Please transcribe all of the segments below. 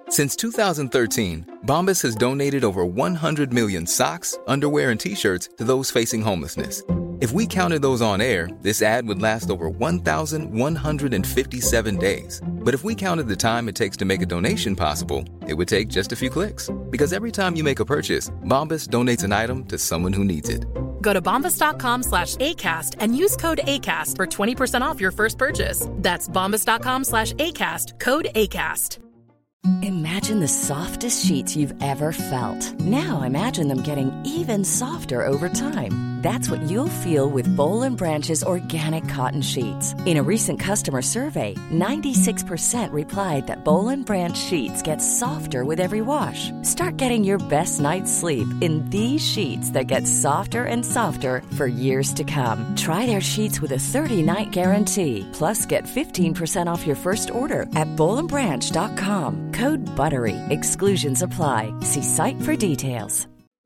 Since 2013, Bombas has donated over 100 million socks, underwear, and T-shirts to those facing homelessness. If we counted those on air, this ad would last over 1,157 days. But if we counted the time it takes to make a donation possible, it would take just a few clicks. Because every time you make a purchase, Bombas donates an item to someone who needs it. Go to bombas.com/ACAST and use code ACAST for 20% off your first purchase. That's bombas.com/ACAST, code ACAST. Imagine the softest sheets you've ever felt. Now imagine them getting even softer over time. That's what you'll feel with Boll & Branch's organic cotton sheets. In a recent customer survey, 96% replied that Boll & Branch sheets get softer with every wash. Start getting your best night's sleep in these sheets that get softer and softer for years to come. Try their sheets with a 30-night guarantee. Plus, get 15% off your first order at bollandbranch.com. Code BUTTERY. Exclusions apply. See site for details.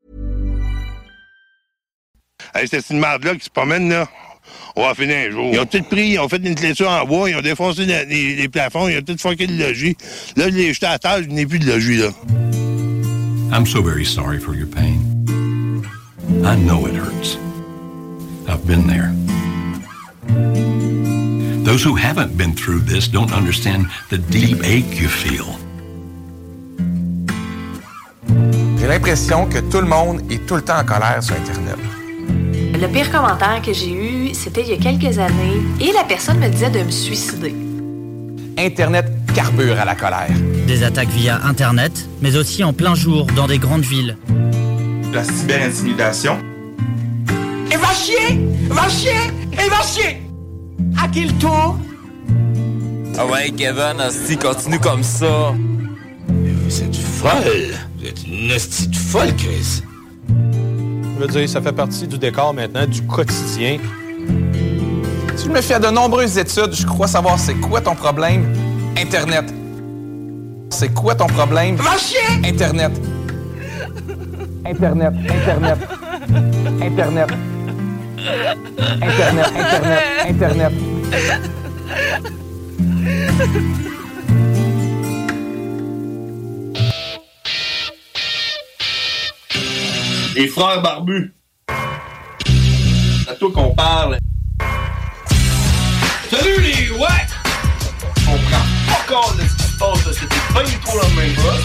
Hey, c'est une marde-là qui se promène, là. On va finir un jour. Ils ont tout pris, ils ont fait une clôture en bois, ils ont défoncé les plafonds, ils ont tout fucké le logis. Là, je l'ai jeté à terre, je n'ai plus de logis, là. I'm so very sorry for your pain. I know it hurts. I've been there. Those who haven't been through this don't understand the deep ache you feel. J'ai l'impression que tout le monde est tout le temps en colère sur Internet. Le pire commentaire que j'ai eu, c'était il y a quelques années, et la personne me disait de me suicider. Internet carbure à la colère. Des attaques via Internet, mais aussi en plein jour dans des grandes villes. La cyberintimidation. Et va chier! Va chier! Et va chier! À qui le tour? Ah ouais, Kevin, si continue comme ça. Mais vous êtes folle! Vous êtes une hostie de folle, Chris! Je veux dire, ça fait partie du décor maintenant, du quotidien. Si je me fie à de nombreuses études, je crois savoir c'est quoi ton problème. Internet. C'est quoi ton problème? Va chier! Internet. Internet. Internet. Internet. Internet. Internet. Internet. Les frères barbus. C'est à toi qu'on parle. Salut les ouais! On prend pas compte de ce qui se passe, là. C'était pas du tout la même chose.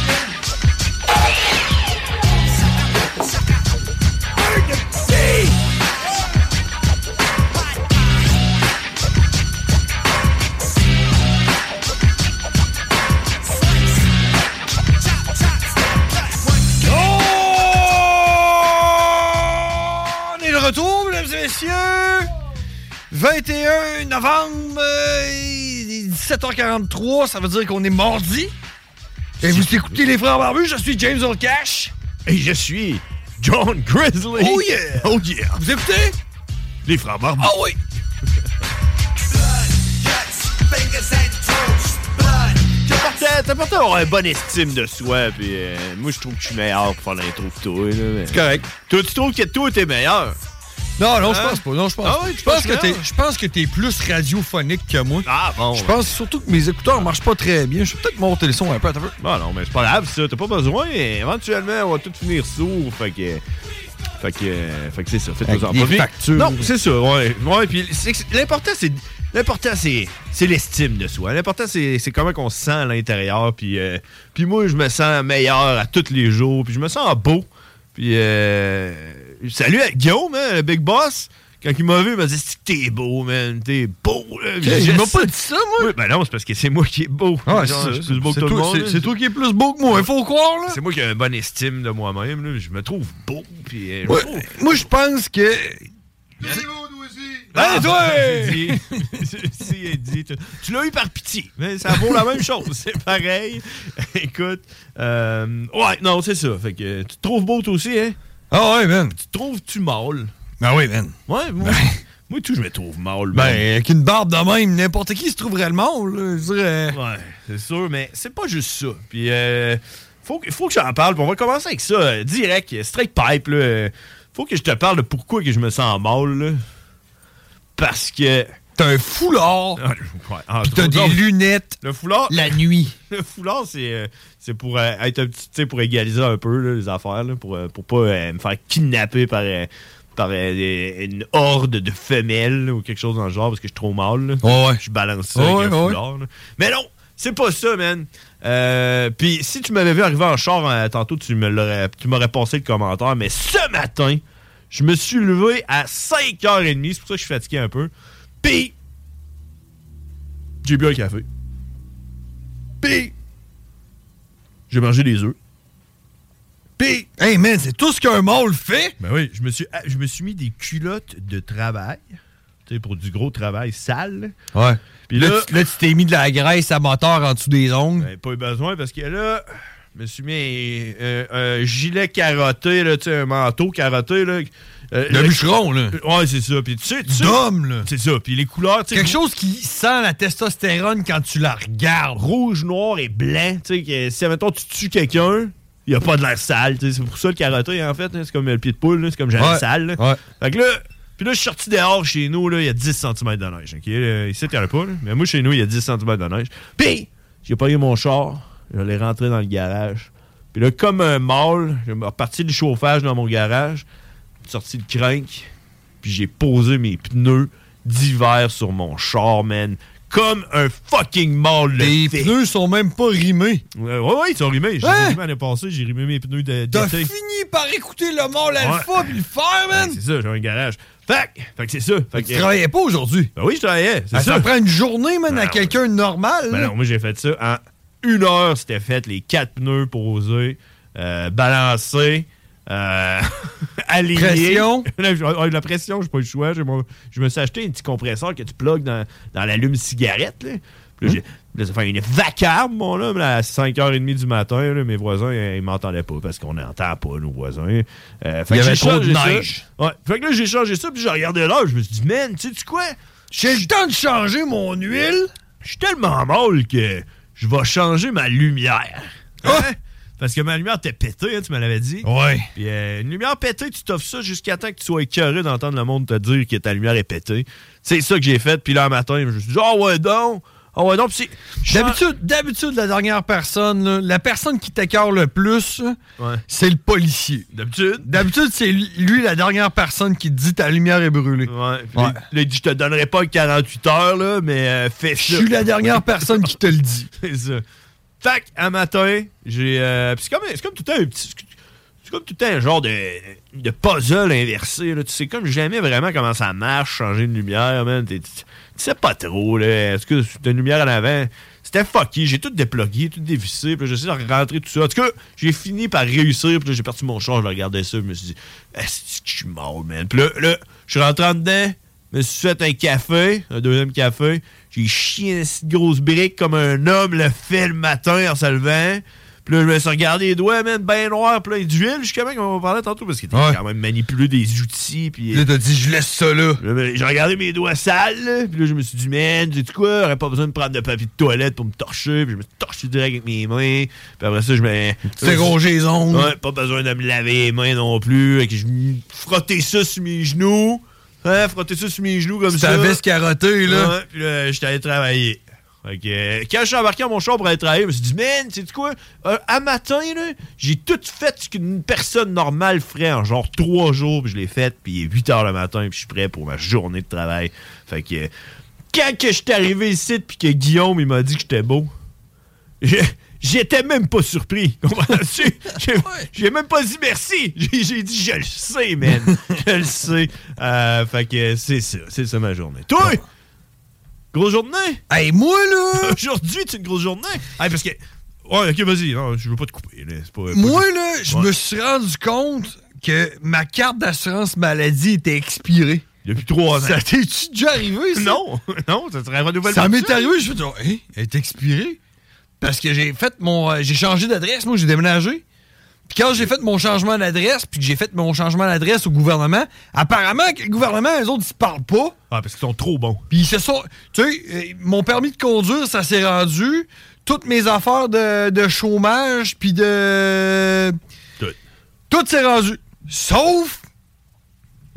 Retour, mesdames et messieurs, 21 novembre, 17h43, ça veut dire qu'on est mardi. Et vous écoutez les Frères Barbus, je suis James Olcash. Et je suis John Grizzly. Oh yeah! Oh yeah! Vous écoutez? Les Frères Barbus. Ah oui! C'est important d'avoir une bonne estime de soi, puis moi, je trouve que je suis meilleur pour faire l'intro que toi. Là, c'est correct. Toi, tu trouves que toi, t'es meilleur? Non, je pense pas. Non, je pense ah ouais, je pense que t'es plus radiophonique que moi. Ah bon? Je pense surtout que mes écouteurs marchent pas très bien. Je vais peut-être monter le son un peu. Non, mais c'est pas grave, ça. T'as pas besoin. Éventuellement, on va tout finir sourd. Fait que c'est ça. Faites-nous-en pas. Factures. Non, c'est ça. Ouais, puis l'important, c'est l'estime de soi. L'important, c'est comment on se sent à l'intérieur. Puis moi, je me sens meilleur à tous les jours. Puis je me sens beau. Puis salut à Guillaume, hein, le Big Boss. Quand il m'a vu, il m'a dit « T'es beau, man. T'es beau. » Il m'a pas dit ça, moi. Oui, ben non, c'est parce que c'est moi qui est beau. Ah, je suis plus beau que tout le monde. C'est toi qui es plus beau que moi. Il faut croire, là. C'est moi qui ai une bonne estime de moi-même. Là. Je me trouve beau. Puis, moi, je pense que... C'est beau, toi aussi. Ben, toi! Tu l'as eu par pitié. Mais ça vaut la même chose. C'est pareil. Écoute. Ouais, non, c'est ça. Fait que tu te trouves beau, toi aussi, hein? Ah ouais, man. Tu te trouves-tu mâle? Ah oui, man. Ouais, moi, tout, je me trouve mâle. Ben, avec une barbe de même, n'importe qui se trouverait le mâle, là, je dirais. Ouais, c'est sûr, mais c'est pas juste ça. Puis, faut que j'en parle. Puis on va commencer avec ça, direct, straight pipe, là. Faut que je te parle de pourquoi que je me sens mâle, là. Parce que... t'as un foulard, pis t'as des lunettes le foulard, la nuit. Le foulard, c'est pour être un petit, tu sais, pour égaliser un peu là, les affaires, là, pour pas me faire kidnapper par une horde de femelles là, ou quelque chose dans le genre, parce que je suis trop mal. Là. Ouais. Je balance ça avec un foulard. Là. Mais non, c'est pas ça, man. Puis si tu m'avais vu arriver en char tantôt, tu m'aurais passé le commentaire. Mais ce matin, je me suis levé à 5h30. C'est pour ça que je suis fatigué un peu. Puis j'ai bu un café. Puis j'ai mangé des œufs. Puis, hey man, c'est tout ce qu'un mâle fait. Ben oui, je me suis mis des culottes de travail, tu sais, pour du gros travail sale. Ouais. Puis là, tu t'es mis de la graisse à moteur en dessous des ongles. Ben, pas eu besoin parce que là, je me suis mis un gilet carotté, là, tu sais, un manteau carotté, là. Le bûcheron, là. Ouais, c'est ça. Puis tu sais. D'homme, là. C'est ça. Puis les couleurs, tu sais. Quelque chose qui sent la testostérone quand tu la regardes. Rouge, noir et blanc. Tu sais, que si, admettons, tu tues quelqu'un, il n'y a pas de l'air sale. T'sais. C'est pour ça le carotté, en fait. Hein, c'est comme le pied de poule. Là, c'est comme jamais sale. Là. Ouais. Fait que là, puis là, je suis sorti dehors chez nous. Là, il y a 10 cm de neige. Okay? Là, ici, il n'y en a pas. Là. Mais moi, chez nous, il y a 10 cm de neige. Puis, j'ai payé mon char. Je l'ai rentré dans le garage. Puis là, comme un mâle, j'ai reparti du chauffage dans mon garage. J'ai sorti le crank. Puis j'ai posé mes pneus d'hiver sur mon char, man. Comme un fucking mâle le fait. Les pneus sont même pas rimés. Ouais, ils sont rimés. J'ai rimé l'année passée, j'ai rimé mes pneus d'été. T'as fini par écouter le mâle alpha puis le faire, man. Ouais, c'est ça, j'ai un garage. Fait que c'est ça. Fait que tu travaillais pas aujourd'hui? Ben oui, je travaillais. C'est ça. Ça prend une journée, man, à quelqu'un de normal. Ben non, moi j'ai fait ça en 1 heure. C'était fait, les 4 pneus posés, balancés. Aligné. Pression. La pression, j'ai pas eu le choix. Je me suis acheté un petit compresseur que tu plugues dans l'allume-cigarette. Là, ça fait une vacarme, mon homme, là, à 5h30 du matin. Là, mes voisins, ils m'entendaient pas parce qu'on n'entend pas nos voisins. Il y avait trop de neige. Ouais. Fait que là, j'ai changé ça, puis j'ai regardé l'heure. Je me suis dit, man, tu sais quoi? J'ai le temps de changer mon huile. Je suis tellement mal que je vais changer ma lumière. Hein? Parce que ma lumière était pétée, hein, tu me l'avais dit. Ouais. Puis une lumière pétée, tu t'offres ça jusqu'à temps que tu sois écœuré d'entendre le monde te dire que ta lumière est pétée. C'est ça que j'ai fait. Puis là, un matin, je me suis dit, oh ouais donc. D'habitude, la dernière personne, là, la personne qui t'écœure le plus, c'est le policier. D'habitude, c'est lui la dernière personne qui te dit ta lumière est brûlée. Ouais. Là, il dit, je te donnerai pas 48 heures, là, mais fais ça. Je suis la dernière personne qui te le dit. C'est ça. Fait un matin, j'ai. C'est comme tout le temps un petit. C'est comme tout le temps un genre de puzzle inversé. Là. Tu sais comme jamais vraiment comment ça marche, changer une lumière, man. Tu sais pas trop, là. Est-ce que t'as une lumière en avant? C'était fucky. J'ai tout déplugué, tout dévissé. Puis j'essaie de rentrer tout ça. En tout cas, j'ai fini par réussir. Puis là, j'ai parti mon char, je regardais ça. Je me suis dit, est-ce que je suis mort, man? Puis là, je suis rentré en dedans. Je me suis fait un café, un deuxième café. J'ai chié une grosse brique comme un homme le fait le matin en se levant. Puis là, je me suis regardé les doigts, man, bien noirs, plein d'huile, jusqu'à même qu'on va parler tantôt, parce qu'il était quand même manipulé des outils. Puis là, t'as dit, je laisse ça là. J'ai regardé mes doigts sales, là, puis là, je me suis dit, man, sais-tu quoi, j'aurais pas besoin de prendre de papier de toilette pour me torcher. Puis je me suis torché direct avec mes mains. Puis après ça, je me. C'est rongé les ongles. Ouais, pas besoin de me laver les mains non plus. Je me frottais ça sur mes genoux. Frotter ça sur mes genoux comme ça. Ta veste carottée, là. Ouais, puis là, j'étais allé travailler. Fait que, quand je suis embarqué à mon char pour aller travailler, je me suis dit, man, sais-tu quoi? À matin, là, j'ai tout fait ce qu'une personne normale ferait en genre 3 jours, puis je l'ai fait, puis il est 8h le matin, puis je suis prêt pour ma journée de travail. Fait que, quand que je suis arrivé ici, puis que Guillaume, il m'a dit que j'étais beau, j'étais même pas surpris. Comprends-tu? J'ai même pas dit merci. J'ai dit, je le sais, man. Je le sais. Fait que c'est ça ma journée. Toi! Grosse journée? Hey, moi, là! Aujourd'hui, c'est une grosse journée? Hey, parce que... Ouais, ok, vas-y. Non, je veux pas te couper. Là. C'est pas moi, là, je me suis rendu compte que ma carte d'assurance maladie était expirée. Depuis 3 ans. Ça t'es-tu déjà arrivé, ça? Non, ça serait un renouvellement. Ça m'est arrivé, je me suis dit, elle est expirée. Parce que j'ai changé d'adresse, moi, j'ai déménagé. Puis quand j'ai fait mon changement d'adresse, puis que j'ai fait mon changement d'adresse au gouvernement, apparemment que le gouvernement, eux autres, ils se parlent pas. Ah, parce qu'ils sont trop bons. Puis ils se sont... Tu sais, mon permis de conduire, ça s'est rendu. Toutes mes affaires de chômage, puis de... Tout s'est rendu. Sauf...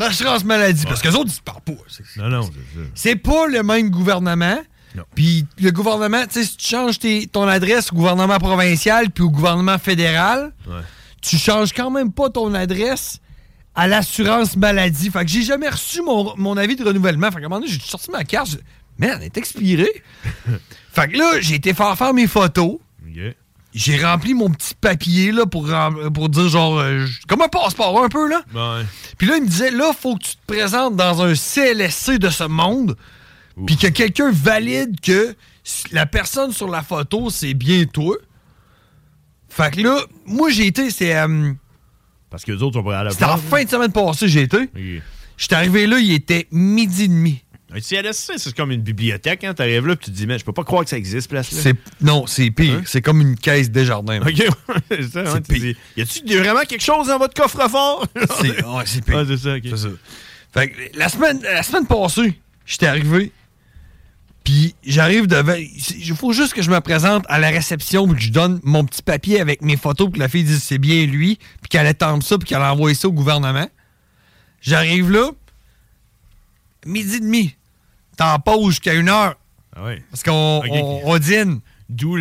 l'assurance maladie. Parce qu'eux autres, ils se parlent pas. Non, c'est ça. C'est pas le même gouvernement. Puis le gouvernement, tu sais, si tu changes ton adresse au gouvernement provincial puis au gouvernement fédéral, tu changes quand même pas ton adresse à l'assurance maladie. Fait que j'ai jamais reçu mon avis de renouvellement. Fait qu'à un moment donné, j'ai sorti ma carte. Merde, elle est expirée. Fait que là, j'ai été faire mes photos. Okay. J'ai rempli mon petit papier là, pour dire genre... comme un passeport un peu, là. Ouais. Puis là, il me disait, là, faut que tu te présentes dans un CLSC de ce monde, puis que quelqu'un valide que la personne sur la photo, c'est bien toi. Fait que là, moi, j'ai été... Parce que les autres sont pas à la C'était en fin de semaine passée, j'ai été. Okay. J'étais arrivé là, il était 12h30. Un CLSC, c'est comme une bibliothèque, hein? T'arrives là, puis tu te dis, mais je peux pas croire que ça existe, place-là. Non, c'est pire. Hein? C'est comme une caisse Desjardins. OK, c'est ça. C'est pire. Y a-tu vraiment quelque chose dans votre coffre-fort? C'est pire. Ah, c'est ça, OK. C'est ça. Fait que la semaine passée, j'étais arrivé, puis j'arrive devant... Il faut juste que je me présente à la réception, puis que je donne mon petit papier avec mes photos, puis que la fille dise c'est bien lui, puis qu'elle attende ça, puis qu'elle envoie ça au gouvernement. J'arrive là, 12h30. T'en pause jusqu'à 1h. Ah oui. Parce qu'on dîne. D'où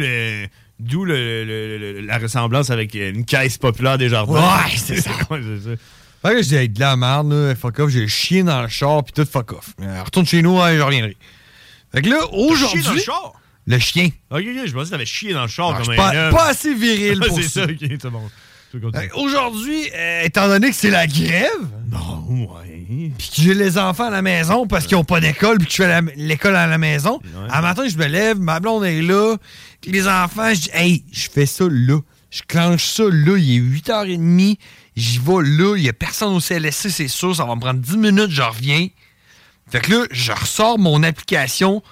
la ressemblance avec une caisse populaire des jardins. Ouais, c'est ça. C'est ça. Fait que j'ai dit de la merde, là, fuck off, j'ai chié dans le char, puis tout fuck off. Retourne chez nous, je reviendrai. Fait que là, aujourd'hui... Chié dans le char? Le chien. Ok, je pensais que t'avais chié dans le char comme un homme. Pas assez viril pour c'est ça. C'est ça, ok, c'est bon. Aujourd'hui, étant donné que c'est la grève... Non, ouais. Puis que j'ai les enfants à la maison parce qu'ils n'ont pas d'école, puis que je fais l'école à la maison. Un matin, je me lève, ma blonde est là, les enfants, je dis, hey, je fais ça là. Je clenche ça là, il est 8h30, j'y vais là, il n'y a personne au CLSC, c'est sûr, ça va me prendre 10 minutes, je reviens. Fait que là, je ressors mon application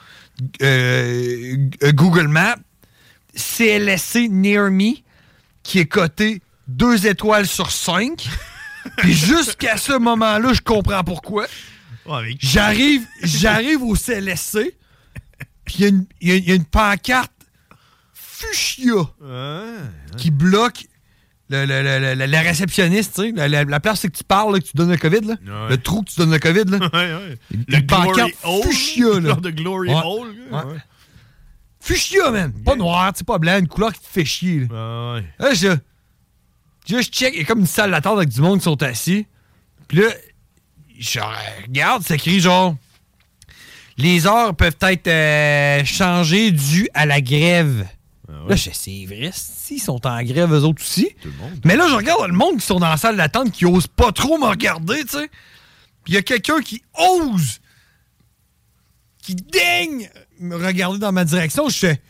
Google Maps, CLSC Near Me, qui est coté 2 étoiles sur 5. Puis jusqu'à ce moment-là, je comprends pourquoi. Ouais, j'arrive au CLSC, puis il y a une pancarte fuchsia qui bloque la réceptionniste, tu sais. La place, c'est que tu parles, là, que tu donnes le COVID, là. Ouais. Le trou que tu donnes le COVID, là. Ouais. Le pancarte fuchsia, là. Genre de Glory Hole. Ouais. Fuchsia, man. Pas noir, c'est pas blanc, une couleur qui te fait chier. Là, je check, il y a comme une salle d'attente avec du monde qui sont assis. Puis là, je regarde, c'est écrit genre... Les heures peuvent être changées dû à la grève. Ah ouais. Là, je sais, c'est vrai, s'ils sont en grève, eux autres aussi. Tout le monde. Mais là, je regarde le monde qui sont dans la salle d'attente qui osent pas trop me regarder, tu sais. Puis il y a quelqu'un qui ose, qui daigne me regarder dans ma direction. Je fais...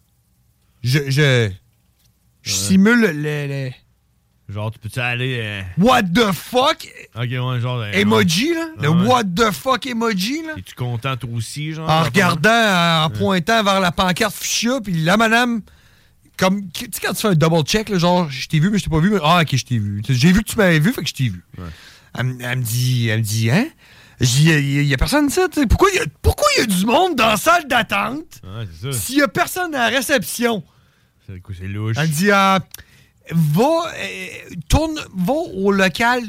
Je simule le... Genre, tu peux-tu aller... What the fuck? Ok, ouais, genre... emoji, là. Le what the fuck emoji, là. Es-tu content, toi aussi, genre? En regardant, en pointant vers la pancarte fuchsia, puis la madame... Comme, tu sais, quand tu fais un double check, là, genre, je t'ai vu, mais je t'ai pas vu. Mais, ah, ok, je t'ai vu. J'ai vu que tu m'avais vu, fait que je t'ai vu. Ouais. Elle me dit, hein? Je dis, il y a personne ici, tu sais. Pourquoi il y a du monde dans la salle d'attente? Ouais, c'est ça. S'il y a personne à la réception? C'est louche. Elle dit, va au local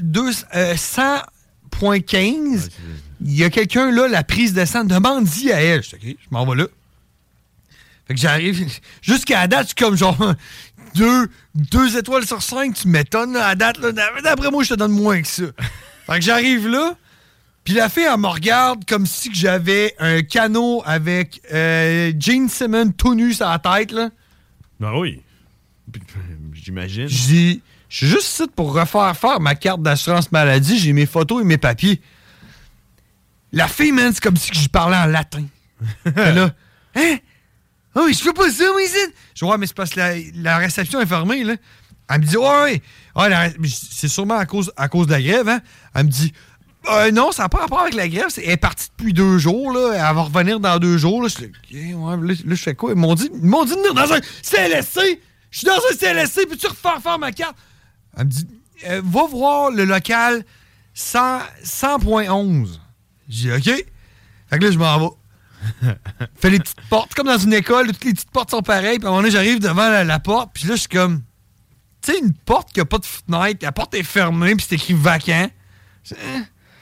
100.15. Il y a quelqu'un là, la prise de sang, demande-y à elle. Je dis, OK, je m'en vais là. Fait que j'arrive. Jusqu'à la date, je suis comme genre 2 étoiles sur 5. Tu m'étonnes à la date. Là. D'après moi, je te donne moins que ça. Fait que j'arrive là. Puis la fille, elle me regarde comme si que j'avais un canot avec Gene Simmons tout nu sur la tête. Là. Ben oui. J'imagine. Je dis, je suis juste ici pour faire ma carte d'assurance maladie. J'ai mes photos et mes papiers. La fille, man, c'est comme si je parlais en latin. Là, hein? Oh, je fais pas ça, moi, ici. Je vois, mais c'est parce que la réception est fermée, là. Elle me dit, ouais. C'est sûrement à cause de la grève, hein? Elle me dit, non, ça n'a pas rapport avec la grève. Elle est partie depuis 2 jours, là. Elle va revenir dans 2 jours, là. Je dis, OK, ouais, là, je fais quoi? Ils m'ont dit de venir dans un CLSC. Je suis dans un CLSC, peux-tu refaire ma carte? Elle me dit, va voir le local 100.11. J'ai dit, OK. Fait que là, je m'en vais. Fais les petites portes, comme dans une école, toutes les petites portes sont pareilles. Puis à un moment donné, j'arrive devant la porte, puis là, je suis comme... Tu sais, une porte qui a pas de fenêtre, la porte est fermée, puis c'est écrit vacant.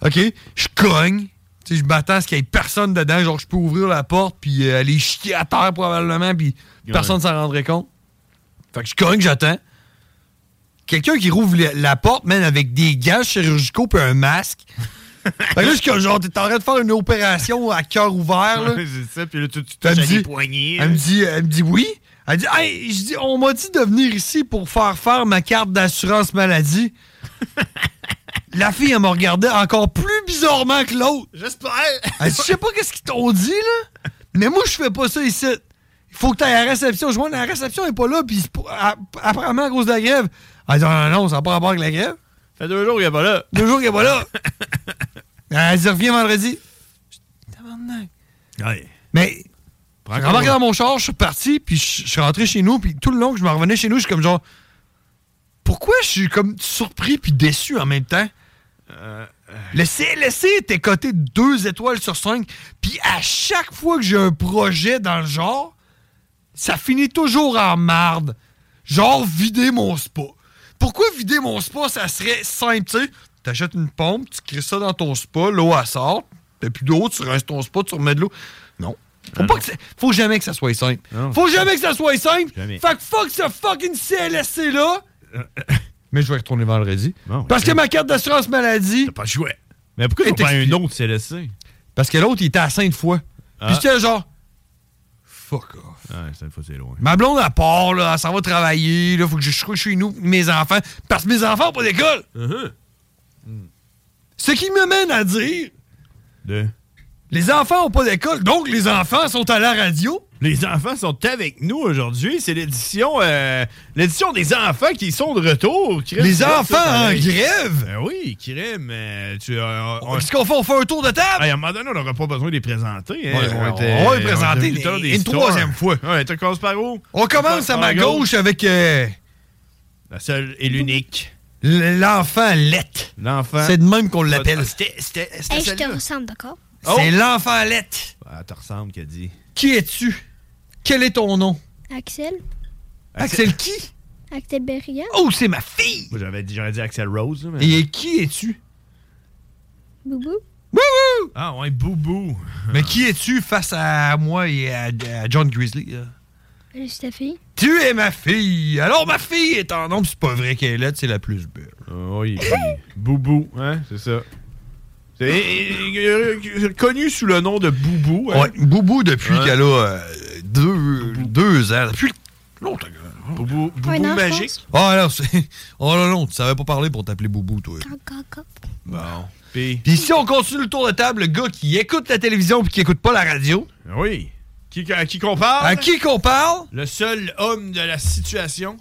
OK, je cogne. Tu sais, je m'attends à ce qu'il y ait personne dedans. Genre, je peux ouvrir la porte, puis aller chier à terre probablement, puis personne ne s'en rendrait compte. Fait que je cogne, j'attends. Quelqu'un qui rouvre la porte, même avec des gants chirurgicaux puis un masque. Fait que là, je suis comme genre, t'es en train de faire une opération à cœur ouvert, là. Ouais, c'est ça, puis là, tu touches à des poignets. Elle me dit oui. Elle dit, hey, je dis, on m'a dit de venir ici pour faire ma carte d'assurance maladie. La fille, elle m'a regardé encore plus bizarrement que l'autre. J'espère. Elle dit, je sais pas qu'est-ce qu'ils t'ont dit, là, mais moi, je fais pas ça ici. Il faut que tu ailles à la réception. Je vois, la réception n'est pas là, puis apparemment à cause de la grève. Elle dit, non, ça n'a pas rapport avec la grève. Ça fait 2 jours qu'il n'est pas là. 2 jours qu'il n'est pas là. Elle dit, reviens vendredi. Ouais. Mais, j'ai remarqué dans mon char, je suis parti, puis je suis rentré chez nous, puis tout le long que je me revenais chez nous, je suis comme genre, pourquoi je suis comme surpris puis déçu en même temps? Le CLSC était coté 2 étoiles sur 5, puis à chaque fois que j'ai un projet dans le genre, ça finit toujours en marde. Genre, vider mon spa. Pourquoi vider mon spa, ça serait simple, tu sais? T'achètes une pompe, tu crées ça dans ton spa, l'eau, elle sort, t'as plus d'eau, tu rinces ton spa, tu remets de l'eau. Non. Faut jamais que ça soit simple. Faut jamais que ça soit simple. Fait que fuck ce fucking CLSC-là. Mais je vais retourner vendredi. Bon, parce que ma carte d'assurance maladie... T'as pas joué. Mais pourquoi t'as pas un autre CLSC? Parce que l'autre, il était à Sainte-Foy. Puis j'étais genre... Fuck off. Ouais, Sainte-Foy, c'est loin. Ma blonde, elle part, là, elle s'en va travailler, là, faut que je sois chez nous, mes enfants, parce que mes enfants n'ont pas d'école. Ce qui me mène à dire... Les enfants n'ont pas d'école, donc les enfants sont à la radio. Les enfants sont avec nous aujourd'hui. C'est l'édition des enfants qui sont de retour. Les enfants en grève? Ben oui, crème. Qu'est-ce qu'on fait? On fait un tour de table? À un moment donné, on n'aura pas besoin de les présenter. Hein. On va les présenter une troisième fois. Ouais, tu commences par où? On commence à ma gauche avec... la seule et l'unique. L'enfant Lette. L'enfant. C'est de même qu'on l'appelle. Je te ressemble, d'accord? C'est l'enfant Lette. Ah, te ressemble, qu'a dit. Qui es-tu? Quel est ton nom? Axel. Axel qui? Axel Berrigan. Oh, c'est ma fille! Moi, j'aurais dit Axel Rose. Mais... Et qui es-tu? Boubou. Boubou! Ah ouais, Boubou. Mais qui es-tu face à moi et à John Grizzly? Je suis ta fille. Tu es ma fille! Alors, ma fille est en nombre, c'est pas vrai qu'elle est laide, c'est la plus belle. Oui, Boubou, hein, c'est ça. C'est connu sous le nom de Boubou. Hein? Ouais, Boubou depuis qu'elle a 2 ans. Depuis longtemps. Boubou magique. Ah non, c'est... Oh non, tu savais pas parler pour t'appeler Boubou, toi. Bon. Puis si on continue le tour de table, le gars qui écoute la télévision puis qui écoute pas la radio. Oui. À qui qu'on parle? À qui qu'on parle? Le seul homme de la situation.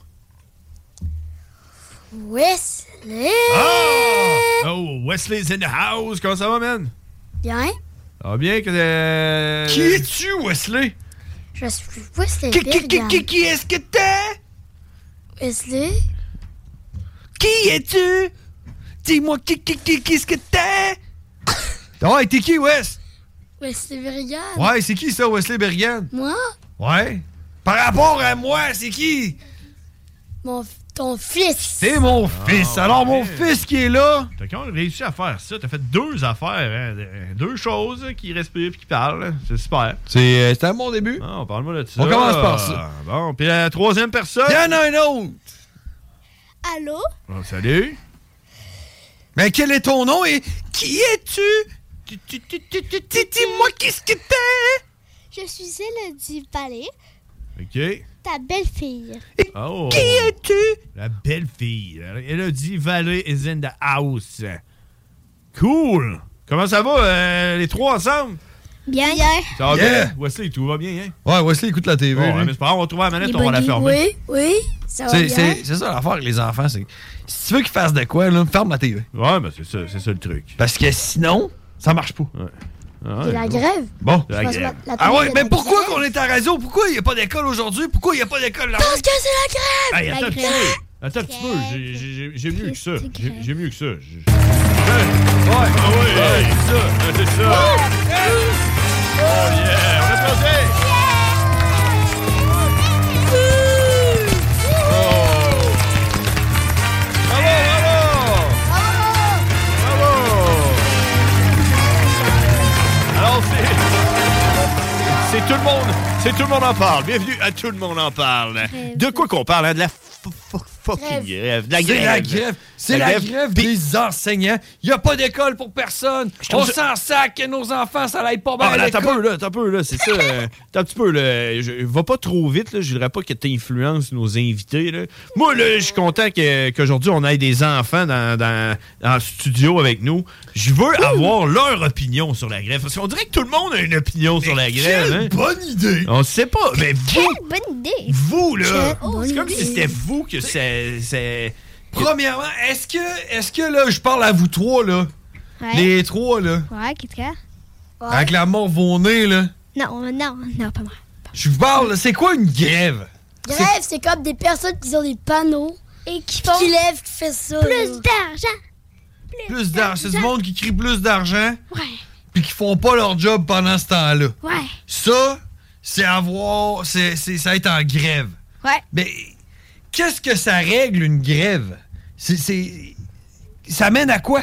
Wesley! Oh, Wesley's in the house. Comment ça va, man? Bien. Ça va bien que... Qui es-tu, Wesley? Je suis Wesley Berrigan. Qui est-ce que t'es? Wesley? Qui es-tu? Dis-moi qu'est-ce que t'es? Ouais, t'es qui, Wes? Wesley Berrigan. Ouais, c'est qui ça, Wesley Berrigan? Moi? Ouais. Par rapport à moi, c'est qui? Ton fils. C'est mon fils. Alors, mon fils qui est là. T'as quand même réussi à faire ça. T'as fait 2 affaires, hein? 2 choses qui respirent et qui parlent. C'est super. C'était un bon début. Ah, parle-moi de ça. On commence par ça. Bon, puis la 3e personne. Il y en a un autre. Allô? Oh, salut. Mais quel est ton nom et qui es-tu? Dis-moi qu'est-ce que t'es? Je suis Elodie Palais. OK. Ta belle-fille. Oh. Qui es-tu? La belle-fille. Elodie Valley is in the house. Cool. Comment ça va, les 3 ensemble? Bien. Ça va bien? Wesley, tout va bien, hein? Ouais, Wesley écoute la TV. Bon, mais c'est pas grave, on va trouver la manette, on va la fermer. Oui, ça va bien. C'est ça l'affaire avec les enfants, c'est... Si tu veux qu'ils fassent de quoi, là, ferme la TV. Ouais, ben c'est ça le truc. Parce que sinon, ça marche pas. Ouais. C'est la grève. Bon. La grève. Ah ouais, mais pourquoi qu'on est à la radio? Pourquoi il n'y a pas d'école aujourd'hui? Pourquoi il n'y a pas d'école là? Parce que c'est la grève! Hey, attends un petit peu. J'ai mieux que ça. J'ai mieux que ça. Ouais, c'est ça. Oh yeah, on applaudit! monde en parle. Bienvenue à Tout le monde en parle. De quoi qu'on parle, hein? De la fucking grève. De la grève. C'est la grève. C'est la grève des enseignants. Il n'y a pas d'école pour personne. On s'en sac que nos enfants, ça n'aille pas bien à l'école. T'as un peu, là. C'est ça. T'as un petit peu, là. Va pas trop vite, là. Je voudrais pas que t'influences nos invités, là. Moi, là, je suis content qu'aujourd'hui, on ait des enfants dans le studio avec nous. Je veux avoir leur opinion sur la grève. Parce qu'on dirait que tout le monde a une opinion sur la grève. Quelle bonne idée! On sait pas. Mais Quelle bonne idée! vous, là, c'est comme idée. si c'était vous que c'est... Premièrement, est-ce que là, je parle à vous trois, là? Ouais. Les trois, là? Ouais, qu'est-ce qu'il y a? Ouais. Avec la mort vos nez, là? Non, pas moi. Je vous parle, c'est quoi une grève? Grève, c'est comme des personnes qui ont des panneaux et qui font... qui lèvent, qui fait ça. Plus d'argent! Plus d'argent. C'est du monde qui crie plus d'argent. Ouais. Puis qui font pas leur job pendant ce temps-là. Ouais. Ça, c'est avoir... ça être en grève. Ouais. Mais qu'est-ce que ça règle, une grève? Ça mène à quoi?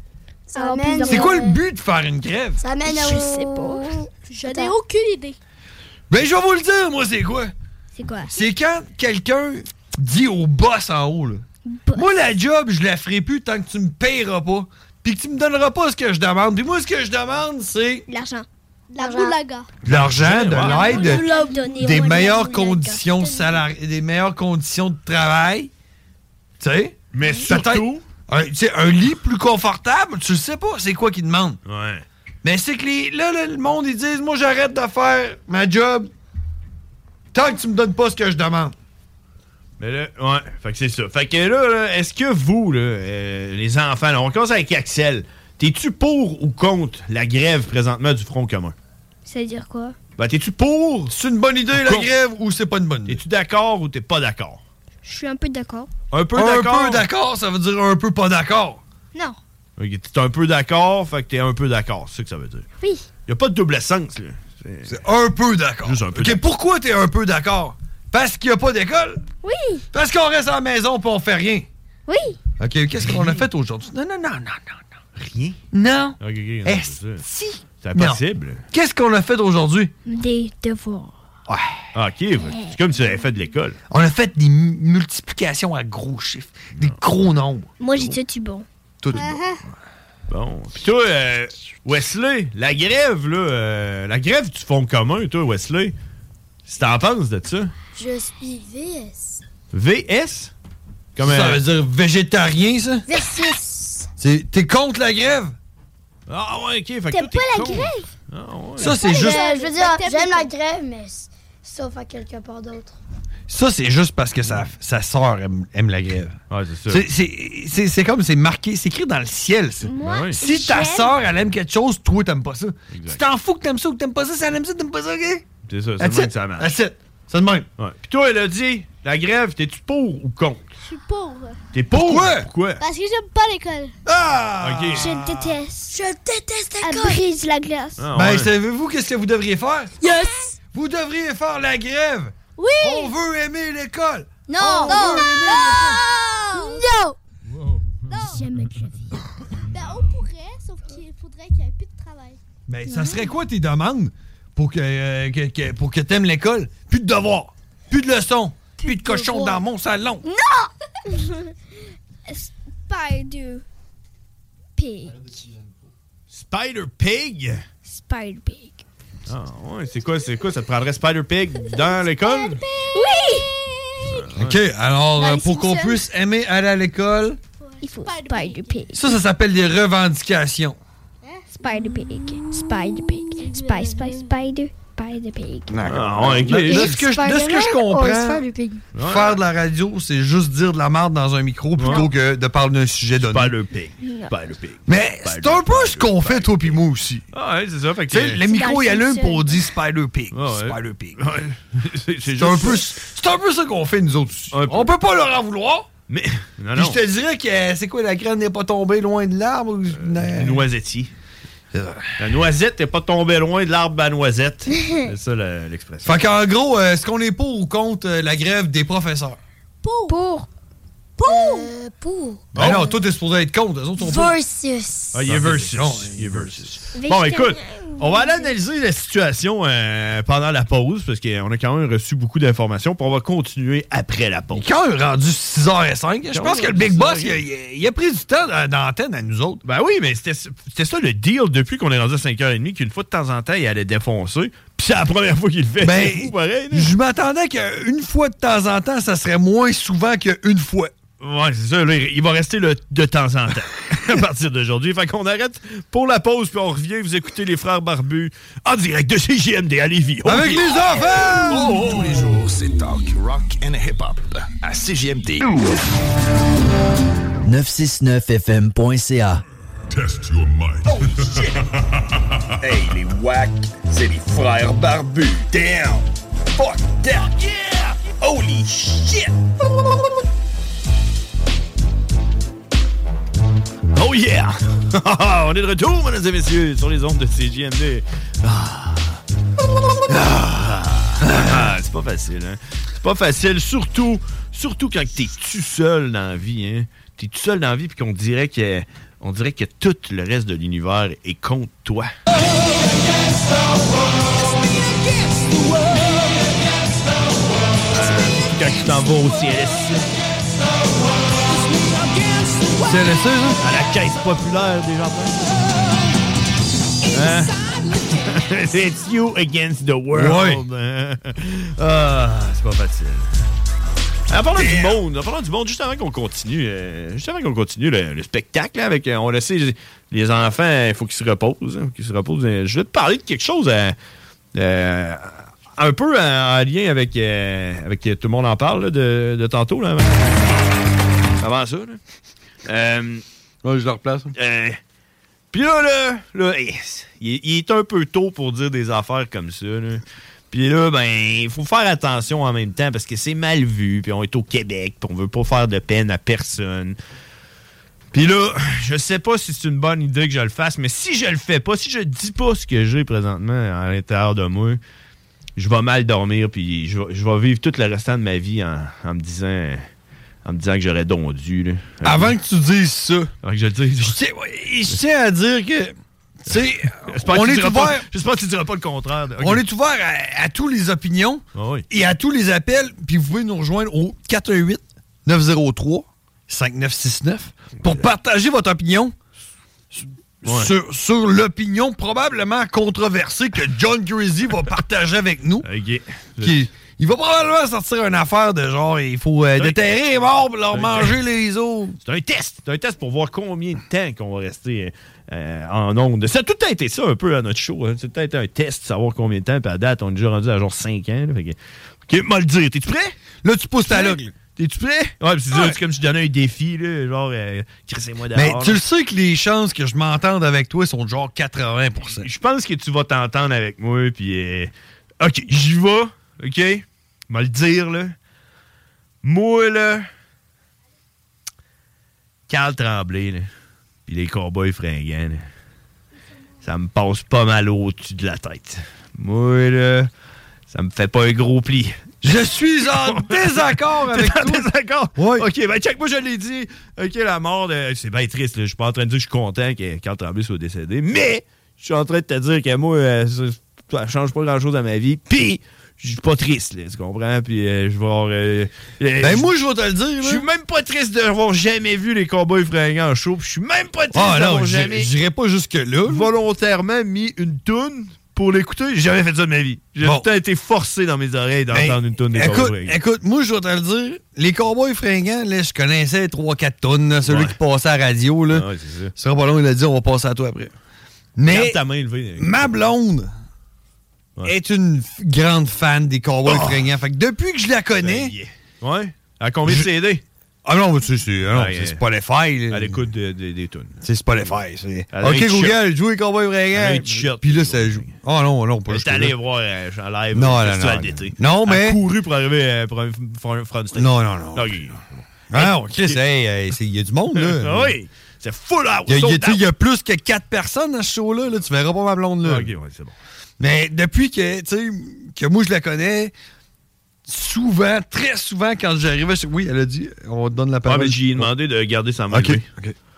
Ça mène C'est quoi le but de faire une grève? Ça mène Je sais pas. Je n'ai aucune idée. Ben, je vais vous le dire, moi, c'est quoi? C'est quoi? C'est quand quelqu'un dit au boss en haut, là, moi, la job, je la ferai plus tant que tu me payeras pas, puis que tu me donneras pas ce que je demande. Puis moi, ce que je demande, c'est... L'argent. De l'argent. De l'argent, de l'aide, des meilleures conditions conditions salariales, des meilleures conditions de travail. Tu sais? Mais surtout... Un lit plus confortable, tu le sais pas, c'est quoi qu'ils demandent. Ouais. Mais c'est que le monde, ils disent, moi, j'arrête de faire ma job tant que tu me donnes pas ce que je demande. Mais là, ouais, fait que c'est ça. Fait que là est-ce que vous, là, les enfants, là, on commence avec Axel, t'es-tu pour ou contre la grève présentement du Front commun? Ça veut dire quoi? Ben, t'es-tu pour? C'est une bonne idée, la grève, ou c'est pas une bonne idée? T'es-tu d'accord ou t'es pas d'accord? Je suis un peu d'accord. Un peu d'accord? Un peu d'accord, ça veut dire un peu pas d'accord. Non. Ok, t'es un peu d'accord, fait que t'es un peu d'accord, c'est ça que ça veut dire. Oui. Y a pas de double sens, là. C'est un peu d'accord. Juste un peu OK, pourquoi t'es un peu d'accord? Parce qu'il y a pas d'école? Oui. Parce qu'on reste à la maison pis on fait rien? Oui. OK, qu'est-ce qu'on a fait aujourd'hui? Non. Rien? Non. Ok, Si. C'est impossible. Qu'est-ce qu'on a fait aujourd'hui? Des devoirs. Ouais. Ah, OK, c'est comme si tu avais fait de l'école. On a fait des multiplications à gros chiffres, des gros nombres. Moi, j'ai dit bon. Tout Bon. Puis toi, Wesley, la grève, là, la grève du Front commun, toi, Wesley, si t'en penses de ça? Je suis VS. VS? Comme ça veut dire végétarien, ça? Versus. T'es contre la grève? Ah ouais, OK. Fait que T'aimes toi, pas la contre. grève? Ah, ouais. Ça, c'est juste... Je veux dire, j'aime la grève, mais sauf à quelque part d'autre. Ça, c'est juste parce que sa sœur aime la grève. Ouais, c'est ça. C'est comme, c'est marqué, c'est écrit dans le ciel, ça. Moi, oui. Si ta sœur, elle aime quelque chose, toi, t'aimes pas ça. Exact. Tu t'en fous que t'aimes ça ou que t'aimes pas ça, si elle aime ça, t'aimes pas ça, OK? C'est ça, c'est That's le même it. que ça marche. That's it. C'est le même. Ouais. Puis toi, elle a dit, la grève, t'es-tu pour ou contre? Je suis pauvre. T'es pour? Pourquoi? Parce que j'aime pas l'école. Ah! OK. Je déteste. Je déteste Elle l'école. brise la glace. Ah, Ben, ouais. savez-vous qu'est-ce que vous devriez faire? Yes. Vous devriez faire la grève. Oui. On veut aimer l'école. Non. On veut aimer Non. J'aime la vie. Ben, on pourrait, sauf qu'il faudrait qu'il y ait plus de travail. Ben, ça serait quoi tes demandes pour que t'aimes l'école? Plus de devoirs, plus de leçons, plus de cochons dans mon salon. Non! Spider Pig. Spider Pig? Spider Pig. Ah ouais, c'est quoi? Ça te prendrait Spider Pig dans l'école? Oui! OK, alors, Dans les pour qu'on Simpsons. puisse aimer aller à l'école, Il faut Spider Pig. ça s'appelle des revendications. Spider Pig. Spider Pig. Spider Pig. Ah ouais, OK. De ce que je comprends, Ouais. faire de la radio, c'est juste dire de la merde dans un micro plutôt que de parler d'un sujet donné. Spider Pig. Spider Pig. Mais c'est un peu ce qu'on fait, toi pis moi aussi. Ah ouais, c'est ça. Fait que Tu sais, le micro, il allume pour dire Spider Pig. Ah ouais. Spider Pig. Ouais. C'est C'est juste un peu ça qu'on fait, nous autres aussi. Un peu. On peut pas leur en vouloir. Mais non, Puis non. je te dirais que c'est quoi, la graine n'est pas tombée loin de l'arbre? Noisettier. La noisette n'est pas tombée loin de l'arbre à noisette. C'est ça l'expression. Fait qu'en gros, est-ce qu'on est pour ou contre la grève des professeurs? Pour. Pour. Ben non, toi, t'es supposé être contre. Eux autres sont pas. Versus. Ah, il est versus. Il est versus. Bon, écoute, on va aller analyser la situation pendant la pause, parce qu'on a quand même reçu beaucoup d'informations, puis on va continuer après la pause. Quand on est rendu 6h05, je pense que le Big Boss, il a pris du temps d'antenne à nous autres. Ben oui, mais c'était ça le deal depuis qu'on est rendu à 5h30, qu'une fois de temps en temps, il allait défoncer. Puis c'est la première fois qu'il le fait. Ben, c'est fou, pareil. Je m'attendais qu'une fois de temps en temps, ça serait moins souvent qu'une fois. Ouais, c'est ça. Là, il va rester de temps en temps à partir d'aujourd'hui. Fait qu'on arrête pour la pause, puis on revient. Vous écoutez les Frères Barbus en direct de CJMD à Lévis. Avec les enfants! Tous les jours, c'est talk, rock and hip-hop à CJMD. 969fm.ca. Test your mind. Oh shit! Hey, les wack, c'est les Frères Barbus. Damn! Fuck that! Yeah! Holy shit! Oh yeah! On est de retour, mesdames et messieurs, sur les ondes de CJMD. C'est pas facile, hein? C'est pas facile, surtout quand t'es tout seul dans la vie, hein? T'es tout seul dans la vie, puis qu'on dirait que tout le reste de l'univers est contre toi. Quand tu t'en vas au CLSC. CLSC, hein? À la caisse populaire des jardins. Hein? It's you against the world. Ouais. C'est pas facile. En parlant du monde, juste avant qu'on continue, le spectacle, là, avec, on le sait, les enfants, il faut qu'ils se reposent. Hein, Je vais te parler de quelque chose un peu en lien avec tout le monde en parle là, de tantôt. Là, avant ça. Là. Ouais, je le replace. Puis là, il est un peu tôt pour dire des affaires comme ça. Là. Puis là, ben, il faut faire attention en même temps parce que c'est mal vu. Puis on est au Québec, puis on veut pas faire de peine à personne. Puis là, je sais pas si c'est une bonne idée que je le fasse, mais si je le fais pas, si je dis pas ce que j'ai présentement à l'intérieur de moi, je vais mal dormir, puis je vais vivre tout le restant de ma vie en me disant que j'aurais dondu. Là. Avant que tu dises ça, avant que je le dise, je tiens à dire que j'espère que tu diras pas le contraire. Okay. On est ouvert à toutes les opinions et à tous les appels. Puis vous pouvez nous rejoindre au 418-903-5969 pour partager votre opinion sur l'opinion probablement controversée que John Crazy va partager avec nous. OK. Il va probablement sortir une affaire de genre, il faut déterrer les morts pour leur manger les os. C'est un test. C'est un test pour voir combien de temps qu'on va rester en ondes. Ça a tout été ça un peu à notre show. Hein. C'est peut-être un test, savoir combien de temps. Puis à date, on est déjà rendu à genre 5 ans. Là, fait que... OK, mal dire. T'es-tu prêt? Là, tu pousses ta log. T'es-tu prêt? Ouais, c'est comme si je donnais un défi, là, genre, crissez-moi dehors. Mais tu le sais que les chances que je m'entende avec toi sont de genre 80%. Je pense que tu vas t'entendre avec moi, puis... OK, j'y vais. OK? M'a le dire, là. Moi, là... Carl Tremblay, là. Puis les Cowboys fringants, là. Ça me passe pas mal au-dessus de la tête. Moi, là... Ça me fait pas un gros pli. Je suis en désaccord avec toi. T'es en désaccord? Oui. OK, ben check, moi je l'ai dit. OK, la mort de... C'est bien triste, là. Je suis pas en train de dire que je suis content que Carl Tremblay soit décédé, mais je suis en train de te dire que moi, ça change pas grand-chose à ma vie. Puis, je suis pas triste, là, tu comprends? Puis, je vais avoir... moi, je vais te le dire, je suis même pas triste d'avoir jamais vu les Cowboys fringants en show. Je suis même pas triste d'avoir jamais... J'irai pas jusque-là. Volontairement mis une toune pour l'écouter. J'ai jamais fait ça de ma vie. J'ai tout le temps été forcé dans mes oreilles d'entendre une toune des Cowboys fringants. Écoute, moi, je vais te le dire. Les Cowboys fringants, là, je connaissais 3-4 tonnes. Celui qui passait à la radio, là. Ouais, c'est ça. Ce sera pas long, il a dit, on va passer à toi après. Mais garde ta main levée. Ma blonde est une grande fan des Cowboys fringants. Fait que depuis que je la connais... Ouais? À combien de CD? Ah non, c'est Spotify. À l'écoute des tunes. C'est Spotify. OK, Google, joue les Cowboys fringants. Puis là, ça joue. Oh non, pas juste. T'es allé voir en live le festival d'été. Non, mais... Elle a couru pour arriver pour un front stage. Non. Okay. Ah, OK, il y a du monde, là. Oui, c'est full out. Il y a plus que 4 personnes dans ce show-là. Là. Tu verras pas ma blonde, là. OK, ouais, c'est bon. Mais depuis que moi, je la connais... souvent, très souvent, quand j'arrivais... Oui, elle a dit, on te donne la parole. Ah, mais j'ai demandé de garder sa main. OK.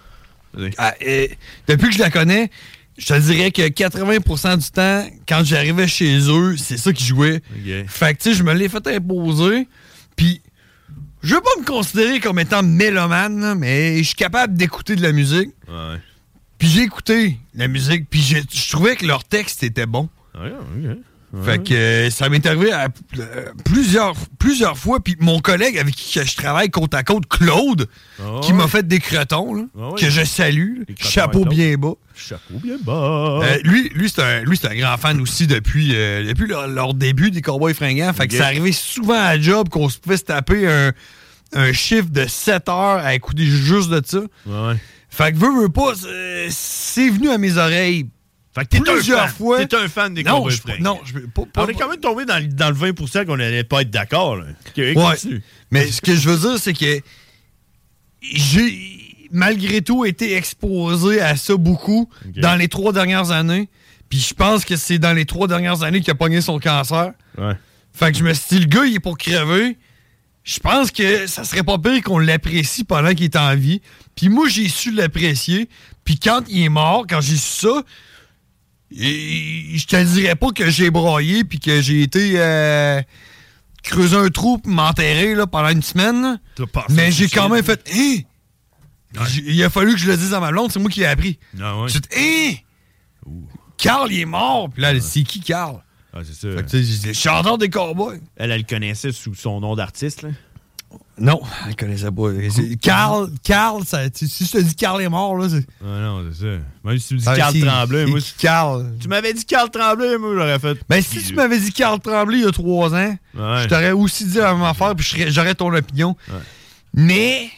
Depuis que je la connais, je te dirais que 80% du temps, quand j'arrivais chez eux, c'est ça qui jouait. Okay. Fait que, tu sais, je me l'ai fait imposer. Puis, je veux pas me considérer comme étant mélomane, là, mais je suis capable d'écouter de la musique. Ouais. Puis j'ai écouté la musique, puis je trouvais que leur texte était bon. Ouais, OK. Fait que ça m'est arrivé à plusieurs fois. Puis mon collègue avec qui je travaille côte à côte, Claude, qui m'a fait des cretons, là, que je salue. Chapeau bien bas. Chapeau bien bas. Lui c'est un grand fan aussi depuis leur début des Cowboys fringants. Fait que ça arrivait souvent à la job qu'on se pouvait se taper un chiffre de 7 heures à écouter juste de ça. Ouais. Fait que veux pas, c'est venu à mes oreilles. Fait que plusieurs fois. T'es un fan des Cowboys fringants. Non, je pas. On est quand même tombé dans le 20% qu'on n'allait pas être d'accord. Là. Ouais. Mais ce que je veux dire, c'est que j'ai malgré tout été exposé à ça beaucoup dans les 3 dernières années. Puis je pense que c'est dans les 3 dernières années qu'il a pogné son cancer. Ouais. Fait que je me suis dit, le gars, il est pour crever. Je pense que ça serait pas pire qu'on l'apprécie pendant qu'il est en vie. Puis moi, j'ai su l'apprécier. Puis quand il est mort, quand j'ai su ça, je te dirais pas que j'ai broyé puis que j'ai été creuser un trou pour m'enterrer là, pendant une semaine. Mais j'ai quand même fait il a fallu que je le dise à ma blonde, c'est moi qui l'ai appris. Ah ouais. J'ai dit Carl, il est mort. Puis là, c'est qui Carl? Ah, c'est ça. Fait que, le chanteur des Cowboys. Elle le connaissait sous son nom d'artiste, là? Non, elle connaissait pas. Carl, si je te dis Carl est mort, là, c'est... Ah non, c'est ça. Même si tu me dis Carl Tremblay, moi... Carl. Tu m'avais dit Carl Tremblay, moi, j'aurais fait... Ben, si tu m'avais dit Carl Tremblay il y a 3 ans, je t'aurais aussi dit la même affaire, puis j'aurais ton opinion. Ouais. Mais...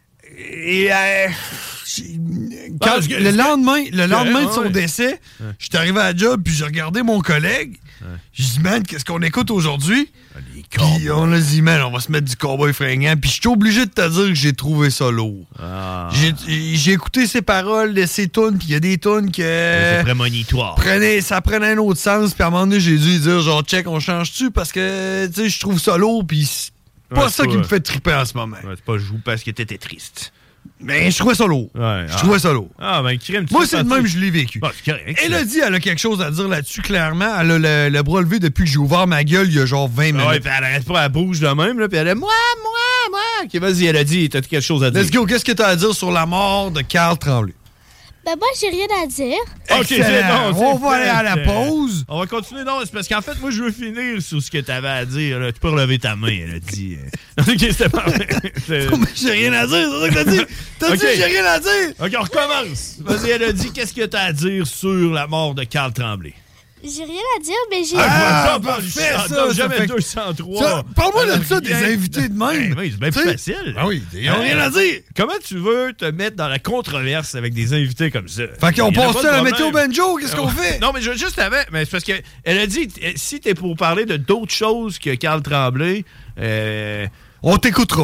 le lendemain de son décès, je suis arrivé à la job, puis j'ai regardé mon collègue. J'ai dit, man, qu'est-ce qu'on écoute aujourd'hui? Puis on a dit, man, on va se mettre du Cowboy fringant. Puis je suis obligé de te dire que j'ai trouvé ça lourd. J'ai écouté ses paroles de ses tunes, puis il y a des tunes que... C'est prémonitoire. Ça prenait un autre sens, puis à un moment donné, j'ai dû dire, genre, check, on change-tu? Parce que, tu sais, je trouve ça lourd, puis c'est pas ça qui me fait triper en ce moment. C'est pas jouer parce que t'étais triste. Mais je trouvais ça lourd. Je trouvais ça lourd. Ah, ben, crime, moi, c'est le même, je l'ai vécu. Ah, c'est correct. Elle a dit, elle a quelque chose à dire là-dessus, clairement. Elle a le bras levé depuis que j'ai ouvert ma gueule il y a genre 20 minutes. Ouais, puis elle arrête pas, elle bouge de même, là, puis elle a moi. Ok, vas-y, elle a dit, t'as quelque chose à dire. Let's go, qu'est-ce que t'as à dire sur la mort de Carl Tremblay? Ben, moi, j'ai rien à dire. OK, c'est bon. On va aller à la pause. On va continuer. Non, c'est parce qu'en fait, moi, je veux finir sur ce que t'avais à dire. Là. Tu peux relever ta main, elle a dit. OK, c'était pas vrai. J'ai rien à dire, c'est ça que t'as dit. T'as dit j'ai rien à dire. OK, on recommence. Vas-y, elle a dit, qu'est-ce que t'as à dire sur la mort de Carl Tremblay? J'ai rien à dire, mais j'ai... Parfait, ça. Jamais 203. Parle-moi de ça, des invités de même. Oui, c'est bien plus facile. Ah oui, ils n'ont rien à dire. Comment tu veux te mettre dans la controverse avec des invités comme ça? Fait qu'on passe à la météo banjo, qu'est-ce qu'on fait? Non, mais juste avant, mais c'est parce qu'elle a dit, si t'es pour parler de d'autres choses que Carl Tremblay... on t'écoutera.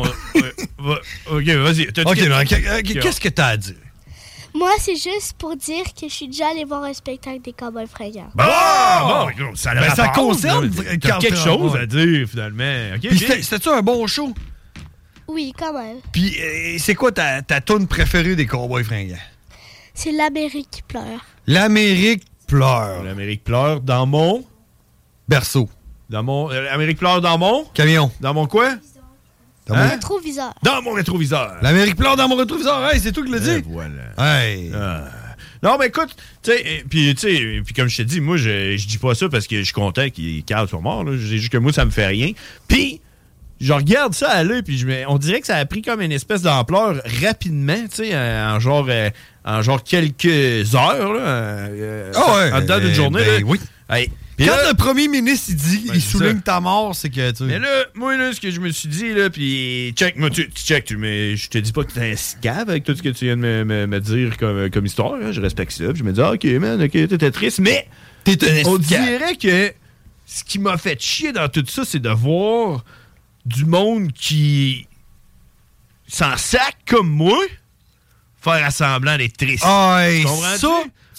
OK, vas-y. Qu'est-ce que t'as à dire? Moi, c'est juste pour dire que je suis déjà allé voir un spectacle des Cowboys fringants. Bon, ça concerne quelque chose à dire, finalement. Okay, puis c'était-tu un bon show? Oui, quand même. Puis c'est quoi ta tune préférée des Cowboys fringants? C'est l'Amérique qui pleure. L'Amérique pleure. L'Amérique pleure dans mon... berceau. Dans mon... L'Amérique pleure dans mon... camion. Dans mon quoi? Dans mon rétroviseur. Dans mon rétroviseur. L'Amérique pleure dans mon rétroviseur. Hey, c'est toi qui l'as dit. Voilà. Hey. Non, mais écoute, puis comme je t'ai dit, moi, je dis pas ça parce que je suis content Carl soit mort. C'est juste que moi, ça me fait rien. Puis, je regarde ça aller, puis on dirait que ça a pris comme une espèce d'ampleur rapidement, tu sais, en genre quelques heures, là. En dedans d'une journée. Ben, oui. Hey. Quand le premier ministre il dit, il souligne ta mort, c'est que tu... Mais là, moi, là, ce que je me suis dit, là, puis check, moi, tu check, mais je te dis pas que t'es un scave avec tout ce que tu viens de me dire comme histoire, hein, je respecte ça, puis je me dis, OK, man, OK, t'étais triste, mais on dirait que ce qui m'a fait chier dans tout ça, c'est de voir du monde qui s'en sac comme moi faire à semblant d'être triste. Ah, ça,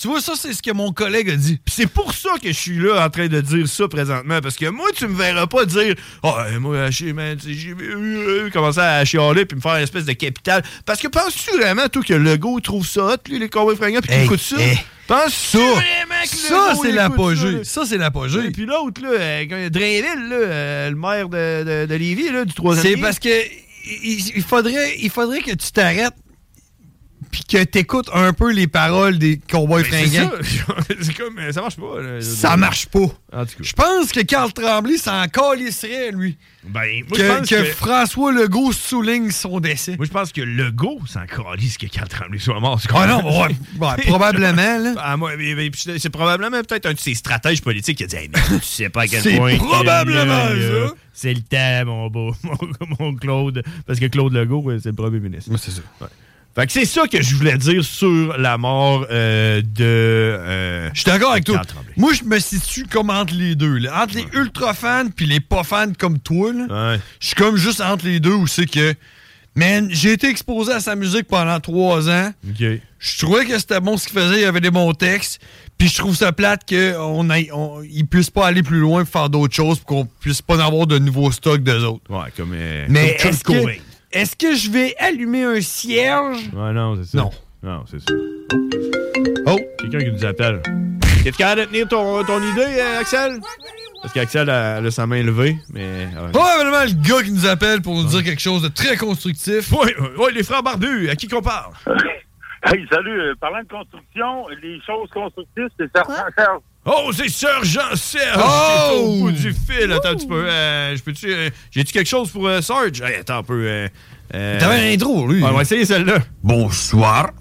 Tu vois, ça, c'est ce que mon collègue a dit. Puis c'est pour ça que je suis là en train de dire ça présentement. Parce que moi, tu me verras pas dire « Ah, moi, j'ai commencé à chialer puis me faire une espèce de capital. » Parce que penses-tu vraiment, toi, que Legault trouve ça hot, lui, les cowboys fringants, puis qu'il écoute ça? Penses-tu vraiment que ça, c'est l'apogée. Ça, c'est l'apogée. Et puis l'autre, là, Drainville, là, le maire de Lévis, là, du 3e lien. C'est parce que il faudrait que tu t'arrêtes puis que t'écoutes un peu les paroles des cowboys fringants. C'est comme, ça marche pas. Là, ça marche pas. En tout cas. Je pense que Carl Tremblay s'en calisserait, lui. Ben, moi, je pense que François Legault souligne son décès. Moi, je pense que Legault s'en calisse que Carl Tremblay soit mort. Ah non, ouais, probablement, là. Ah, moi, c'est probablement peut-être un de ses stratèges politiques qui a dit hey, mais tu sais pas à quel point. C'est probablement ça. C'est le temps, mon beau, mon Claude. Parce que Claude Legault, c'est le premier ministre. Moi, c'est ça. Ouais. Fait que c'est ça que je voulais dire sur la mort de... je suis d'accord avec toi. Moi, je me situe comme entre les deux. Là. Entre les ultra fans puis les pas fans comme toi. Je suis comme juste entre les deux où c'est que... Man, j'ai été exposé à sa musique pendant 3 ans. Okay. Je trouvais que c'était bon ce qu'il faisait. Il y avait des bons textes. Puis je trouve ça plate qu'ils puissent pas aller plus loin pour faire d'autres choses pour qu'on puisse pas en avoir de nouveaux stocks d'eux autres. Ouais, comme... Mais comme est-ce que je vais allumer un cierge? Ouais, non, c'est ça. Non, c'est ça. Oh, quelqu'un qui nous appelle. Es-tu capable de tenir ton idée, Axel? Parce qu'Axel a sa main levée, mais... Probablement le gars qui nous appelle pour nous dire quelque chose de très constructif. Oui, les frères barbus, à qui qu'on parle? Hey, salut. Parlant de construction, les choses constructives, c'est Sergent Serge. Oh, c'est Sergent Serge qui est au bout du fil. Attends un petit peu. J'ai-tu quelque chose pour Serge? Hey, attends un peu. T'avais un intro, lui. On va essayer celle-là. Bonsoir.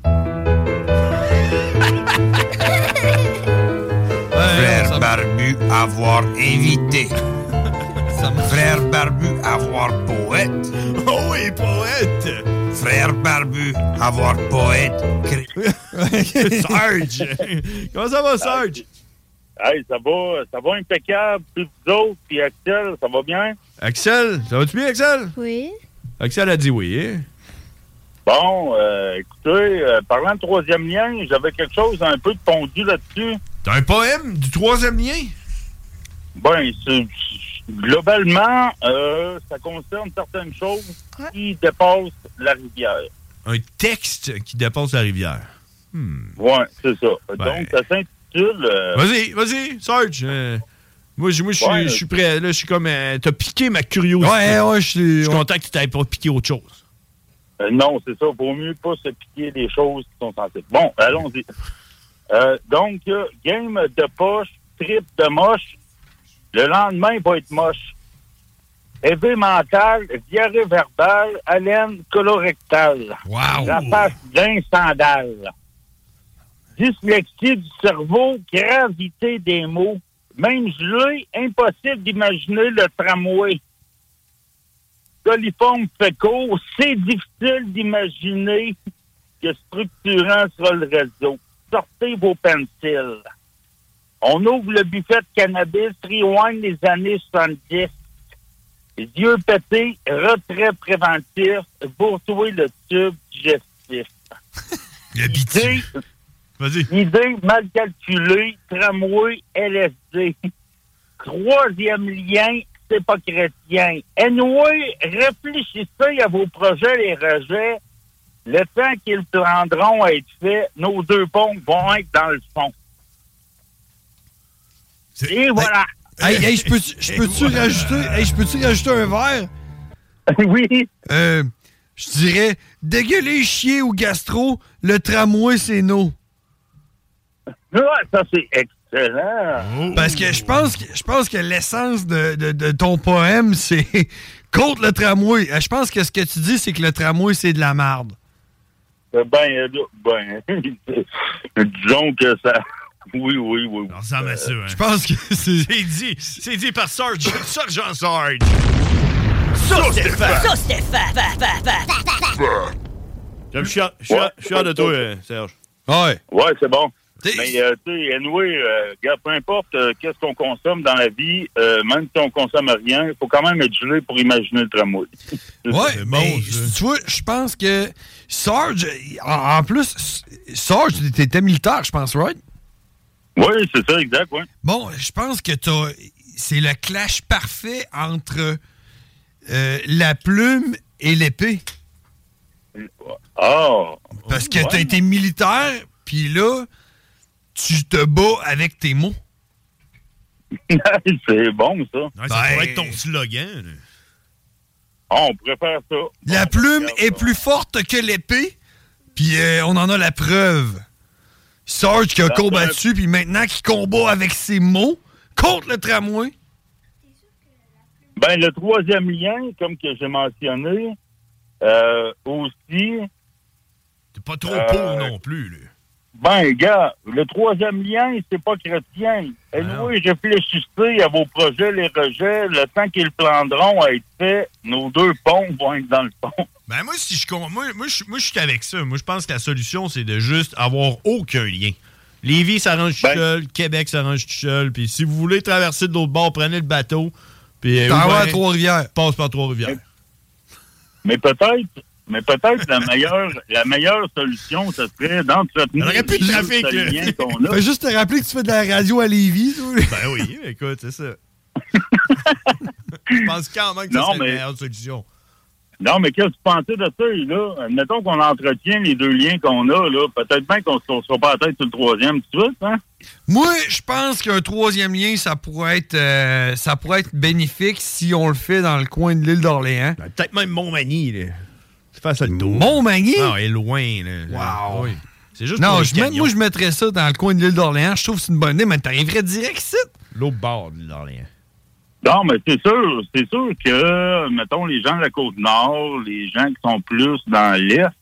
Frère Barbu, avoir invité. Frère Barbu, avoir poète. Oh oui, poète. Frère Barbu, avoir poète. Serge. Comment ça va, Serge? Hey, ça va impeccable. Puis vous autres, puis Axel, ça va bien? Axel, ça va-tu bien, Axel? Oui. Axel a dit oui, hein? Bon, écoutez, parlant de 3e lien, j'avais quelque chose un peu de pondu là-dessus. T'as un poème du 3e lien? Ben, globalement, ça concerne certaines choses qui dépassent la rivière. Un texte qui dépasse la rivière. Ouais, c'est ça. Ben... Donc, ça s'intitule... Vas-y, Serge. Moi, je suis prêt. Là, je suis comme... t'as piqué ma curiosité. Ouais, je suis content que tu t'aies pas piqué autre chose. Non, c'est ça. Vaut mieux pas se piquer des choses qui sont censées. Bon, allons-y. Donc, game de poche, trip de moche. Le lendemain, il va être moche. Éveil mental, diarrhée verbale, haleine colorectale. Wow! Rapace d'un sandal. Dyslexie du cerveau, gravité des mots. Même gelé, impossible d'imaginer le tramway. Coliforme fécaux, c'est difficile d'imaginer que structurant sera le réseau. Sortez vos pencils. On ouvre le buffet de cannabis, rewind les années 70. Yeux pétés, retrait préventif, boursoyer le tube digestif. Idée mal calculée, tramway, LSD. 3e lien, c'est pas chrétien. Anyway, réfléchissez à vos projets, les rejets. Le temps qu'ils prendront à être faits, nos 2 ponts vont être dans le fond. Et voilà. Hey, je peux-tu rajouter un verre? Oui. Je dirais, dégueuler, chier ou gastro, le tramway, c'est no. Ouais, ça, c'est excellent. Parce que je pense que l'essence de ton poème, c'est contre le tramway. Je pense que ce que tu dis, c'est que le tramway, c'est de la merde. Disons que ça... Oui. Ça ressemble à ça, hein. Je pense que c'est dit par Sergent Sarge. Ça, Stéphane! Je suis fier de toi, Serge. Ouais, c'est bon. Mais, tu sais, anyway, peu importe qu'est-ce qu'on consomme dans la vie, même si on consomme rien, il faut quand même être gelé pour imaginer le tramway. Ouais, mais tu vois, je pense que Sarge, en plus, Sarge, t'étais militaire, je pense, right? Oui, c'est ça, exact, oui. Bon, je pense que c'est le clash parfait entre la plume et l'épée. Ah! Parce que t'as été militaire, puis là, tu te bats avec tes mots. C'est bon, ça. Ouais, ça pourrait être ton slogan. Là. Ah, on pourrait faire ça. La plume est plus forte que l'épée, puis on en a la preuve. Sarge qui a combattu, puis maintenant qui combat avec ses mots contre le tramway. Ben, le troisième lien, comme que j'ai mentionné, aussi... T'es pas trop pauvre non plus, là. Ben, gars, le troisième lien, c'est pas chrétien. Et oui, réfléchissez à vos projets, les rejets. Le temps qu'ils prendront à être fait, nos deux ponts vont être dans le pont. Ben, moi, si je suis avec ça. Moi, je pense que la solution, c'est de juste avoir aucun lien. Lévis s'arrange tout seul, Québec s'arrange tout seul. Puis si vous voulez traverser de l'autre bord, prenez le bateau. Puis t'en vas à Trois-Rivières. Passe par Trois-Rivières. Mais peut-être la meilleure solution, ce serait d'entretenir le lien qu'on a. Fais juste te rappeler que tu fais de la radio à Lévis. Ben oui, écoute, c'est ça. Je pense quand même que c'est la meilleure solution. Non, mais qu'est-ce que tu pensais de ça, là? Admettons qu'on entretient les deux liens qu'on a, là. Peut-être bien qu'on ne se sera pas à la tête sur le troisième, tu vois, hein? Moi, je pense qu'un troisième lien, ça pourrait être bénéfique si on le fait dans le coin de l'île d'Orléans. Ben, peut-être même Montmagny, là. C'est face à le tour. Montmagny? Non, elle est loin, là. Wow! Oui. C'est juste non, pour moi, je mettrais ça dans le coin de l'île d'Orléans. Je trouve que c'est une bonne idée, mais t'arriverais direct ici. L'autre bord de l'île d'Orléans. Non, mais c'est sûr que, mettons, les gens de la Côte-Nord, les gens qui sont plus dans l'Est,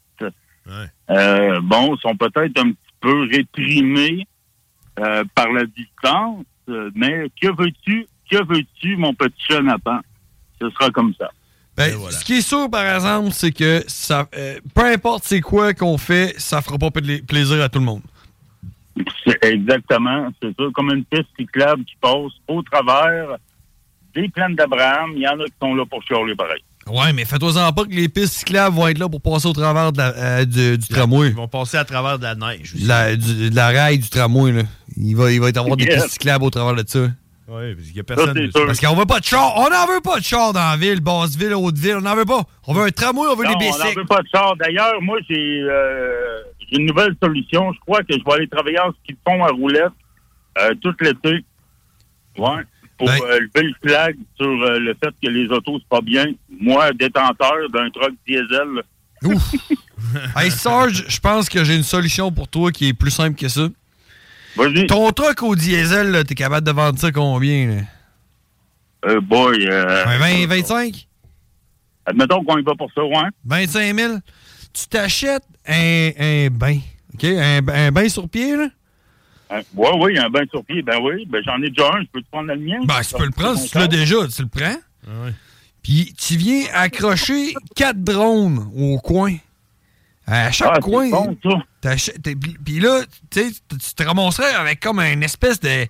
sont peut-être un petit peu réprimés par la distance, mais que veux-tu, mon petit Jonathan? Ce sera comme ça. Ben, voilà. Ce qui est sûr, par exemple, c'est que ça, peu importe c'est quoi qu'on fait, ça fera pas plaisir à tout le monde. C'est exactement, c'est ça, comme une piste cyclable qui passe au travers des plaines d'Abraham. Il y en a qui sont là pour chialer pareil. Ouais, mais fais-toi-en pas que les pistes cyclables vont être là pour passer au travers de du tramway. Ils vont passer à travers de la neige. De la rail du tramway, là. Il va y avoir des pistes cyclables au travers de ça. Oui, parce qu'il y a personne. Parce qu'on veut pas de char. On n'en veut pas de char dans la ville, Basse-Ville, Haute-Ville. On n'en veut pas. On veut un tramway, on veut des bicycles. On n'en veut pas de char. D'ailleurs, moi, j'ai une nouvelle solution. Je crois que je vais aller travailler en ski de fond à roulette tout l'été. Ouais. Pour lever le flag sur le fait que les autos, c'est pas bien. Moi, détenteur d'un truck diesel. Ouf! Hey, Sarge, je pense que j'ai une solution pour toi qui est plus simple que ça. Vas-y. Ton truck au diesel, là, t'es capable de vendre ça combien? Là? 20, 25? Admettons qu'on y va pour ça, ouais. 25 000. Tu t'achètes un bain, OK? Un bain sur pied, là? Oui, un bain sur pied. Ben oui, ben j'en ai déjà un. Je peux te prendre le mien? Ben, tu peux le prendre. Si tu l'as déjà, tu le prends. Ouais. Puis tu viens accrocher 4 drones au coin. À chaque coin. C'est bon, puis là, tu te ramasserais avec comme une espèce de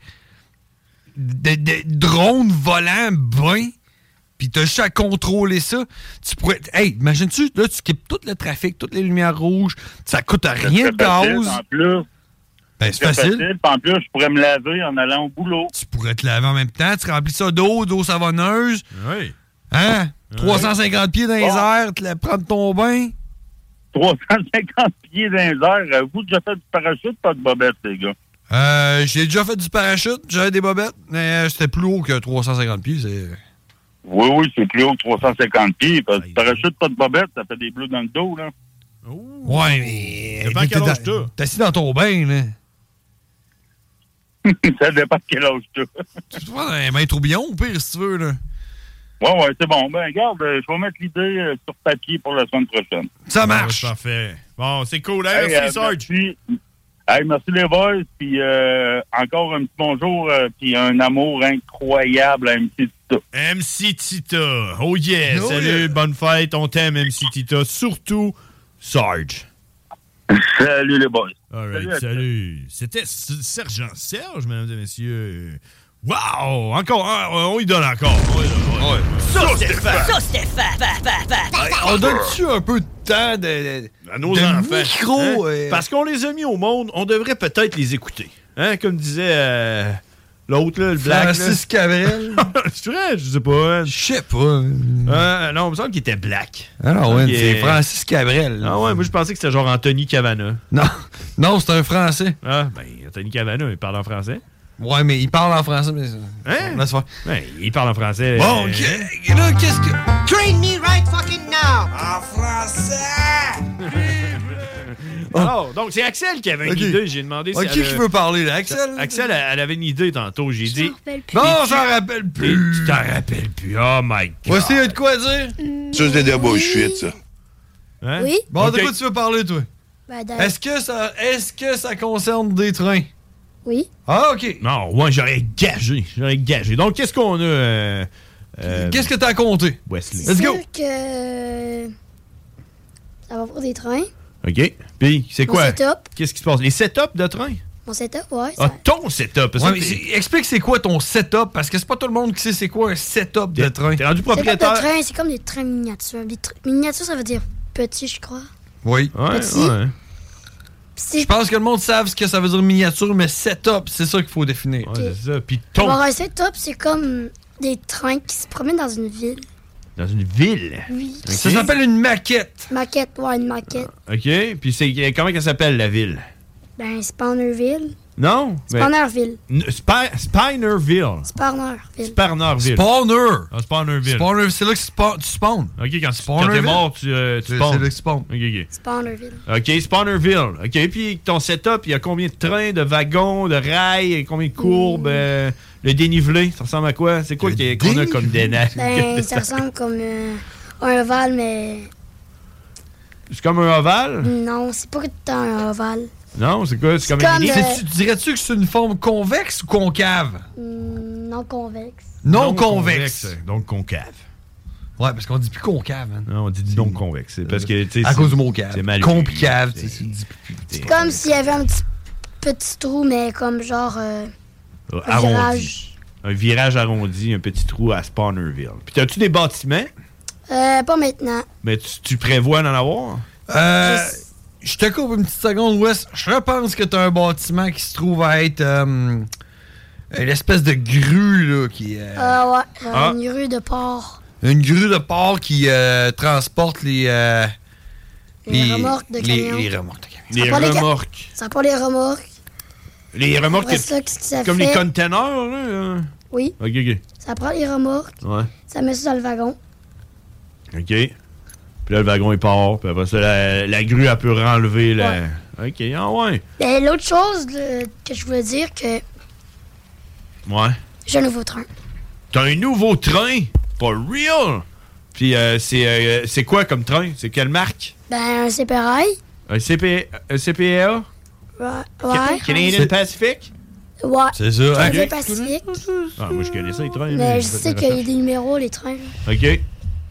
drone volant bain. Puis t'as juste à contrôler ça. Tu pourrais. Hey, imagine-tu, là, tu skippes tout le trafic, toutes les lumières rouges. Ça coûte rien de gaz. En plus. Ben, c'est facile. En plus, je pourrais me laver en allant au boulot. Tu pourrais te laver en même temps. Tu remplis ça d'eau savonneuse. Oui. Hein? 350 pieds dans les airs, tu prendre ton bain. 350 pieds dans les airs. Vous, déjà fait du parachute, pas de bobette, les gars? J'ai déjà fait du parachute. J'avais des bobettes. Mais c'était plus haut que 350 pieds. Oui, c'est plus haut que 350 pieds. Parce que du parachute, pas de bobette, ça fait des bleus dans le dos, là. Ouais, mais. T'es assis dans ton bain, là. Ça dépend de quel âge tu as. Tu peux prendre un bain tourbillon, au pire, si tu veux, là. Ouais, c'est bon. Ben, regarde, je vais mettre l'idée sur papier pour la semaine prochaine. Ça marche. Parfait. Bon, c'est cool. Hey, merci, Sarge. Merci les boys. Puis encore un petit bonjour. Puis un amour incroyable à MC Tita. MC Tita. Oh yeah. Salut, bonne fête. On t'aime, MC Tita. Surtout, Sarge. Salut les boys. All right, salut. C'était Sergent Serge, mesdames et messieurs. Wow! Encore, on y donne encore. Ça, Stéphane! On donne-tu un peu de temps à nos enfants? Micro, Parce qu'on les a mis au monde, on devrait peut-être les écouter. Hein, comme disait l'autre, là, le black. Francis Cabrel. C'est vrai, je sais pas. Je sais pas. Non, il me semble qu'il était black. Ah non, ouais, c'est Francis Cabrel. Ah ouais, moi je pensais que c'était genre Anthony Cavana. Non, c'est un Français. Ah, ben Anthony Cavana, il parle en français. Ouais, mais il parle en français. Mais... Hein? Laisse faire. Ouais, il parle en français. Bon, là, qu'est-ce que... Train me right fucking now! En français! Alors, donc c'est Axel qui avait une idée. J'ai demandé si qui veut parler, là? Axel? Axel, elle avait une idée tantôt. J'ai dit... Non, j'en rappelle plus. Tu t'en rappelles plus. Oh my God. Voici, de quoi dire? Ça, c'est de bullshit, ça. Hein? Oui? Bon, de quoi tu veux parler, toi? Ben, Est-ce que ça concerne des trains? Oui. Ah, OK. Non, ouais, j'aurais gagé. Donc, qu'est-ce qu'on a... Qu'est-ce que t'as compté? Wesley. Let's go! Que... ça va pour des trains. OK. Puis, c'est Mon quoi? setup. Qu'est-ce qui se passe? Les setups de train? Mon setup, ouais. Ah, ton setup. Ouais, mais explique c'est quoi ton setup, parce que c'est pas tout le monde qui sait c'est quoi un setup de train. T'es rendu Setup propriétaire? de train, c'est comme des trains miniatures. Miniatures, ça veut dire petit, je crois. Oui. Petit. Ouais. Je pense que le monde savent ce que ça veut dire miniature, mais setup, c'est ça qu'il faut définir. Ouais, c'est ça. Puis Alors, un setup, c'est comme des trains qui se promènent dans une ville. Dans une ville? Oui. Okay. Ça s'appelle une maquette. Maquette, ouais, une maquette. OK. Puis comment elle s'appelle, la ville? Ben, Spawnerville. Non? Spawnerville. Spinerville. Spawnerville. Sparnerville. Spawner. Ah, Spawnerville. Spawner, c'est là que tu spawns. OK, quand t'es mort, tu spawns. C'est là que tu spawns. OK. Spawnerville. OK, Spawnerville. OK, puis ton setup, il y a combien de trains, de wagons, de rails, combien de courbes, le dénivelé, ça ressemble à quoi? C'est quoi qu'on a comme dénivelé? Ben, ça ressemble comme un ovale, mais... C'est comme un ovale? Non, c'est pas tout un ovale. Non, c'est quoi? C'est comme une Dirais-tu que c'est une forme convexe ou concave? Non convexe. Non convexe. Donc concave. Ouais, parce qu'on dit plus concave. Hein. Non, on dit non convexe. C'est parce que, à cause du mot cave. C'est mal. Concave. C'est comme s'il y avait un petit trou, mais comme genre un virage. Un virage arrondi, un petit trou à Spawnerville. Puis t'as-tu des bâtiments? Pas maintenant. Mais tu prévois d'en avoir? Je te coupe une petite seconde, Wes. Je pense que t'as un bâtiment qui se trouve à être une espèce de grue, là, qui est... une grue de porc. Une grue de porc qui transporte les remorques de camions. Les remorques de camions. Les remorques. Ça pour les remorques. Les remorques, comme les containers, là? Oui. OK. Ça prend les remorques. Ouais. Ça met ça dans le wagon. OK. Puis là, le wagon, il part. Puis après ça, la grue, elle peut renlever la... Ouais. OK, ah ouais. Ben, l'autre chose que je voulais dire, que... Ouais. J'ai un nouveau train. T'as un nouveau train? For real? Puis c'est quoi comme train? C'est quelle marque? Ben, un CPRI. Un CPA? Ouais. Canadian Pacific? Ouais. C'est ça. Canadian Pacific. Ah, moi, je connais ça, les trains. Mais je sais qu'il y a des numéros, les trains. OK.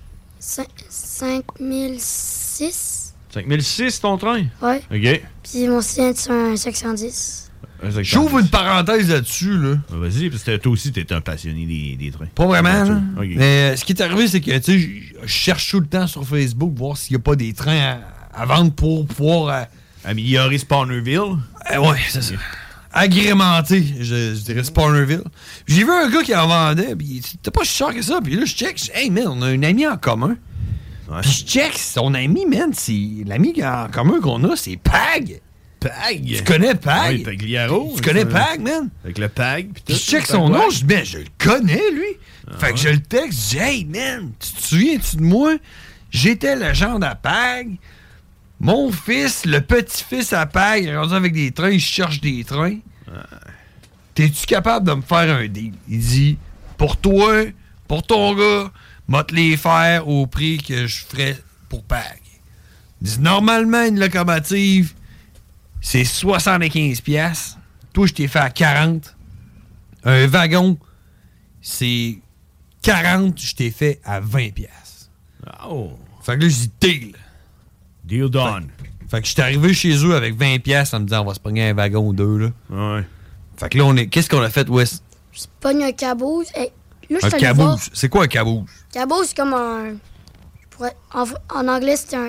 5006. 5006, ton train? Ouais. OK. Puis mon sien, c'est un 510. J'ouvre une parenthèse là-dessus, là. Vas-y, parce que toi aussi, t'es un passionné des trains. Pas vraiment, là. Okay. Mais ce qui est arrivé, c'est que, tu sais, je cherche tout le temps sur Facebook voir s'il n'y a pas des trains à vendre pour pouvoir... améliorer Spawnerville? Ouais, c'est ça. Agrémenté, je dirais Spawnerville. J'ai vu un gars qui en vendait, puis c'était pas si cher que ça. Puis là, je check, hey man, on a un ami en commun. Ouais. Puis je check, son ami, man, c'est l'ami en commun qu'on a, c'est Pag. Pag? Tu connais Pag? Oui, Pagliaro. Tu connais Pag, man? Avec le Pag. Puis je check son nom, je dis, ben, je le connais, lui. Fait que je le texte, je dis, hey man, tu te souviens-tu de moi? J'étais le genre à Pag. Mon fils, le petit-fils à Pag, il est rendu avec des trains, il cherche des trains. T'es-tu capable de me faire un deal? Il dit, pour toi, pour ton gars, m'a te les faire au prix que je ferais pour Pag. Il dit, normalement, une locomotive, c'est 75$. Toi, je t'ai fait à 40$. Un wagon, c'est 40$, je t'ai fait à 20$. Oh. Fait que là, je dis, deal. Deal done. Fait que je suis arrivé chez eux avec 20$ en me disant on va se pogner un wagon ou deux. Là. Ouais. Fait que là, qu'est-ce qu'on a fait, Wes? Je pogne un caboose. Hey, là, un caboose? C'est quoi un caboose? Caboose, c'est comme un... En anglais, c'est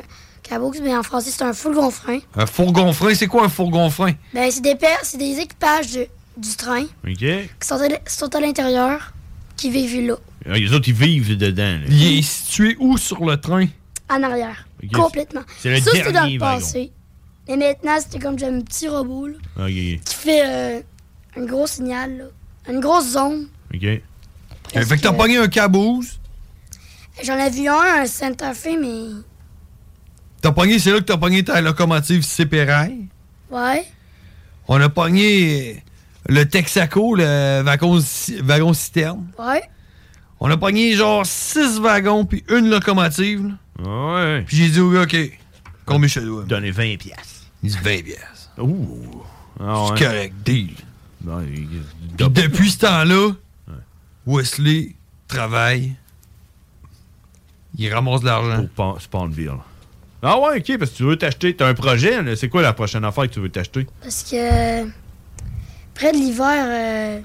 Caboose, mais en français, c'est un fourgon-frein. Un fourgon-frein, c'est quoi un fourgon-frein? Ben, c'est des équipages du train OK. qui sont à l'intérieur, qui vivent là, Les autres, ils vivent dedans. Là. Il est situé où sur le train? en arrière. Ok. Complètement. C'est le Ça, c'était dans dernier le wagon. passé. Mais maintenant, c'était comme un petit robot là, OK. qui fait un gros signal, là, une grosse zone. OK. Fait que t'as pogné un Caboose. J'en ai vu un Santa Fe, mais... C'est là que t'as pogné ta locomotive Sépérail. Ouais. On a pogné le Texaco, le wagon-citerne. Ouais. On a pogné genre 6 wagons puis une locomotive. Là. Ouais. Puis j'ai dit au gars, OK, combien je te dois? Donner 20 piastres. Il dit 20 piastres. Ouh. C'est correct, deal. Non, Puis depuis ce temps-là, Wesley travaille. Il ramasse de l'argent. Pour Spawnville. Ah ouais, OK, parce que tu veux t'acheter. T'as un projet, là. C'est quoi la prochaine affaire que tu veux t'acheter? Parce que près de l'hiver,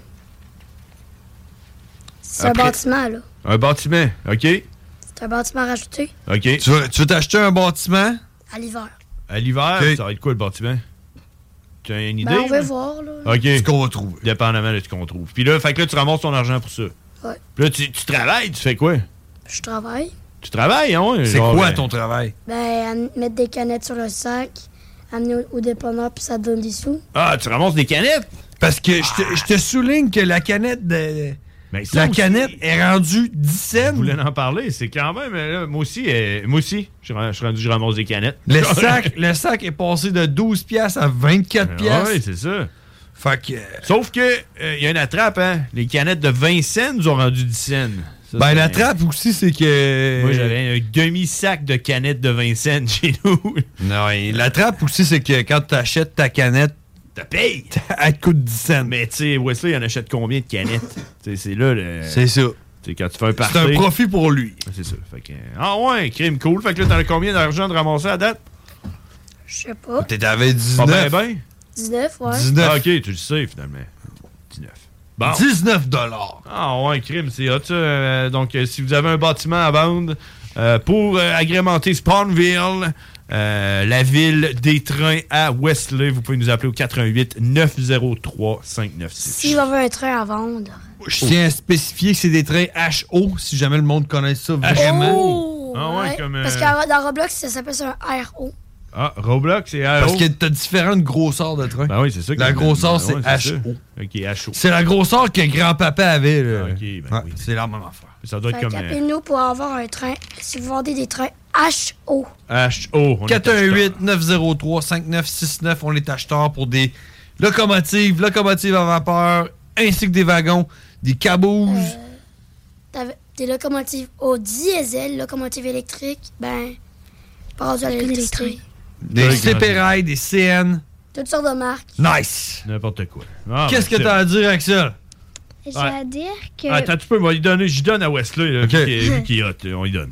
c'est Après- un bâtiment, là. Un bâtiment, OK? C'est un bâtiment rajouté OK. Tu veux t'acheter un bâtiment? à l'hiver. À l'hiver, OK. ça va être quoi le bâtiment? Tu as une idée? Ben, on va là? voir, là. OK. Ce qu'on va trouver. Dépendamment de ce qu'on trouve. Puis là, fait que là, tu ramasses ton argent pour ça. Ouais. Puis là, tu travailles, tu fais quoi? Je travaille. Tu travailles, hein? C'est quoi ton travail? Ben, mettre des canettes sur le sac, amener au dépanneur, puis ça te donne des sous. Ah, tu ramasses des canettes? Parce que je te souligne que la canette de... Ben, ça la aussi, canette est rendue 10 cents. Je voulais en parler. C'est quand même... Là, moi aussi, je ramasse des canettes. Le sac est passé de 12 piastres à 24 piastres. Oui, c'est ça. Fait que... Sauf que, il y a une attrape, hein? Les canettes de 20 cents nous ont rendu 10 cents. Ça, ben, c'est- la trappe aussi, c'est que... Moi, j'avais un demi-sac de canettes de 20 cents chez nous. Non, et la trappe aussi, c'est que quand tu achètes ta canette, T'as payé! Elle te coûte 10 cents. Mais tu sais, Wesley, il en achète combien de canettes? C'est là le... C'est ça. T'sais, quand tu fais un party... C'est un profit pour lui. C'est ça. Fait que... Ah ouais, crime cool. Fait que là, t'en as combien d'argent de ramasser à date? Je sais pas. T'avais 19. Pas ben? 19, ouais. 19. Ah, OK, tu le sais, finalement. 19. Bon. 19 $. Ah ouais, crime, c'est hot, ça. Donc, si vous avez un bâtiment à vendre pour agrémenter Spawnville, la ville des trains à Wesley, vous pouvez nous appeler au 88 903 596. S'il va avoir un train à vendre. Je tiens à spécifier que c'est des trains HO, si jamais le monde connaît ça vraiment. Oh! Ah ouais, comme... Parce que dans Roblox, ça s'appelle ça un RO. Ah, Roblox, c'est RO. Parce que t'as différentes grosseurs de trains. Ben oui, c'est ça. La grosseur, ben ouais, c'est ça. HO. OK, HO. C'est la grosseur que grand-papa avait. Là. OK, ben oui. C'est la même affaire. Ça doit être Fait comme... qu'appelez-nous pour avoir un train. Si vous vendez des trains HO. HO. 418-903-5969. On est acheteurs pour des locomotives à vapeur, ainsi que des wagons, des cabouses. Des locomotives au diesel, locomotives électriques, ben, pas rendu à l'électricité. Des CPRI, des CN. Toutes sortes de marques. Nice! N'importe quoi. Ah, Qu'est-ce ben, que t'as à dire avec ça? J'ai à dire que... Attends, tu peux m'y donner. J'y donne à Wesley, là, OK. vu qu'il est hot. On y donne.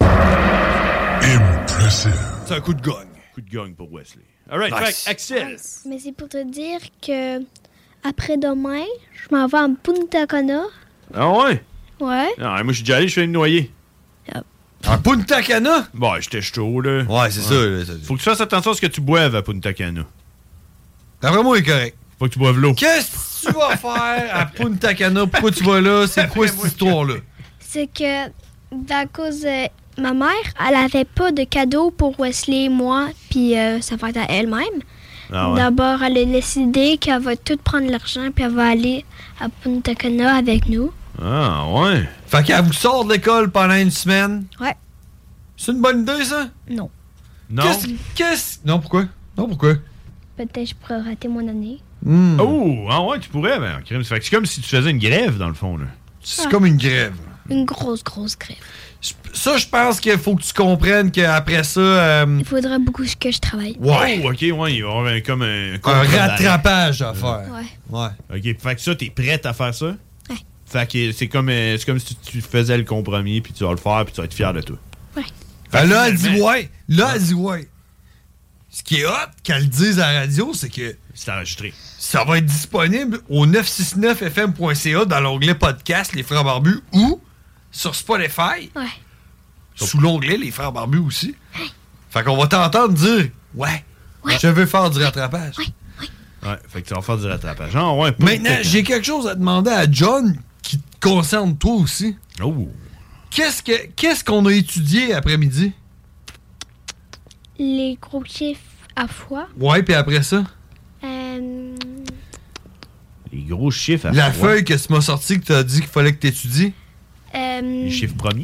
C'est un coup de gagne. Coup de gagne pour Wesley. All right, Nice. fait, Axel. Mais c'est pour te dire que après-demain, je m'en vais en Punta Cana. Ah ouais? Ouais. Non, moi, je suis déjà allé, je fais une noyer. À Punta Cana? Bon, j'étais chaud, là. Ouais, c'est ça. Là, Faut que tu fasses attention à ce que tu boives à Punta Cana. D'après moi, il est correct. Faut que tu boives l'eau. Qu'est-ce que tu vas faire à Punta Cana? Pourquoi tu vas là? C'est quoi cette histoire-là? C'est que, à cause ma mère, elle avait pas de cadeau pour Wesley et moi, puis ça va être à elle-même. Ah ouais. D'abord, elle a décidé qu'elle va tout prendre l'argent, puis elle va aller à Punta Cana avec nous. Ah ouais. Fait qu'elle vous sort de l'école pendant une semaine. Ouais. C'est une bonne idée, ça? Non. Non. Non, pourquoi? Non, pourquoi? Peut-être je pourrais rater mon année. Oh, ah ouais, tu pourrais, ben, crime. Fait que c'est comme si tu faisais une grève, dans le fond, là. C'est comme une grève. Une grosse grève. Ça, je pense qu'il faut que tu comprennes qu'après ça... Il faudra beaucoup que je travaille. Ouais. Oh, OK, ouais, il va y avoir comme un... Un rattrapage à faire. Ouais. OK, fait que ça, t'es prête à faire ça? Ouais. Fait que c'est comme si tu faisais le compromis, puis tu vas le faire, puis tu vas être fier de toi. Ouais. Ben là, elle dit ouais. Là, elle dit ouais. Ce qui est hot, qu'elle le dise à la radio, c'est que... C'est enregistré. Ça va être disponible au 969fm.ca dans l'onglet podcast Les Frères Barbus ou sur Spotify. Ouais. Sous l'onglet Les Frères Barbus aussi. Fait qu'on va t'entendre dire « Ouais, je veux faire du rattrapage. » Ouais, fait que tu vas faire du rattrapage. Genre, ouais, Maintenant, j'ai quelque chose à demander à John qui te concerne toi aussi. Oh! Qu'est-ce qu'on a étudié après-midi? Les gros chiffres à fois. Ouais, puis après ça? Les gros chiffres à La fois. feuille que tu m'as sortie que tu as dit qu'il fallait que tu étudies? Les chiffres premiers?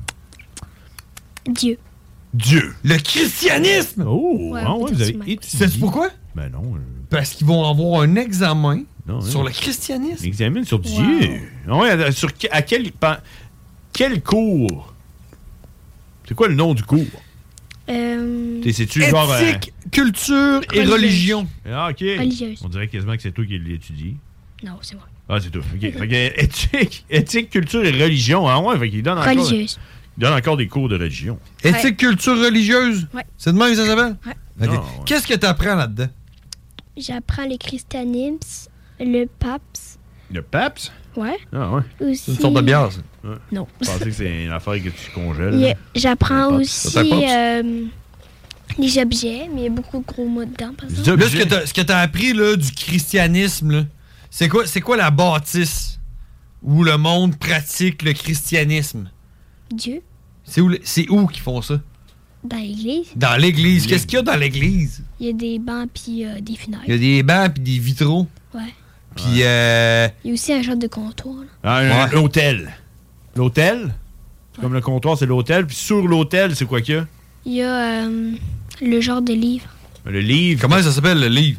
Dieu. Le christianisme! Oh! Ouais, ah on ouais, peut vous dire avez ça, étudié. Sais-tu pourquoi? Ben non. Parce qu'ils vont avoir un examen sur hein. le christianisme. Un examen sur Dieu. Ouais, à quel cours? C'est quoi le nom du cours? C'est-tu genre... Éthique, culture et religion. Ah, OK. Religieuse. On dirait quasiment que c'est toi qui l'étudie. Non, c'est moi. Ah, c'est toi. OK. Fait que éthique, culture et religion. Ah ouais, fait qu'il donne encore... Religieuse. Il donne encore des cours de religion. Éthique, culture religieuse? Ouais. C'est de même que ça s'appelle? Ouais. OK. Ah, ouais. Qu'est-ce que tu apprends là-dedans? J'apprends le christianisme, le pape. Le pape? Ouais. Ah ouais. Aussi, C'est une sorte de bière, ça. Ouais. Non. Je pensais que c'est une affaire que tu congèles. J'apprends Le pape. aussi Ça t'apporte? les objets, mais il y a beaucoup de gros mots dedans, par exemple. Là, ce que tu as appris là, du christianisme, là, c'est quoi la bâtisse où le monde pratique le christianisme? Dieu. C'est où qu'ils font ça? Dans l'église. Dans l'église. Qu'est-ce qu'il y a dans l'église? Il y a des bancs puis des fenêtres. Il y a des bancs puis des vitraux. Ouais. Puis Il y a aussi un genre de comptoir. Là. Ah, l'hôtel. L'hôtel? C'est comme le comptoir, c'est l'hôtel. Puis sur l'hôtel, c'est quoi qu'il y a? Il y a le genre de livre. Le livre. Comment ça s'appelle, le livre?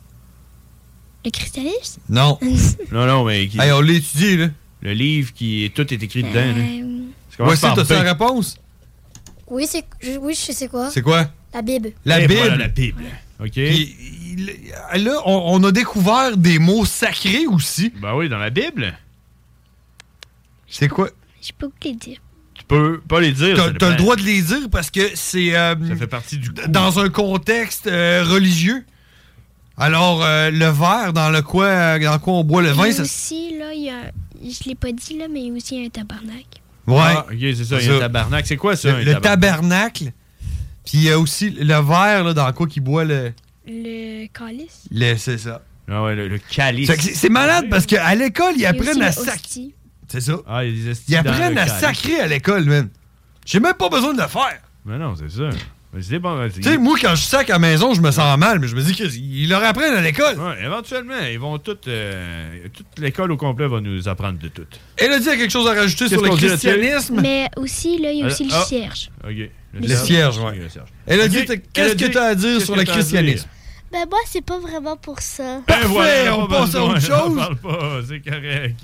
Le christianisme? Non. non, mais... Hey, on l'a étudié, là. Le livre qui... Tout est écrit dedans, là. Voici, t'as-tu la réponse? Oui, je sais quoi. C'est quoi? La Bible. La Bible. Voilà, la Bible. OK. Puis, là, on a découvert des mots sacrés aussi. Ben oui, dans la Bible. C'est quoi? Je peux pas les dire. Tu peux pas les dire. T'as le droit de les dire parce que c'est... ça fait partie du cours. Dans un contexte religieux. Alors, le verre dans quoi on boit le vin, ça... aussi, là, je l'ai pas dit, là, mais il y a aussi un tabernacle. Ouais. Ah, OK, c'est ça. Il y a un tabernacle. C'est quoi, ça, le tabernacle. Puis il y a aussi le verre là, dans quoi qu'il boit le... Le calice. C'est ça. Ah ouais, le calice. C'est malade parce qu'à l'école, ils apprennent à sacrer. C'est ça. Ah, il y a des Ils apprennent à sacrer à l'école, man. J'ai même pas besoin de le faire. Mais non, c'est ça. C'est bon. Tu sais, moi, quand je sac à la maison, je me sens mal, mais je me dis qu'ils leur apprennent à l'école. Ouais, éventuellement, ils vont toute l'école au complet va nous apprendre de tout. Elodie a quelque chose à rajouter sur le christianisme. Mais aussi, là, il y a aussi le cierge. OK. Le cierge, oui. Elodie, qu'est-ce que tu as à dire sur le christianisme? Ben moi, c'est pas vraiment pour ça. Parfait, voilà, on passe à autre chose. On parle pas, c'est correct.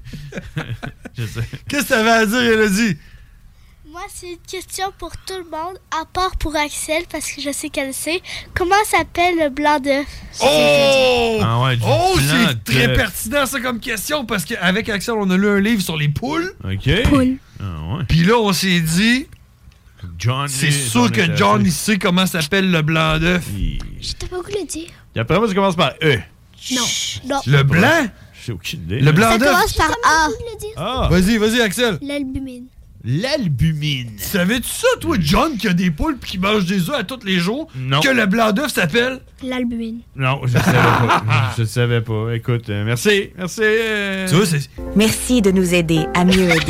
Je sais. Qu'est-ce que tu avais à dire, Elodie? Moi, c'est une question pour tout le monde, à part pour Axel, parce que je sais qu'elle sait. Comment s'appelle le blanc d'œuf? Oh! Ah ouais, c'est très pertinent, ça, comme question, parce qu'avec Axel, on a lu un livre sur les poules. OK. Poules. Ah ouais. Puis là, on s'est dit... C'est sûr que John, il sait comment s'appelle le blanc d'œuf. Je t'ai pas voulu le dire. Et après moi, ça commence par E. Non. Le blanc? J'ai aucune idée. Le blanc d'œuf? Ça commence par A. Ah. Vas-y, Axel. L'albumine. L'albumine. Savais-tu ça, toi, John, qui a des poules pis qui mange des œufs à tous les jours? Non. Que le blanc d'œuf s'appelle? L'albumine. Non, je savais pas. Je savais pas. Écoute, merci. Merci. Tu vois, c'est... Merci de nous aider à mieux aider.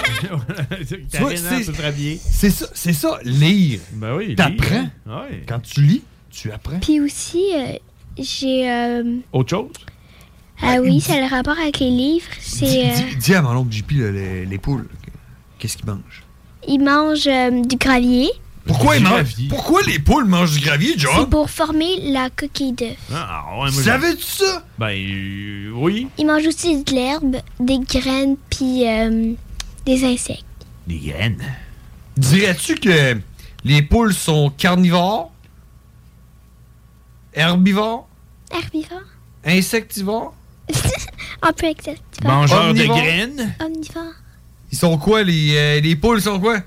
C'est ça, lire. Ben oui, t'apprends. Ouais. Quand tu lis, tu apprends. Puis aussi, j'ai... Autre chose? Ah oui, ça a le rapport avec les livres. Dis à mon oncle JP, les poules, qu'est-ce qu'ils mangent? Ils mangent du gravier. Pourquoi les poules mangent du gravier, John? C'est pour former la coquille d'œuf. Ah, ouais, savais-tu ça? Ben, oui. Ils mangent aussi de l'herbe, des graines, puis des insectes. Des graines? Dirais-tu que les poules sont carnivores? Herbivores? Herbivores? Insectivores? Un peu insectivores. Mangeurs de graines? Omnivores. Ils sont quoi, les poules sont quoi?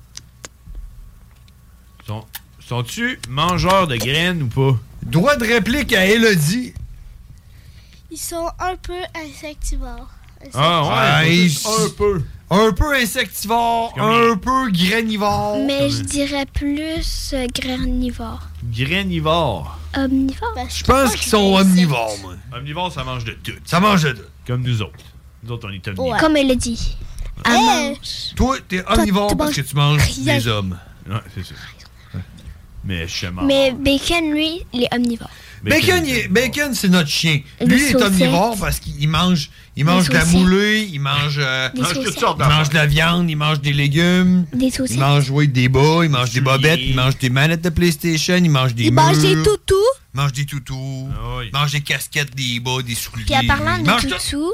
Sont-tu mangeurs de graines ou pas? Droit de réplique à Elodie. Ils sont un peu insectivores. Ah ouais, un peu. Un peu insectivore, un peu granivore. Mais je dirais plus granivore. Granivore. Omnivore? Je pense qu'ils sont omnivores, moi. Omnivore, ça mange de tout. Ça mange de tout. Comme nous autres. Nous autres, on est omnivores. Ouais. Comme elle l'a dit. Elle mange. Toi, t'es omnivore parce que tu manges des hommes. Ouais, c'est ça. Mais je suis mort. Mais Bacon, lui, il est omnivore. Bacon, c'est notre chien. Lui, il est omnivore parce qu'il mange de la moulée, il mange toutes sortes de... Il mange de la viande, il mange des légumes. Des saucisses. Il mange des bas, il mange des bobettes, il mange des manettes de PlayStation, il mange des murs. Il mange des toutous. Il mange des toutous. Il mange des casquettes, des bas, des souliers. Puis en parlant de toutous...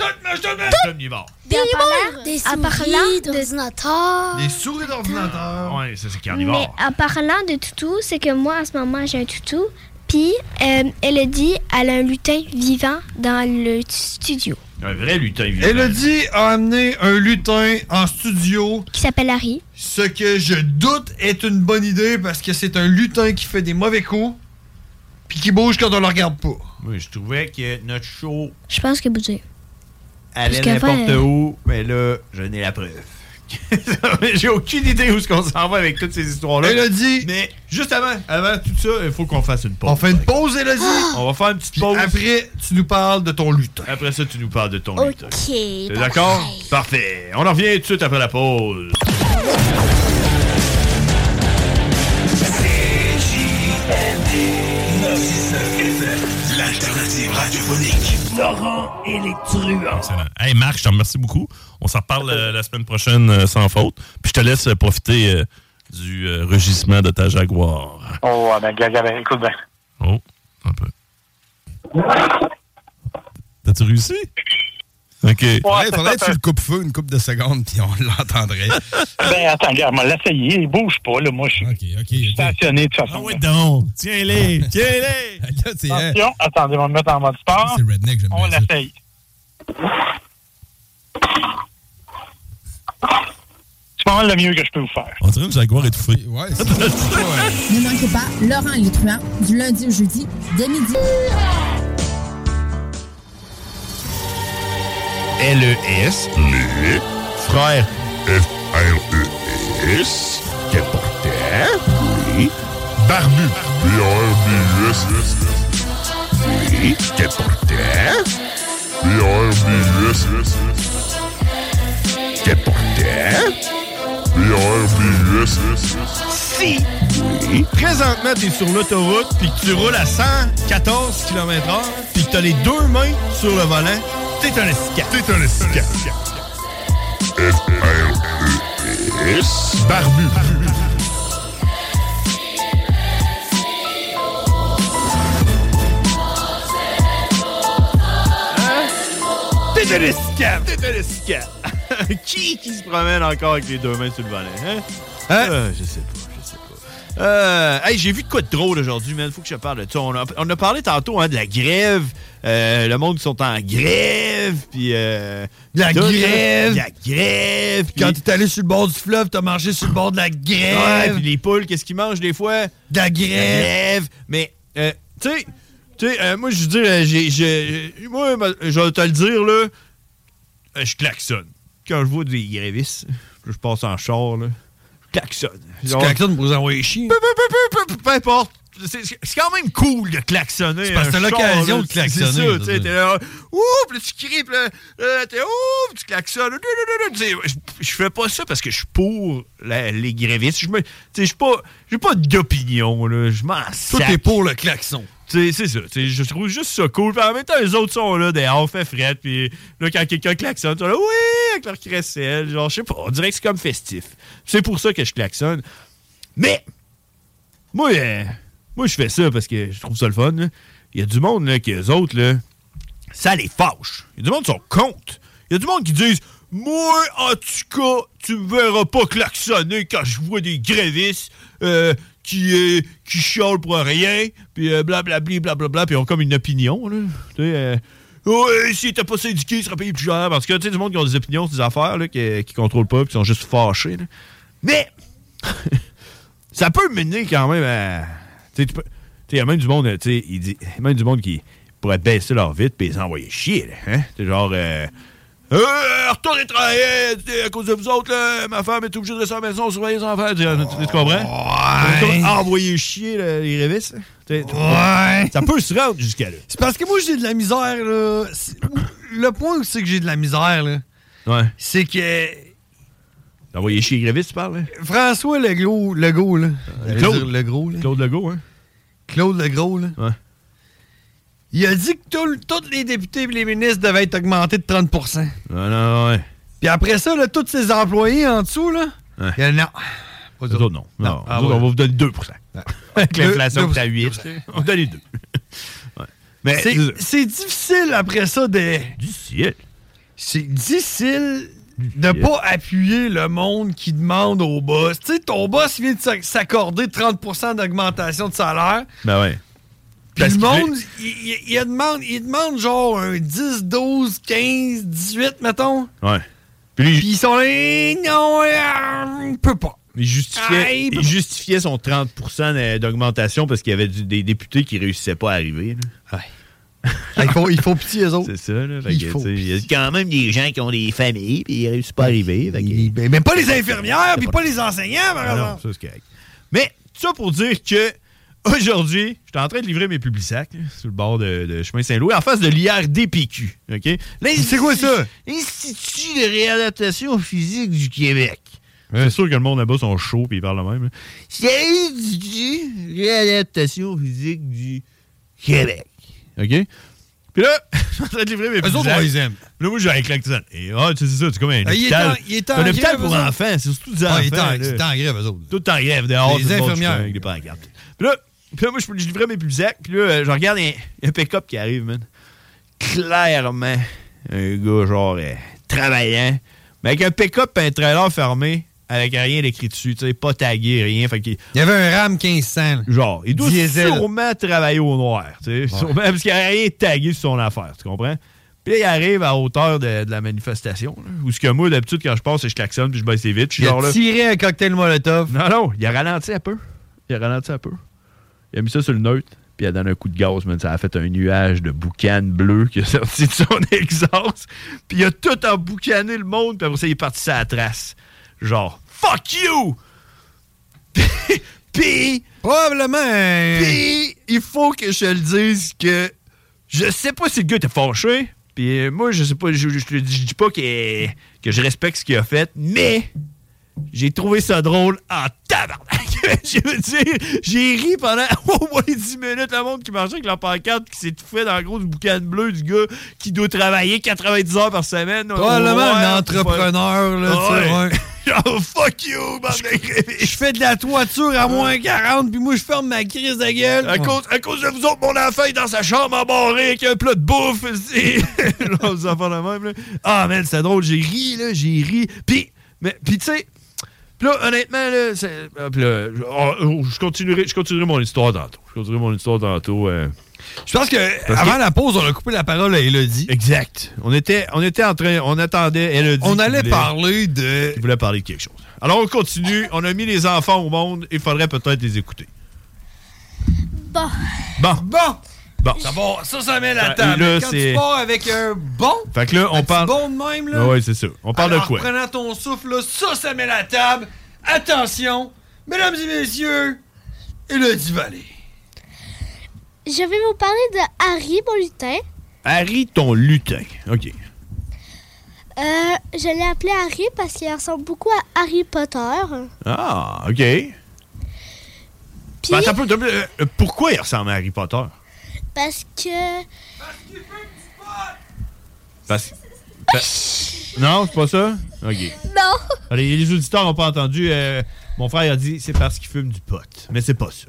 Des souris d'ordinateur. Des souris d'ordinateur. Ouais, ça, c'est carnivore. Mais en parlant de toutous, c'est que moi, en ce moment, j'ai un toutou. Puis, elle a dit elle a un lutin vivant dans le studio. Un vrai lutin vivant. Elodie a amené un lutin en studio. Qui s'appelle Harry. Ce que je doute est une bonne idée parce que c'est un lutin qui fait des mauvais coups puis qui bouge quand on le regarde pas. Oui, je trouvais que notre show Je pense que bougé. allait n'importe où, mais là, je n'ai la preuve. J'ai aucune idée où est-ce qu'on s'en va avec toutes ces histoires-là. Elodie! Mais juste avant tout ça, il faut qu'on fasse une pause. On fait une pause, Elodie? On va faire une petite pause. Après, tu nous parles de ton lutin. Après ça, tu nous parles de ton lutin. OK. T'es d'accord? Parfait. On en revient tout de suite après la pause. L'alternative radiophonique. Laurent et les truands. Excellent. Hey Marc, je te remercie beaucoup. On s'en reparle la semaine prochaine sans faute. Puis je te laisse profiter du rugissement de ta Jaguar. Oh, ben, écoute bien. Oh, un peu. T'as-tu réussi? OK. Ouais, faudrait que tu le coupes-feu une couple de secondes, puis on l'entendrait. Ben, attends, regarde, on va l'essayer. Il bouge pas, là. Moi, je suis stationné de toute façon. Ah ouais, donc. Tiens-les. Attention, attendez, on va me mettre en mode sport. C'est redneck, j'aime On bien l'essaye. C'est pas mal le mieux que je peux vous faire. On dirait une Jaguar étouffée. Ouais, c'est Ne manquez pas Laurent et les truands du lundi au jeudi dès midi. LES, les frères FRES, quel porteur, oui, barbu, BRBUS, oui, quel porteur, BRBUS, quel porteur, BRBUS, Si, oui, présentement, t'es sur l'autoroute, puis que tu roules à 114 km/h, puis que t'as les deux mains sur le volant, t'es un escap. FRES, barbu. T'es un escap. Qui se promène encore avec les deux mains sur le volant, hein? Je sais pas. Hey, j'ai vu de quoi de drôle aujourd'hui, man. Faut que je te parle de ça. On a parlé tantôt de la grève. Le monde qui sont en grève. Puis. La grève. Quand t'es allé sur le bord du fleuve, t'as marché sur le bord de la grève. Ouais, puis les poules, qu'est-ce qu'ils mangent des fois? De la grève. Mais, tu sais, moi, je veux dire, moi, je vais te le dire, là. Je klaxonne. Quand je vois des grévistes, je passe en char, là. Klaxonne. Tu klaxonnes pour vous envoyer chier? Peu importe. C'est quand même cool de klaxonner. C'est parce que t'as l'occasion de klaxonner. C'est ça, tu sais. T'es là, ouh, puis là, tu cries, puis là, t'es ouh, tu klaxonnes. Je fais pas ça parce que je suis pour les grévistes. J'ai pas d'opinion, là. Je m'en sac. Toi, t'es pour le klaxon. C'est ça. Je trouve juste ça cool. Puis en même temps, les autres sont là, dehors, fait fret. Puis là, quand quelqu'un klaxonne, tu là, oui, avec leur crécelle. Genre, je sais pas, on dirait que c'est comme festif. C'est pour ça que je klaxonne. Mais, moi, je fais ça parce que je trouve ça le fun. Il y a du monde, là, qui eux autres, là, ça les fâche. Il y a du monde qui sont contre. Il y a du monde qui disent, moi, en tout cas, tu me verras pas klaxonner quand je vois des grévistes, qui chialent pour rien, puis blablabla, puis ils ont comme une opinion, là. Tu sais, ouais, si t'es pas syndiqué, il sera payé plus cher. Parce que, tu sais, du monde qui ont des opinions sur des affaires, là, qui contrôlent pas, puis qui sont juste fâchés, là. Mais, ça peut mener quand même à. Tu sais, il y a même du monde, tu sais, même du monde qui pourrait baisser leur vitre, puis les envoyer chier, là. Hein? C'est genre. Retournez travailler, à cause de vous autres, là, ma femme est obligée de rester à la maison, surveiller les enfants. Tu comprends? Ouais. Envoyer chier les révistes. Ouais. Ça peut se rendre jusqu'à là. C'est parce que moi, j'ai de la misère, là. Le point où c'est que j'ai de la misère, là, c'est que... Envoyer chier les grévistes, tu parles? Hein? François Legault, là. Claude Legault, là. Claude Legault, hein? Claude Legault, là. Ouais. Il a dit que tous les députés et les ministres devaient être augmentés de 30%. Ouais. Puis après ça, là, tous ses employés en dessous, là, il y a non. Pas d'autres, non. On va vous donner 2%. Avec l'inflation qui est à 8, on va donner 2. Ouais. Mais c'est difficile après ça de... Difficile? C'est difficile de pas appuyer le monde qui demande au boss. Tu sais, ton boss vient de s'accorder 30% d'augmentation de salaire. Ben ouais. Puis le monde, il demande genre un 10, 12, 15, 18, mettons. Ouais. Puis ils sont là, non, on peut pas. Il justifiait son 30% d'augmentation parce qu'il y avait des députés qui réussissaient pas à arriver. Là. Ouais. Il faut pitié, eux autres. C'est ça, là. Il y a quand même des gens qui ont des familles et ils ne réussissent pas à arriver. Même pas les infirmières, puis pas les enseignants, par exemple. Non, ça, c'est correct. Mais, ça pour dire que aujourd'hui, j'étais en train de livrer mes Publisac sur le bord de chemin Saint-Louis, en face de l'IRDPQ. OK? C'est quoi ça? Institut de réadaptation physique du Québec. Ouais. C'est sûr que le monde là-bas sont chauds et ils parlent le même. C'est l'Institut de réadaptation physique du Québec. OK? Puis là, je suis en train de livrer mes Publisac. Eux autres, ils aiment. Là, moi, j'ai un claque ça. Et tu sais ça, c'est comme un hôpital. Il est en grève. Un hôpital grève, pour enfants. C'est surtout des enfants. Il est en grève, eux autres. Tout en grève, dehors. Les infirmières. Il est pas en garde. Puis là, moi, je livrais mes Publisac. Puis là, je regarde un pick-up qui arrive, man. Clairement, un gars, genre, travaillant. Mais avec un pick-up et un trailer fermé, avec rien d'écrit dessus, tu sais, pas tagué, rien. Fait qu'il y avait un RAM 1500. Genre, il doit sûrement travailler au noir, tu sais. Sûrement, parce qu'il n'y a rien tagué sur son affaire, tu comprends? Puis là, il arrive à hauteur de la manifestation, là, où ce que moi, d'habitude, quand je passe, je klaxonne puis je baisse vite. Il a tiré un cocktail Molotov. Non, il a ralenti un peu. Il a mis ça sur le neutre, puis il a donné un coup de gaz, man. Ça a fait un nuage de boucan bleu qui a sorti de son exhaust. Puis il a tout emboucané le monde, puis après ça, il est parti sur la trace. Genre, fuck you! Puis, probablement. Puis, il faut que je le dise que je sais pas si le gars était fâché. Puis, moi, je sais pas, je dis pas que je respecte ce qu'il a fait, mais j'ai trouvé ça drôle en tabarnak. Je veux dire, j'ai ri pendant au moins 10 minutes. Le monde qui marchait avec la pancarte qui s'est tout fait dans le gros boucan bleu du gars qui doit travailler 90 heures par semaine. Probablement un entrepreneur, là, tu sais. Oh, fuck you, bande de grévistes. Je fais de la toiture à moins 40, puis moi, je ferme ma crise de gueule. À cause de vous autres, mon enfant est dans sa chambre embarrée avec un plat de bouffe. Vous en faites la même, là. Ah, man, c'est drôle. J'ai ri. Puis, tu sais, là, honnêtement, là, je continuerai mon histoire tantôt. Je pense que avant la pause, on a coupé la parole à Élodie. Exact. On attendait Élodie. On allait parler de... Il voulait parler de quelque chose. Alors, on continue. On a mis les enfants au monde. Il faudrait peut-être les écouter. Bon. D'abord, ça met la table. Là, quand tu pars avec un bon, fait que là, on parle... bon de même, là. Oui, c'est ça. On parle de quoi? En prenant ton souffle, là, ça met la table. Attention, mesdames et messieurs, Élodie Vallée. Je vais vous parler de Harry, mon lutin. Harry, ton lutin. OK. Je l'ai appelé Harry parce qu'il ressemble beaucoup à Harry Potter. Ah, OK. Puis... pourquoi il ressemble à Harry Potter? Parce que... Non, c'est pas ça? OK. Non. Allez, les auditeurs n'ont pas entendu. Mon frère a dit c'est parce qu'il fume du pot. Mais c'est pas ça.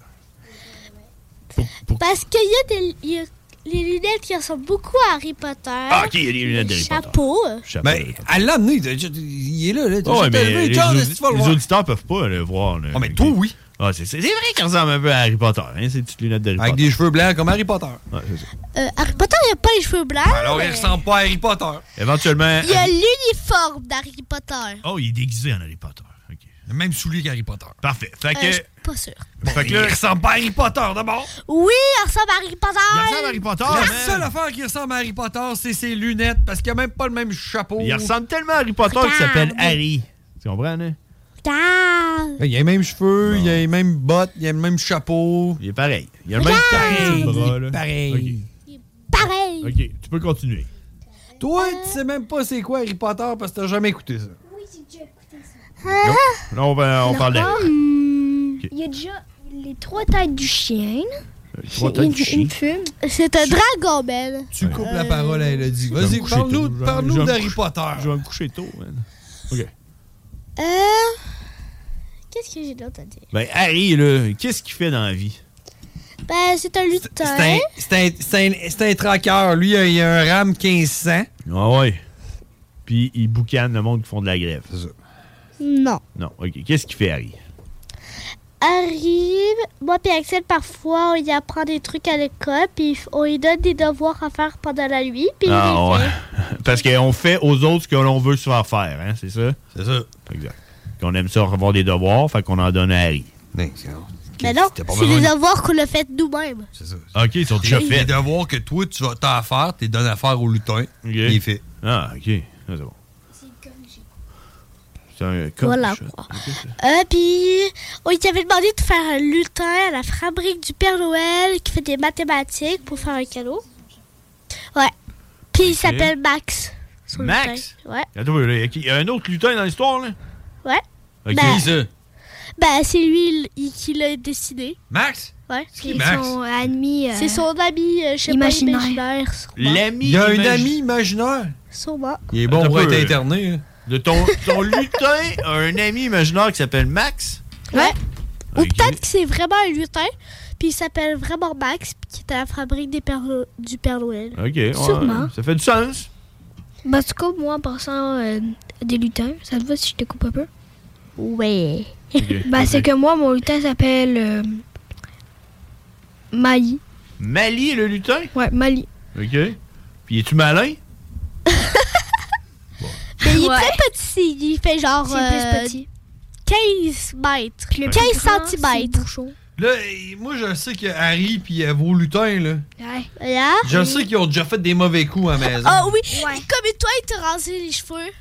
Parce qu'il y a les lunettes qui ressemblent beaucoup à Harry Potter. Ah, OK, il y a les lunettes d'Harry Potter. Chapeau. Ben, elle l'a amené. Il est là. Mais les auditeurs peuvent pas le voir. Ah, mais toi, oui. Ah, c'est vrai qu'il ressemble un peu à Harry Potter. Hein, ces petites lunettes d'Harry Potter. Avec des cheveux blancs comme Harry Potter. Ouais, c'est ça. Harry Potter, il n'a pas les cheveux blancs. Alors, il ressemble pas à Harry Potter. Éventuellement... Il y a l'uniforme d'Harry Potter. Oh, il est déguisé en Harry Potter. OK. Le même soulier qu'Harry Potter. Parfait. Fait que... Je suis pas sûr. Bon, fait que là, il ressemble pas à Harry Potter, d'abord. Oui, il ressemble à Harry Potter. Il ressemble à Harry Potter, La seule affaire qui ressemble à Harry Potter, c'est ses lunettes, parce qu'il a même pas le même chapeau. Il ressemble tellement à Harry Potter qu'il s'appelle Harry. Tu comprends, hein? Il a les mêmes cheveux, il a les mêmes bottes, il a le même chapeau. Il est pareil. Il a le même taille de bras, là. Pareil. Pareil. OK, tu peux continuer. Toi, tu sais même pas c'est quoi Harry Potter parce que t'as jamais écouté ça. Oui, j'ai déjà écouté ça. Là, on parle d'Harry. Il y a déjà les 3 têtes du chien. Les 3 têtes du chien. C'est un dragon, Ben. Tu coupes la parole à Elodie. Vas-y, parle-nous d'Harry Potter. Je vais me coucher tôt, man. OK. Qu'est-ce que j'ai d'autre à dire? Ben, Harry, là, qu'est-ce qu'il fait dans la vie? Ben, c'est un lutin. C'est un traqueur. Lui, il a un RAM 1500. Ah ouais. Puis, il boucane le monde qui font de la grève, c'est ça? Non. Non, OK. Qu'est-ce qu'il fait, Harry? Harry, moi et Axel, parfois, on y apprend des trucs à l'école, puis on lui donne des devoirs à faire pendant la nuit, puis il les fait. Parce qu'on fait aux autres ce que l'on veut se faire faire, hein, c'est ça? C'est ça. Exact. Qu'on aime ça avoir des devoirs, fait qu'on en donne à Harry. Mais non, c'est des devoirs qu'on a fait nous-mêmes. C'est ça. OK, ils sont déjà faits. Les devoirs que toi, tu vas t'en faire, tu les donnes à faire au lutin. Il est fait. Ah, OK. Ah, c'est bon. C'est un voilà quoi. Puis, on lui avait demandé de faire un lutin à la fabrique du Père Noël qui fait des mathématiques pour faire un cadeau. Ouais. Puis, il s'appelle Max. Max? Lutin. Ouais. Attends, il y a un autre lutin dans l'histoire, là? Ouais. OK. Qui ça? Ben, c'est lui qui l'a dessiné. Max? Ouais. C'est Max? Son ami... C'est son ami, je sais imaginaire. pas, imaginaire. L'ami Il y a un ami imaginaire? Sûrement. Il est bon pour être interné. Hein. De ton lutin a un ami imaginaire qui s'appelle Max? Ouais. Ou peut-être que c'est vraiment un lutin, puis il s'appelle vraiment Max, puis qui est à la fabrique du Père Noël. OK, ouais, sûrement. Ça fait du sens. Ben, en tout cas, moi, en passant des lutins, ça te va si je te coupe un peu? Ouais. Okay. Ben, c'est que moi, mon lutin s'appelle Mali. Mali, le lutin? Ouais, Mali. OK. Puis, es-tu malin? Mais il est très petit. Il fait genre C'est plus petit. 15 mètres. 15 centimètres. Là, moi, je sais que Harry puis vos lutins, là. Ouais. Je sais qu'ils ont déjà fait des mauvais coups à la maison. Ah oui. Comme toi, il t'a rasé les cheveux.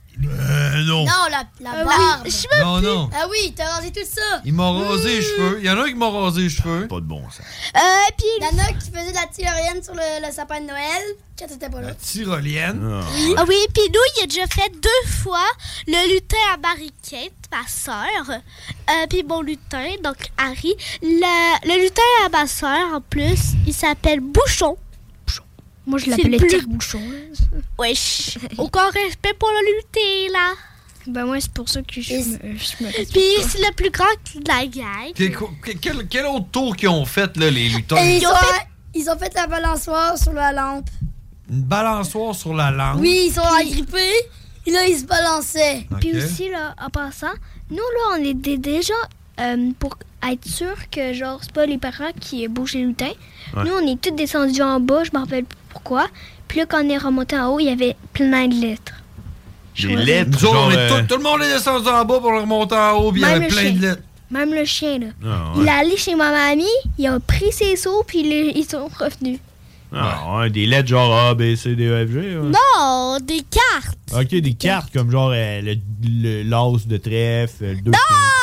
Non. Non, la barbe. Non. Ah oui, t'as rasé tout ça. Il m'a rasé les cheveux. Il y en a un qui m'a rasé les cheveux. Pas de bon sens. Puis il y en a qui faisait de la tyrolienne sur le sapin de Noël quand t'étais pas là. La tyrolienne? Oui. Ah oui, puis nous, il a déjà fait 2 fois le lutin à Marie-Kate, ma soeur. Puis mon lutin, donc Harry. Le lutin à ma soeur, en plus, il s'appelle Bouchon. Moi, je l'appelais Tire-Bouchon. Wesh. Aucun respect pour le lutin, là. Ben, moi, c'est pour ça que je me Puis c'est le plus grand de la gang. Quel autre tour qu'ils ont fait, là, les lutins? Ils ont fait la balançoire sur la lampe. Une balançoire sur la lampe? Oui, ils sont agrippés. Et là, ils se balançaient. Okay. Puis aussi, là, en passant, nous, là, on était déjà... pour être sûr que, genre, c'est pas les parents qui bougent les lutins. Ouais. Nous, on est tous descendus en bas, je me rappelle plus pourquoi. Puis là, quand on est remonté en haut, il y avait plein de lettres. Des lettres? Nous autres, tout le monde est descendu en bas pour le remonter en haut, puis il y avait plein de lettres. Même le chien, là. Ah, ouais. Il est allé chez ma mamie, il a pris ses seaux, puis ils sont revenus. Ah, ouais, des lettres genre A, B, C, D, E, F, G? Ouais. Non, des cartes. OK, des cartes comme genre l'as de trèfle, le 2.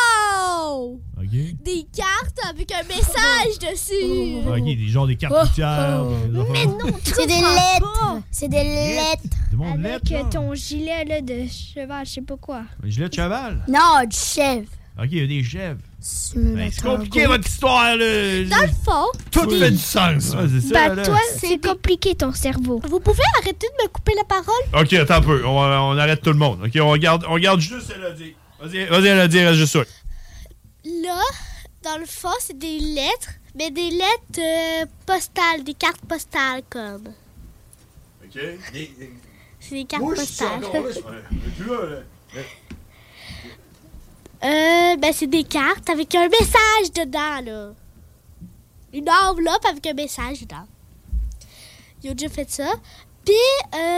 Non! Okay. Des cartes avec un message dessus. OK, des cartes routières. Mais non, c'est des lettres. C'est des lettres. Avec ton gilet là, de cheval, je sais pas quoi. Un gilet de cheval? Non, du chèvre. OK, il y a des chèvres. C'est compliqué votre histoire, là. Dans le fond, tout fait du sens. Ouais, c'est ça, toi, c'est compliqué ton cerveau. Vous pouvez arrêter de me couper la parole? OK, attends un peu. On arrête tout le monde. OK, on garde juste Elodie. Vas-y, Elodie, reste juste sûr. Là, dans le fond, c'est des lettres, mais des lettres postales, des cartes postales comme. OK. C'est des cartes postales. C'est des cartes avec un message dedans, là. Une enveloppe avec un message dedans. Ils ont déjà fait ça. Puis,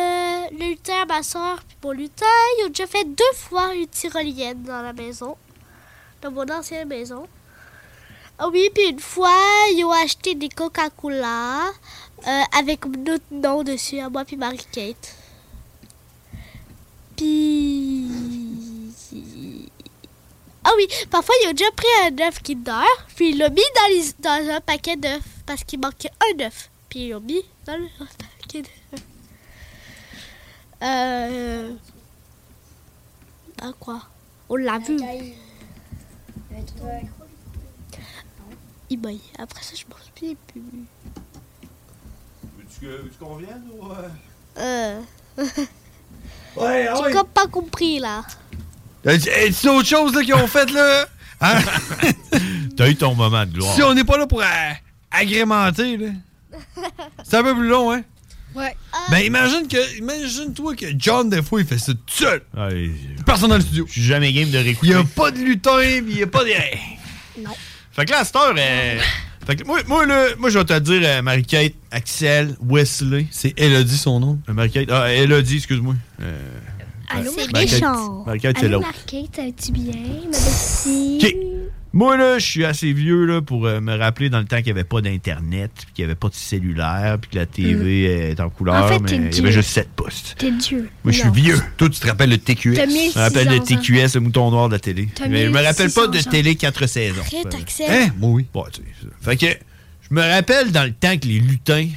le lutin à ma soeur, puis mon lutin, ils ont déjà fait 2 fois une tyrolienne dans la maison. dans mon ancienne maison. Ah oui, puis une fois, ils ont acheté des Coca-Cola avec notre nom dessus, à moi puis Marie-Kate. Puis... Ah oui, parfois, ils ont déjà pris un œuf Kinder, puis ils l'ont mis dans un paquet d'œufs, parce qu'il manquait un œuf. Puis ils l'ont mis dans le paquet d'œufs. Ah quoi? On l'a vu. Il baille. Après ça, je m'en souviens plus. Veux-tu qu'on vienne ou... Ouais, j'ai comme pas compris, là. C'est autre chose là, qu'ils ont fait, là? Hein? T'as eu ton moment de gloire. Si on n'est pas là pour agrémenter, là. C'est un peu plus long, hein? Ouais. Ben, imagine-toi que John, des fois, il fait ça tout seul. Ouais, personne dans le studio. Je suis jamais game de réécouter. Il n'y a pas de lutin, puis il n'y a pas de... Non. Fait que là, à cette heure, fait que moi, je vais te dire Marie-Kate, Axel, Wesley. C'est Elodie, son nom. Marie-Kate, Elodie, excuse-moi. Allô, c'est méchant. Marie-Kate, c'est Allô, l'autre. Marie-Kate, ça va-tu bien, ma belle-fille? OK. Moi, là, je suis assez vieux là, pour me rappeler dans le temps qu'il n'y avait pas d'Internet, puis qu'il n'y avait pas de cellulaire, puis que la TV est en couleur, En fait, mais t'es il y avait Dieu. juste 7 postes. T'es Dieu. Moi, je suis vieux. Toi, tu te rappelles le TQS? T'as Je 1600 me rappelle le ans. TQS, le mouton noir de la télé. T'as Mais je me rappelle pas de 1600 télé 4 saisons. Arrête, Axel. Hein? Moi, oui. Bon, tu sais, ça. Fait que je me rappelle dans le temps que les lutins,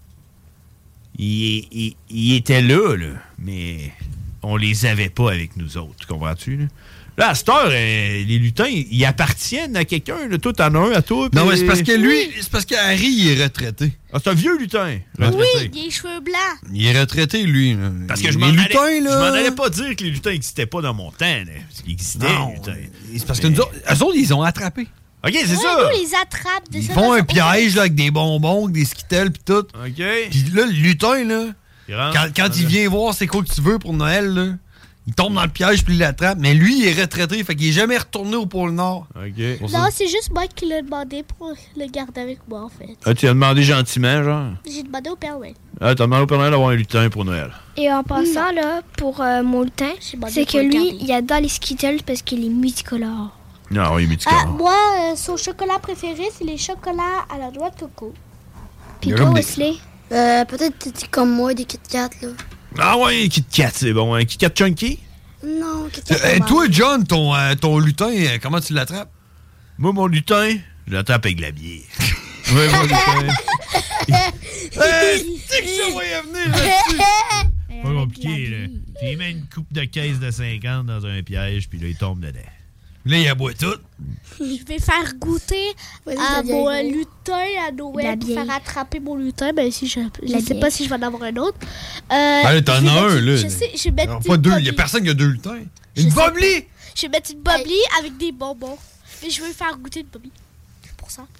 ils étaient là, mais on les avait pas avec nous autres, comprends-tu? Là, à cette heure, les lutins, ils appartiennent à quelqu'un. Là. Toi, t'en as un à toi. Non, puis- mais c'est parce que lui, c'est parce qu'Harry, il est retraité. Ah, c'est un vieux lutin. Oui, retraité. il a les cheveux blancs. Il est retraité, lui. Là. Parce que Les je m'en lutins, allais, là... je m'en allais pas dire que les lutins n'existaient pas dans mon temps. Là, parce qu'ils existaient, Non, les lutins. c'est parce que nous autres, eux autres, ils ont attrapé. OK, c'est Ouais, ça. nous, ils les attrapent. De Ils ça font un façon- piège là, avec des bonbons, des skittles, pis tout. OK. Puis là, le lutin, là, Il rentre. quand il vient voir c'est quoi que tu veux pour Noël, là, il tombe dans le piège puis il l'attrape. Mais lui, il est retraité, fait qu'il est jamais retourné au pôle Nord. OK. Non, c'est juste moi qui l'ai demandé pour le garder avec moi, en fait. Ah, tu as demandé gentiment, genre? J'ai demandé au Père Noël. Ah, t'as demandé au Père Noël d'avoir un lutin pour Noël. Et en passant, là, pour mon lutin, demandé c'est pour que le lui, garder. il adore les Skittles parce qu'il est multicolore. Non, oui, mais tu Ah, moi, son chocolat préféré, c'est les chocolats à la noix de coco. Puis Il y a toi, comme des- Wesley? Peut-être t'es comme moi, des Kit Kat, là. Ah ouais, Kit Kat, c'est bon. Un Kit Kat Chunky? Non, Kit Kat. Toi, John, ton lutin, comment tu l'attrapes? Moi, mon lutin, je l'attrape avec de la bière. Oui, mon lutin. C'est que ça voyait venir là-dessus. Pas compliqué, là. Puis il met une coupe de caisse de 50 dans un piège, puis là, il tombe dedans. Là, il aboie tout. Je vais faire goûter à mon lutin à Noël pour faire attraper mon lutin. Ben, si je sais pas si je vais en avoir un autre. là, t'en je vais as un, mettre- là. Je sais, je vais mettre Alors, une pas deux, il bobli. y a personne qui a deux lutins. Une bobli! Je vais mettre une bobli avec des bonbons. Mais je veux faire goûter une bobli. C'est pour ça.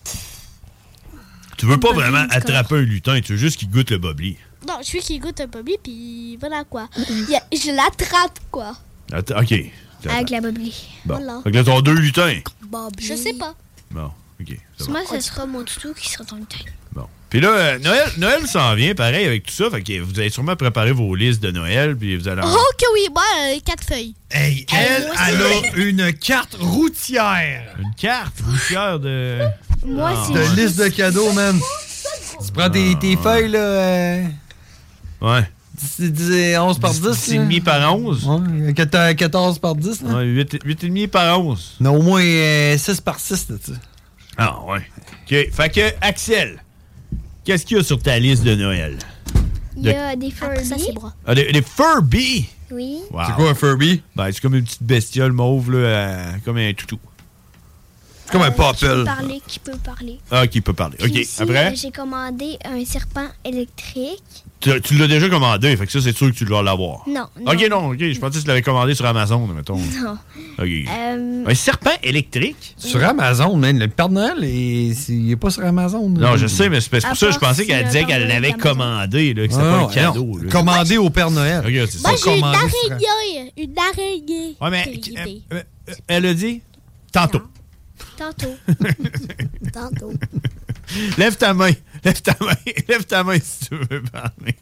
Tu veux pas Bobli, vraiment c'est attraper un lutin, tu veux juste qu'il goûte le bobli. Non, je veux qu'il goûte un bobli, puis voilà quoi. Je l'attrape, quoi. Attends, OK. Avec la bobli. Bon. Voilà. Fait que là, t'as deux lutins. Je sais pas. Bon, OK. ça va. Moi, ça sera mon toutou qui sera ton lutin. Bon. Puis là, Noël s'en vient, pareil, avec tout ça. Fait que vous allez sûrement préparer vos listes de Noël, puis vous allez... Oh que oui, moi, 4 feuilles. Hey, elle a une carte routière. Une carte routière de... Moi, Ah, c'est De ouais. liste de cadeaux, man. Tu prends tes feuilles, là. Ouais. 11 par 10. 10,5 par 11. Ouais, 14 par 10. Là. Ouais, 8,5 par 11. Non, au moins 6 par 6, là, tu sais. Ah, ouais. OK. Fait que, Axel, qu'est-ce qu'il y a sur ta liste de Noël? Il y a des Furby. Ça, c'est bras. Ah, des Furby? Oui. Wow. C'est quoi un Furby? Ben, c'est comme une petite bestiole mauve, là, comme un toutou. C'est comme un Qui peut popple. parler, qui peut parler. Ah, qui peut parler. Puis OK. aussi, Après, j'ai commandé un serpent électrique. tu l'as déjà commandé, fait que ça, c'est sûr que tu dois l'avoir. Non, non. OK, non, OK. Je pensais que tu l'avais commandé sur Amazon, mettons. Non. OK. Euh, Un serpent électrique? Sur Amazon, man. Le Père Noël, il est pas sur Amazon. là. Non, je sais, mais c'est pour À ça que je part pensé si qu'elle le disait Père qu'elle Noël l'avait d'Amazon. commandé, là, que c'était Ah, pas non, un cadeau. non. là. Commandé au Père Noël. OK, c'est ça. Moi, j'ai une commandé sur- araignée. Une araignée. Ouais, mais Quelle idée. elle a dit tantôt. Tantôt. Tantôt. Lève ta main. Lève ta main. Lève ta main si tu veux parler.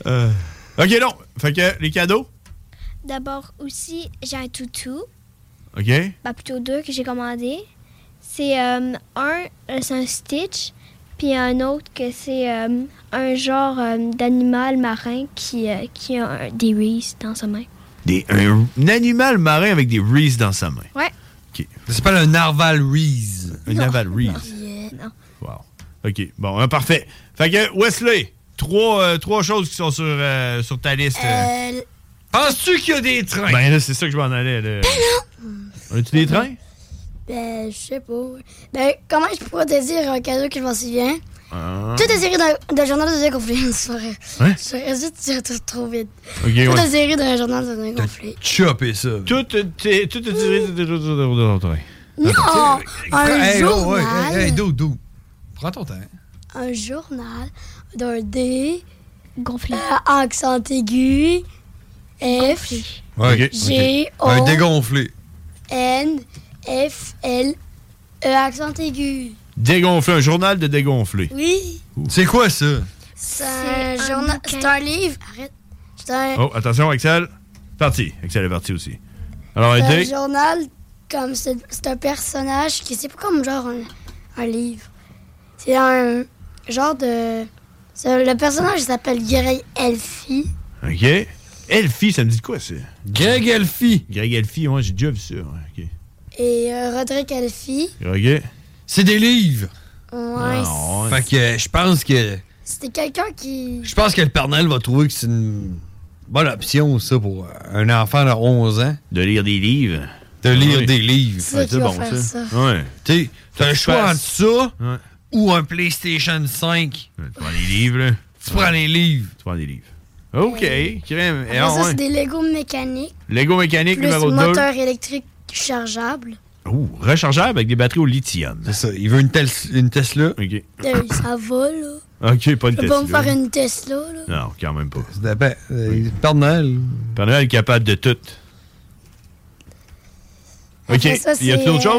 OK, non. Fait que les cadeaux? D'abord aussi, j'ai un toutou. OK. Ben, plutôt 2 que j'ai commandé. C'est c'est un Stitch, puis un autre que c'est un genre d'animal marin qui a des Reese dans sa main. Un animal marin avec des Reese dans sa main. Ouais. OK. Ça s'appelle un narval Reese. Un narval Reese. Non. Wow. OK. Bon, parfait. Fait que, Wesley, trois choses qui sont sur ta liste. Penses-tu qu'il y a des trains? Ben là, c'est ça que je m'en allais. Là. Ben non! As-tu des trains? Ben, je sais pas. Ben, comment je pourrais te dire un cadeau que je m'en souviens? Ah. Toute la série d'un journal de dégonflé une soirée. Hein? Je serais juste dire tout trop vite. Okay, toute ouais. la série d'un journal de dégonflé. Chopé ça. Toute la série de train. Non! Un journal. Ouais, hey, Doudou. Prends ton temps. Un journal d'un D. Gonflé. Accent aigu. F. Ouais, G. O. Un dégonflé. N. F. L. E. Accent aigu. Dégonflé, un journal de dégonflé. Oui. C'est quoi ça? C'est un journal. C'est un livre. Arrête. C'est un. Oh, attention, Axel. Parti. Axel est parti aussi. Alors, C'est un aidez. journal comme c'est un personnage qui c'est pas comme genre un livre. C'est un genre de. Le personnage il s'appelle Greg Elfie. OK. Elfie, ça me dit de quoi, ça? Greg Elfie. Greg Elfie, ouais, j'ai déjà vu ça. Ouais, OK. Et Roderick Elfie. OK. C'est des livres. Ouais. Ah, ouais. Fait que je pense que. C'était quelqu'un qui. Je pense que le Père Noël va trouver que c'est une bonne option, ça, pour un enfant de 11 ans. De lire des livres. De lire Ouais. des livres. C'est qui va faire ça. Ouais. Tu sais, t'as un choix entre ça Ouais. ou un PlayStation 5. Tu prends les livres, là. Tu prends les livres. Tu prends des livres. OK. Crème. Après ça, c'est des Lego mécaniques. Lego mécanique Plus numéro 2. moteur électrique chargeable. Ouh, rechargeable avec des batteries au lithium. C'est ça. Il veut une Tesla. OK. Ça va, là. OK, pas une Je peux Tesla. pas me faire une Tesla, là. Non, quand même pas. Ben, Père Noël. Père Noël est capable de tout. OK. Après ça, Y a-t-il c'est, autre chose?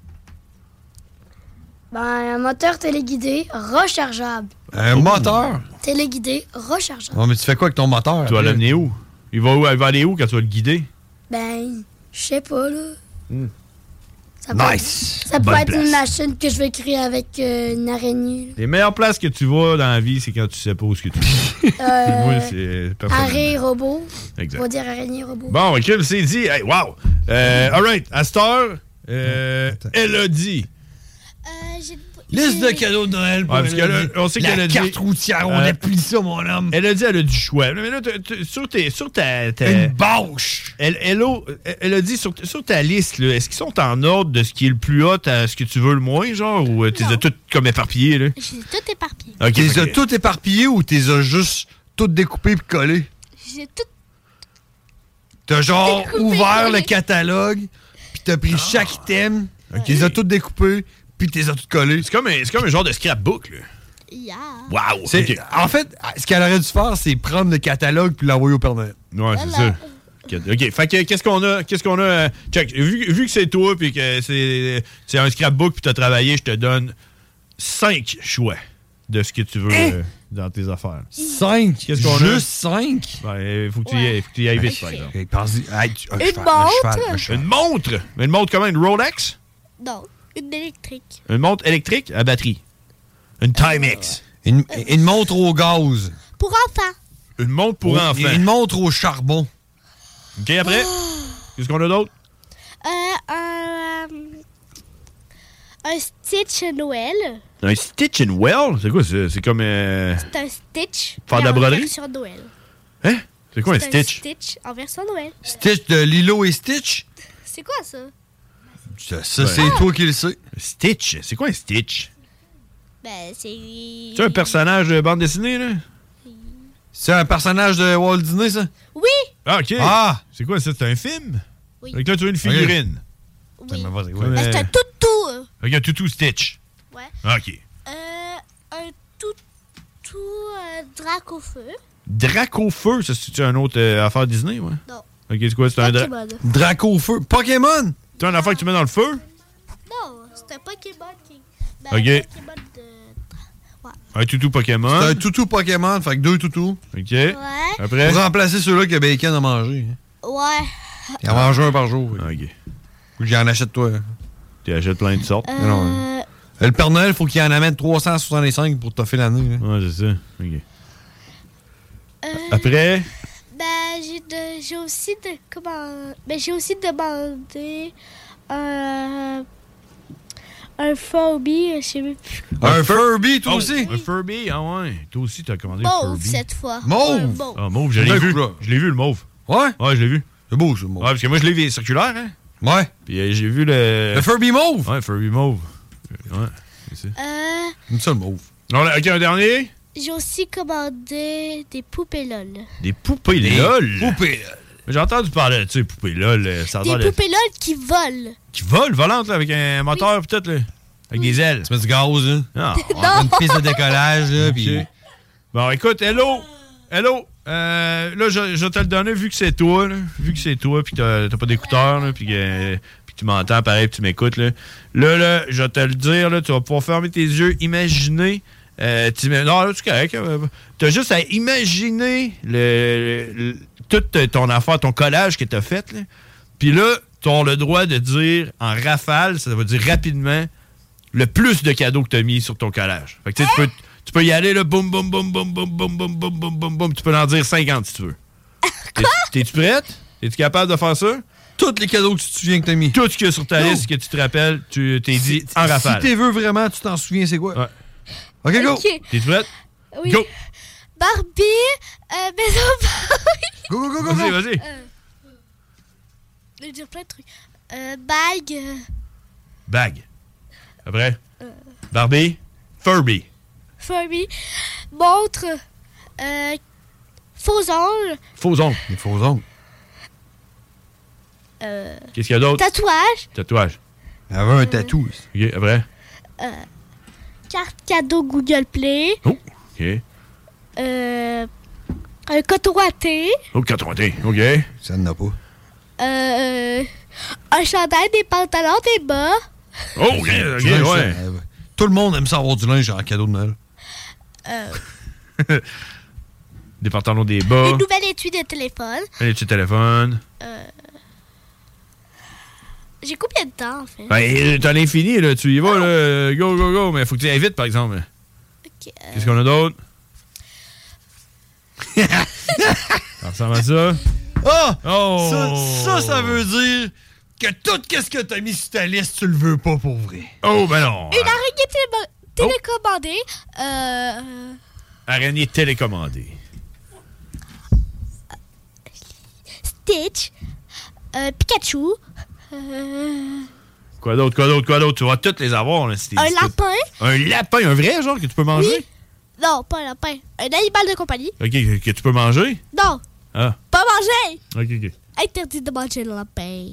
Un moteur téléguidé rechargeable. Un moteur? Téléguidé rechargeable. Ouais, mais tu fais quoi avec ton moteur? Tu vas l'amener où? Il va aller où quand tu vas le guider? Ben, je sais pas, là. Ça Nice! Ça peut Bonne être une place. machine que je vais créer avec une araignée. Les meilleures places que tu vas dans la vie, c'est quand tu sais pas où ce que tu vas. Moi, c'est personnellement. Araignée robot. Exact. On va dire araignée robot. Bon, OK, c'est dit. Hey, wow! All right, à cette heure, Elodie. Liste de cadeaux de Noël pour Ouais, parce que là, on sait qu'elle a la dit. carte routière, on appuie ça, mon homme. Elle a dit elle a du choix. Mais là, sur ta. Une bâche! Elle a dit sur ta liste, là, est-ce qu'ils sont en ordre de ce qui est le plus hot à ce que tu veux le moins, genre, ou tu les as toutes comme éparpillées, là? J'ai tout éparpillé. OK. Tu les as toutes éparpillées ou tu les as juste toutes découpées et collées? J'ai tout. T'as genre Découpé. ouvert le catalogue, puis t'as pris chaque item, tu les as toutes découpées, puis tu les as toutes collées. C'est comme un genre de scrapbook, là. Yeah. Wow! C'est- En fait, ce qu'elle aurait dû faire, c'est prendre le catalogue puis l'envoyer au Père Noël. Ouais, c'est ça. OK. Fait que qu'est-ce qu'on a? Check. Vu que c'est toi puis que c'est un scrapbook puis t'as travaillé, je te donne 5 choix de ce que tu veux dans tes affaires. 5? Qu'est-ce qu'on a? Juste 5? Ouais, faut que tu y ailles vite, par exemple. Une montre? Une montre comment? Une Rolex? Non, une électrique. Une montre électrique à batterie. Une Timex. Une montre au gaz. Pour enfants. Une montre pour enfants. Une montre au charbon. OK, après? Qu'est-ce qu'on a d'autre? Un Stitch Noël. Un Stitch and Well? C'est quoi ça? C'est comme... C'est un Stitch. Faire de la en broderie? version Noël. Hein? C'est quoi un C'est Stitch? Stitch en version Noël. Stitch de Lilo et Stitch? C'est quoi ça? Ça, c'est toi qui le sais. Stitch? C'est quoi un Stitch? Ben, c'est... C'est un personnage de bande dessinée, là? C'est un personnage de Walt Disney, ça? Oui! Ah, OK. Ah! C'est quoi ça? C'est un film? Oui. Fait que là, tu as une figurine. Oui. Comme, Ben, c'est un toutou. Avec un toutou Stitch. Ouais. OK. Un toutou drac au feu. Drac au feu, ça, c'est-tu une autre affaire Disney, ouais? Non. OK, c'est quoi? C'est un Pokémon. Drac au feu. Pokémon! C'est une affaire que tu mets dans le feu? Non, c'est un Pokémon qui... Ben, OK. un Pokémon de... Ouais. Un toutou Pokémon. C'est un toutou Pokémon, fait que 2 toutous. OK. Ouais. Après? Pour remplacer ceux-là que Bacon a mangé. Ouais. Il en mange un par jour. OK. Ou que j'en achète toi. Tu achètes plein de sortes. Non, le Père Noël, faut qu'il en amène 365 pour t'offrir l'année. Ouais, c'est ça. OK. Après? Ben, j'ai aussi demandé un Furby, je sais même plus. Un Furby, toi aussi? Un Furby, ah ouais. Toi aussi, t'as commandé un Mauve, Furby. cette fois. Mauve? Ah, mauve, je l'ai vu. Je l'ai vu, le mauve. Ouais? Ouais, je l'ai vu. C'est beau, ça, le mauve. Ouais, parce que moi, je l'ai vu circulaire, hein? Ouais. Puis j'ai vu le... Le Furby mauve? Ouais, Furby mauve. Ouais, c'est ça. J'aime ça, le mauve. OK, un dernier? J'ai aussi commandé des poupées LOL. Des poupées LOL? Poupées LOL. J'ai entendu parler de ça, les poupées LOL. Ça Des poupées LOL qui volent. Qui volent, volantes, là, avec un moteur pis tout, là. Avec des ailes. Tu mets du gaz, là. Non. Une piste de décollage, là, puis... Bon, écoute, hello. Là, je vais te le donner, vu que c'est toi, là. Vu que c'est toi, puis t'as pas d'écouteurs, là, puis tu m'entends, pareil, puis tu m'écoutes, là. Là, je vais te le dire, là, tu vas pouvoir fermer tes yeux, imaginer... non, là, c'est correct. T'as juste à imaginer toute ton affaire, ton collage que t'as fait, là. Puis là, t'as le droit de dire en rafale, ça veut dire rapidement, le plus de cadeaux que t'as mis sur ton collage. Fait que tu peux y aller, là, boum, boum, boum, boum, boum, boum, boum, boum, boum, boum, boum. Tu peux en dire 50 si tu veux. T'es-tu prête? Es-tu capable de faire ça? Tous les cadeaux que tu te souviens que t'as mis. Tout ce qu'il y a sur ta liste que tu te rappelles, tu t'es dit en rafale. Si t'es veux vraiment, tu t'en souviens, c'est quoi? Ouais. OK, go! T'es prête? Oui. Go! Barbie, Maison Barbie. Go! Vas-y. Je vais dire plein de trucs. Bague. Bague. Après? Barbie. Furby. Furby. Montre. Faux ongles. Faux ongles. Les faux ongles. Qu'est-ce qu'il y a d'autre? Tatouage. Elle avait un tatou. OK, après? Carte cadeau Google Play. Oh, OK. Un coton ouaté. Oh, coton ouaté, OK. Ça n'en a pas. Un chandail, des pantalons, des bas. Oh, OK, ouais. Tout le monde aime ça avoir du linge en cadeau de Noël. Des pantalons, des bas. Une nouvelle étui de téléphone. Un étui de téléphone. J'ai combien de temps, en fait? Ben, t'en es fini, là. Tu y vas, là. Go. Mais faut que tu ailles vite, par exemple. OK. Qu'est-ce qu'on a d'autre? Ça ressemble à ça. Ça veut dire que tout ce que t'as mis sur ta liste, tu le veux pas pour vrai. Oh, ben non. Une araignée télécommandée. Araignée télécommandée. Stitch. Pikachu. Quoi d'autre? Tu vas toutes les avoir, là. Un lapin. Un lapin, un vrai, genre, que tu peux manger? Oui. Non, pas un lapin. Un animal de compagnie. OK, que tu peux manger? Non. Ah. Pas manger. OK. Interdit de manger le lapin.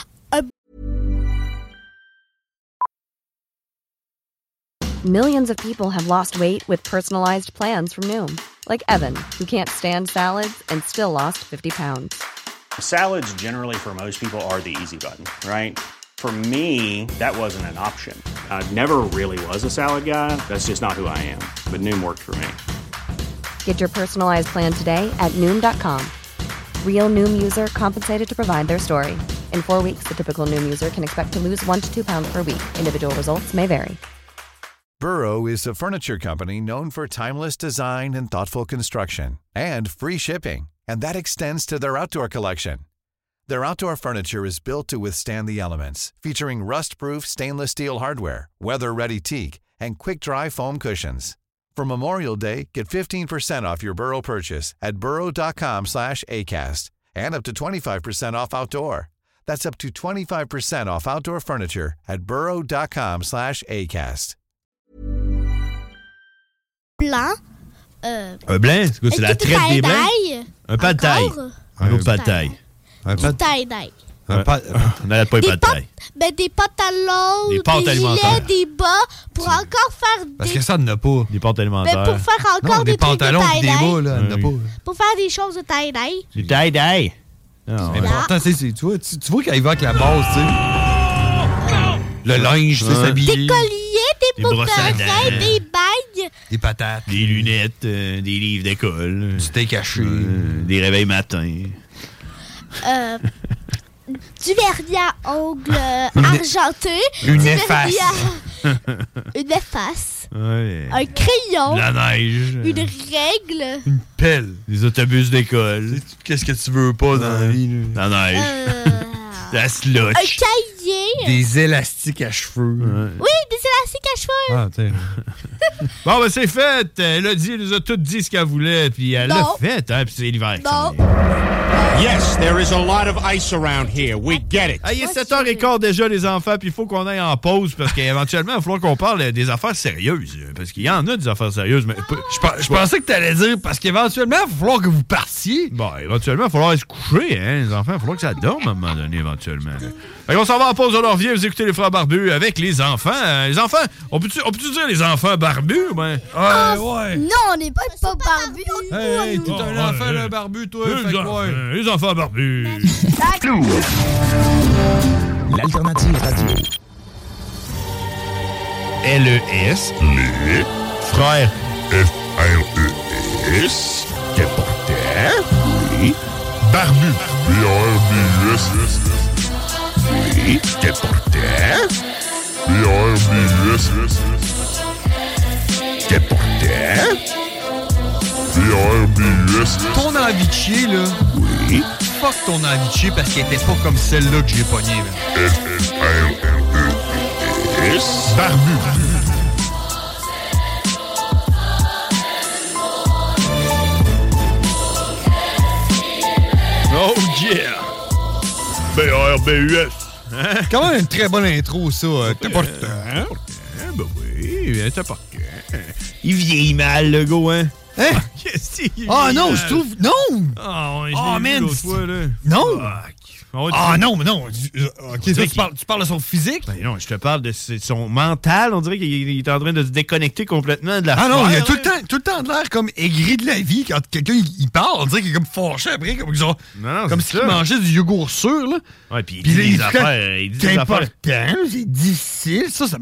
Millions of people have lost weight with personalized plans from Noom. Like Evan, who can't stand salads and still lost 50 pounds. Salads generally for most people are the easy button, right? For me, that wasn't an option. I never really was a salad guy. That's just not who I am. But Noom worked for me. Get your personalized plan today at Noom.com. Real Noom user compensated to provide their story. In 4 weeks, the typical Noom user can expect to lose 1 to 2 pounds per week. Individual results may vary. Burrow is a furniture company known for timeless design and thoughtful construction, and free shipping, and that extends to their outdoor collection. Their outdoor furniture is built to withstand the elements, featuring rust-proof stainless steel hardware, weather-ready teak, and quick-dry foam cushions. For Memorial Day, get 15% off your Burrow purchase at burrow.com/acast, and up to 25% off outdoor. That's up to 25% off outdoor furniture at burrow.com/acast. Blanc. Un blanc? C'est quoi? C'est la traite des blancs? Un pas de taille. Un autre pas de taille. Du tie-dye. On n'arrête pas les pas de taille. Ben, des pantalons, des pâtes alimentaires, gilets, des bas, pour encore faire des... Parce que ça, n'en a pas. Des pâtes alimentaires. Ben, pour faire encore des pantalons trucs de tie-dye. des bas, là, n'en a pas. Pour faire des choses de tie-dye. Du tie-dye. C'est important, tu vois qu'il va avec la base, tu sais. Le linge, tu sais, s'habiller. Des colliers, des boucles d'oreilles, des bagues. Des patates. Des lunettes, des livres d'école. Du steak haché. Des réveils matins. du vernis à ongles argenté. Une du efface. vernis une efface. Ouais. Un crayon. La neige. Une règle. Une pelle. Des autobus d'école. Qu'est-ce que tu veux pas dans la vie? La neige. La slush. Un cahier. Des élastiques à cheveux. Oui, des élastiques à cheveux. Ah, tiens. Bon, ben c'est fait. Elle a dit, elle nous a tout dit ce qu'elle voulait, puis elle l'a fait, hein, puis c'est l'hiver. Non. Yes, there is a lot of ice around here. We get it. Ah, il est 7h15 déjà, les enfants, puis il faut qu'on aille en pause, parce qu'éventuellement, il va falloir qu'on parle des affaires sérieuses. Parce qu'il y en a des affaires sérieuses, mais... Je pensais que t'allais dire, parce qu'éventuellement, il va falloir que vous partiez. Bon, éventuellement, il va falloir se coucher, hein, les enfants. Il va falloir que ça dorme à un moment donné, éventuellement. Fait qu'on s'en va en pause, on revient, vous écoutez les frères barbus avec les enfants. Les enfants, on peut-tu dire les enfants barbus? Ben? Ouais. Non, on n'est pas barbus. Hey, t'es un enfant là, barbu, toi. Les enfants barbus. L'alternative radio. LES. Les frères FRES. Déportés. Oui. Barbu. BARBUS. Oui. Déportés. BARBUS. Déportés. BARBUS. Ton envie de chier, là. Oui. Fuck ton envie de chier parce qu'elle était pas comme celle-là que j'ai pognée, là. FRES. Barbu. Oh yeah! BARBUS. Hein? Quand même une très bonne intro, ça. T'as pas le temps. Ben oui, t'as pas le temps. Il vieillit mal, le go, hein? Hein? Qu'est-ce qu'il Ah non, je trouve... Non! Oh, man! L'autre fois, là. Non! Ah non, mais non. OK, tu parles de son physique? Ben non, je te parle de son mental. On dirait qu'il est en train de se déconnecter complètement de la Ah non, il a tout hein? le temps de l'air comme aigri de la vie. Quand quelqu'un il parle, on dirait qu'il est comme fâché après, comme genre... Non, comme s'il mangeait du yogourt sûr, là. Ouais, puis il dit des affaires. Il dit des affaires. C'est important, c'est difficile.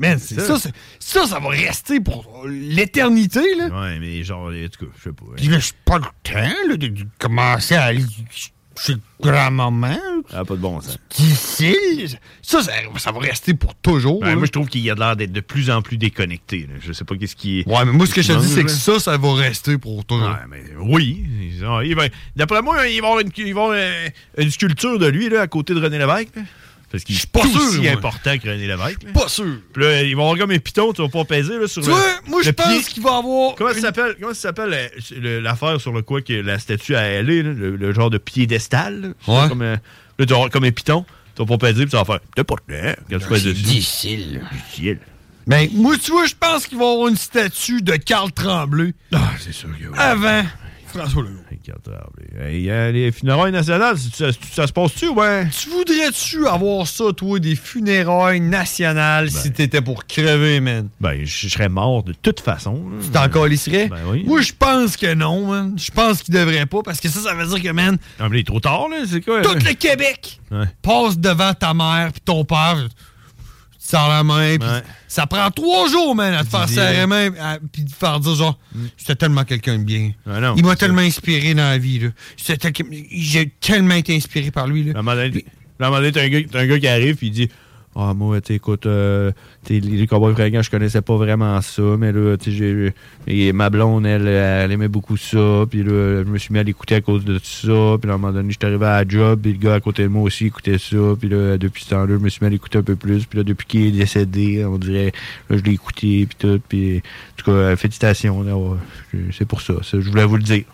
Ça va rester pour l'éternité, là. Ouais, mais genre, en tout cas, je sais pas. Puis là, j'ai pas le temps, là, de commencer à aller chez grand-maman. Ah, pas de bon sens. Difficile. Ça va rester pour toujours. Ouais, moi, je trouve qu'il a l'air d'être de plus en plus déconnecté. Là. Je sais pas qu'est-ce qui est... Ouais, mais moi, ce que je te dis, c'est que ça va rester pour toujours. Ouais, mais oui. D'après moi, il va y avoir une sculpture de lui là, à côté de René Lévesque. Là. Parce qu'il est pas aussi important que René Lévesque. Là. Pas sûr. Puis là, il va avoir comme un piton, tu vas pas peser là, sur tu vois, moi, je pense qu'il va avoir... Comment ça s'appelle l'affaire sur le quoi que la statue à elle est, là, le genre de piédestal? Là, ouais. Comme, là, tu vas avoir comme un piton, tu vas pas peser, puis tu vas faire... T'es pas quand tu fais dessus. Difficile. Ben, moi, tu vois, je pense qu'il va y avoir une statue de Carl Tremblay. Ah, c'est sûr que oui. Avant François Legault. Carl Tremblay. Les funérailles nationales, ça se passe-tu, ouais? Tu voudrais-tu avoir ça, toi, des funérailles nationales, si t'étais pour crever, man? Ben, je serais mort de toute façon. Tu t'en calisserais? Ben oui. Moi, je pense que non, man. Je pense qu'il devrait pas, parce que ça veut dire que, man... Non, mais il est trop tard, là, c'est quoi? Tout le Québec passe devant ta mère puis ton père... Tu sors la main, puis ça prend 3 jours, man, à te faire serrer la main, puis te faire dire, genre, j'étais tellement quelqu'un de bien. Ah non, il m'a tellement inspiré dans la vie, là. J'ai tellement été inspiré par lui, là. À un moment donné, t'as un gars qui arrive, puis il dit, ah, moi, écoute, les Cowboys fringants, je connaissais pas vraiment ça, mais là, ma blonde, elle aimait beaucoup ça, puis là, je me suis mis à l'écouter à cause de ça, puis là, à un moment donné, j'étais arrivé à la job, puis le gars à côté de moi aussi écoutait ça, puis là, depuis ce temps-là, je me suis mis à l'écouter un peu plus, puis là, depuis qu'il est décédé, on dirait, là, je l'ai écouté, puis tout, puis en tout cas, félicitations, là, ouais, c'est pour ça, je voulais vous le dire.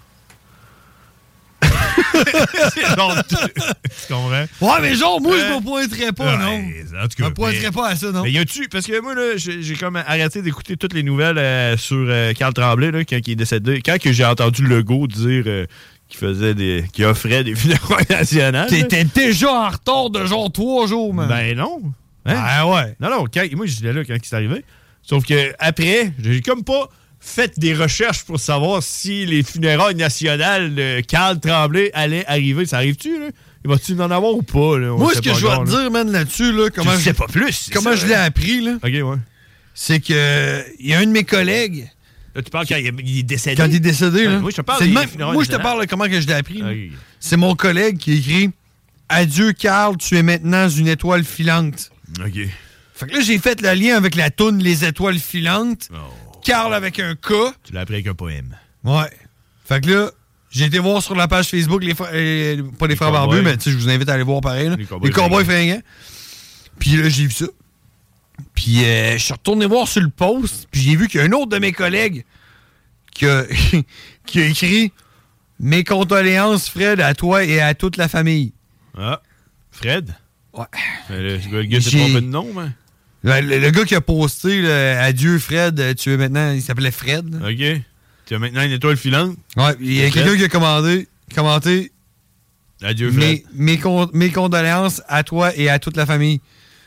Tu comprends? Ouais, mais genre, moi, je me pointerais pas, non. En tout cas, je me pointerais pas à ça, non. Mais y a-tu... Parce que moi, là, j'ai comme arrêté d'écouter toutes les nouvelles sur Carl Tremblay, là, quand il est décédé. Quand que j'ai entendu Legault dire qu'il offrait des funérailles nationales... T'étais déjà en retard de genre 3 jours, man. Ben non. Hein? Ah ouais. Non, moi, j'étais là quand c'est arrivé. Sauf que après, j'ai comme pas... Faites des recherches pour savoir si les funérailles nationales de Carl Tremblay allaient arriver. Ça arrive-tu, là? Il va-tu en avoir ou pas, là? Moi, ce que je vais te dire, man, là-dessus, là, comment je sais pas plus. Comment je l'ai appris, là? OK, ouais. C'est que il y a un de mes collègues. Là, tu parles quand il est décédé? Quand il est décédé, là. Moi, je te parle moi, je te parle de comment que je l'ai appris. Okay. C'est mon collègue qui écrit Adieu, Carl, tu es maintenant une étoile filante. OK. Fait que là, j'ai fait le lien avec la toune Les étoiles filantes. Carl avec un K. Tu l'as appris avec un poème. Ouais. Fait que là, j'ai été voir sur la page Facebook, pas les frères barbus, mais tu sais, je vous invite à aller voir pareil. Là. Les cowboys fringants. Puis là, j'ai vu ça. Puis je suis retourné voir sur le post, puis j'ai vu qu'il y a un autre de mes collègues qui a écrit « Mes condoléances, Fred, à toi et à toute la famille. » Ah, Fred? Ouais. Le gars s'est trompé de nom, mais... Le gars qui a posté Adieu, Fred, tu es maintenant... Il s'appelait Fred. Là. OK. Tu as maintenant une étoile filante. Ouais, il y a quelqu'un qui a commenté Adieu, Fred. Mes condoléances à toi et à toute la famille.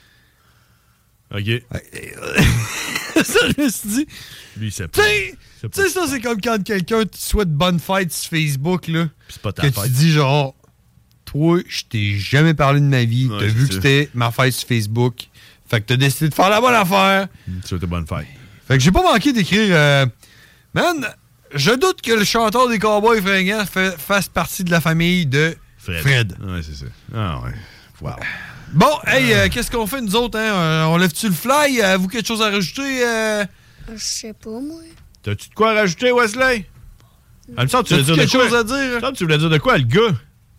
OK. Ça, je me suis dit... Lui, c'est pas... Tu sais, ça, c'est comme quand quelqu'un te souhaite bonne fête sur Facebook, là. C'est pas ta que fête. Tu dis genre... Toi, je t'ai jamais parlé de ma vie. T'as vu que c'était ma fête sur Facebook. Fait que t'as décidé de faire la bonne affaire. Tu souhaites bonne fête. Fait que j'ai pas manqué d'écrire... Man, je doute que le chanteur des Cowboys fringants fasse partie de la famille de Fred. Ouais, c'est ça. Ah ouais. Wow. Bon, hey, qu'est-ce qu'on fait nous autres, hein? On lève-tu le fly? Avez-vous quelque chose à rajouter? Je sais pas, moi. T'as-tu de quoi rajouter, Wesley? Elle me semble que tu voulais dire quelque de quoi? chose à dire? Ça, tu voulais dire de quoi, le gars?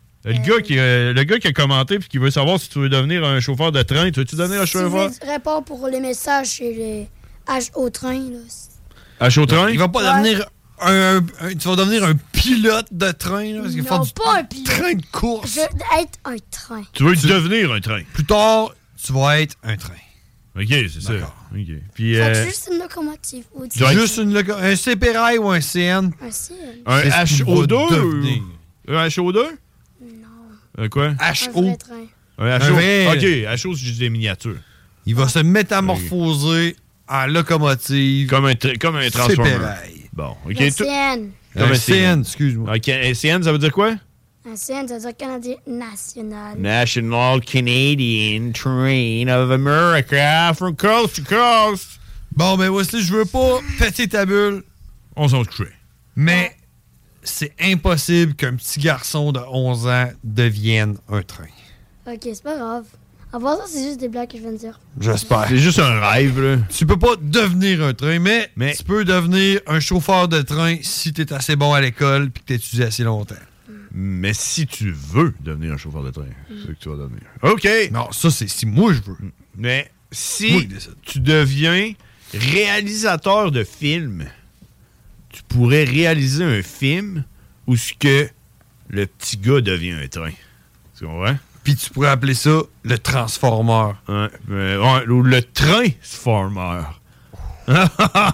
Le gars qui a commenté puis qui veut savoir si tu veux devenir un chauffeur de train. Tu veux-tu devenir un chauffeur? Si je réponds pour les messages chez les H au train, là. H au train? Il va pas devenir tu vas devenir un pilote de train, là? Parce qu'il faut pas un pilote. Train de course. Je veux être un train. Tu veux devenir un train? Plus tard, tu vas être un train. OK, c'est ça. OK. Puis, juste une locomotive. Juste un CPRI ou un CN? Un CN. Un HO2? Un HO2? Non. Quoi? HO. Un HO. OK, HO, c'est juste des miniatures. Il va se métamorphoser en locomotive. Comme un transformer. CPRI. Bon, OK. Un CN. Comme un CN, excuse-moi. OK, un CN, ça veut dire quoi? Un CN, ça veut dire Canadien National. National Canadian Train of America from coast to coast. Bon, ben Wesley, je veux pas péter ta bulle. On s'en crée. Mais c'est impossible qu'un petit garçon de 11 ans devienne un train. OK, c'est pas grave. En passant, c'est juste des blagues que je viens de dire. J'espère. C'est juste un rêve, là. Tu peux pas devenir un train, mais tu peux devenir un chauffeur de train si t'es assez bon à l'école puis que t'es étudié assez longtemps. Mais si tu veux devenir un chauffeur de train, c'est ce que tu vas devenir. OK. Non, ça, c'est si moi je veux. Mais si tu deviens réalisateur de film, tu pourrais réaliser un film où ce que le petit gars devient un train. Tu comprends? Puis tu pourrais appeler ça le Transformer. Ou le Train-Former. Hein?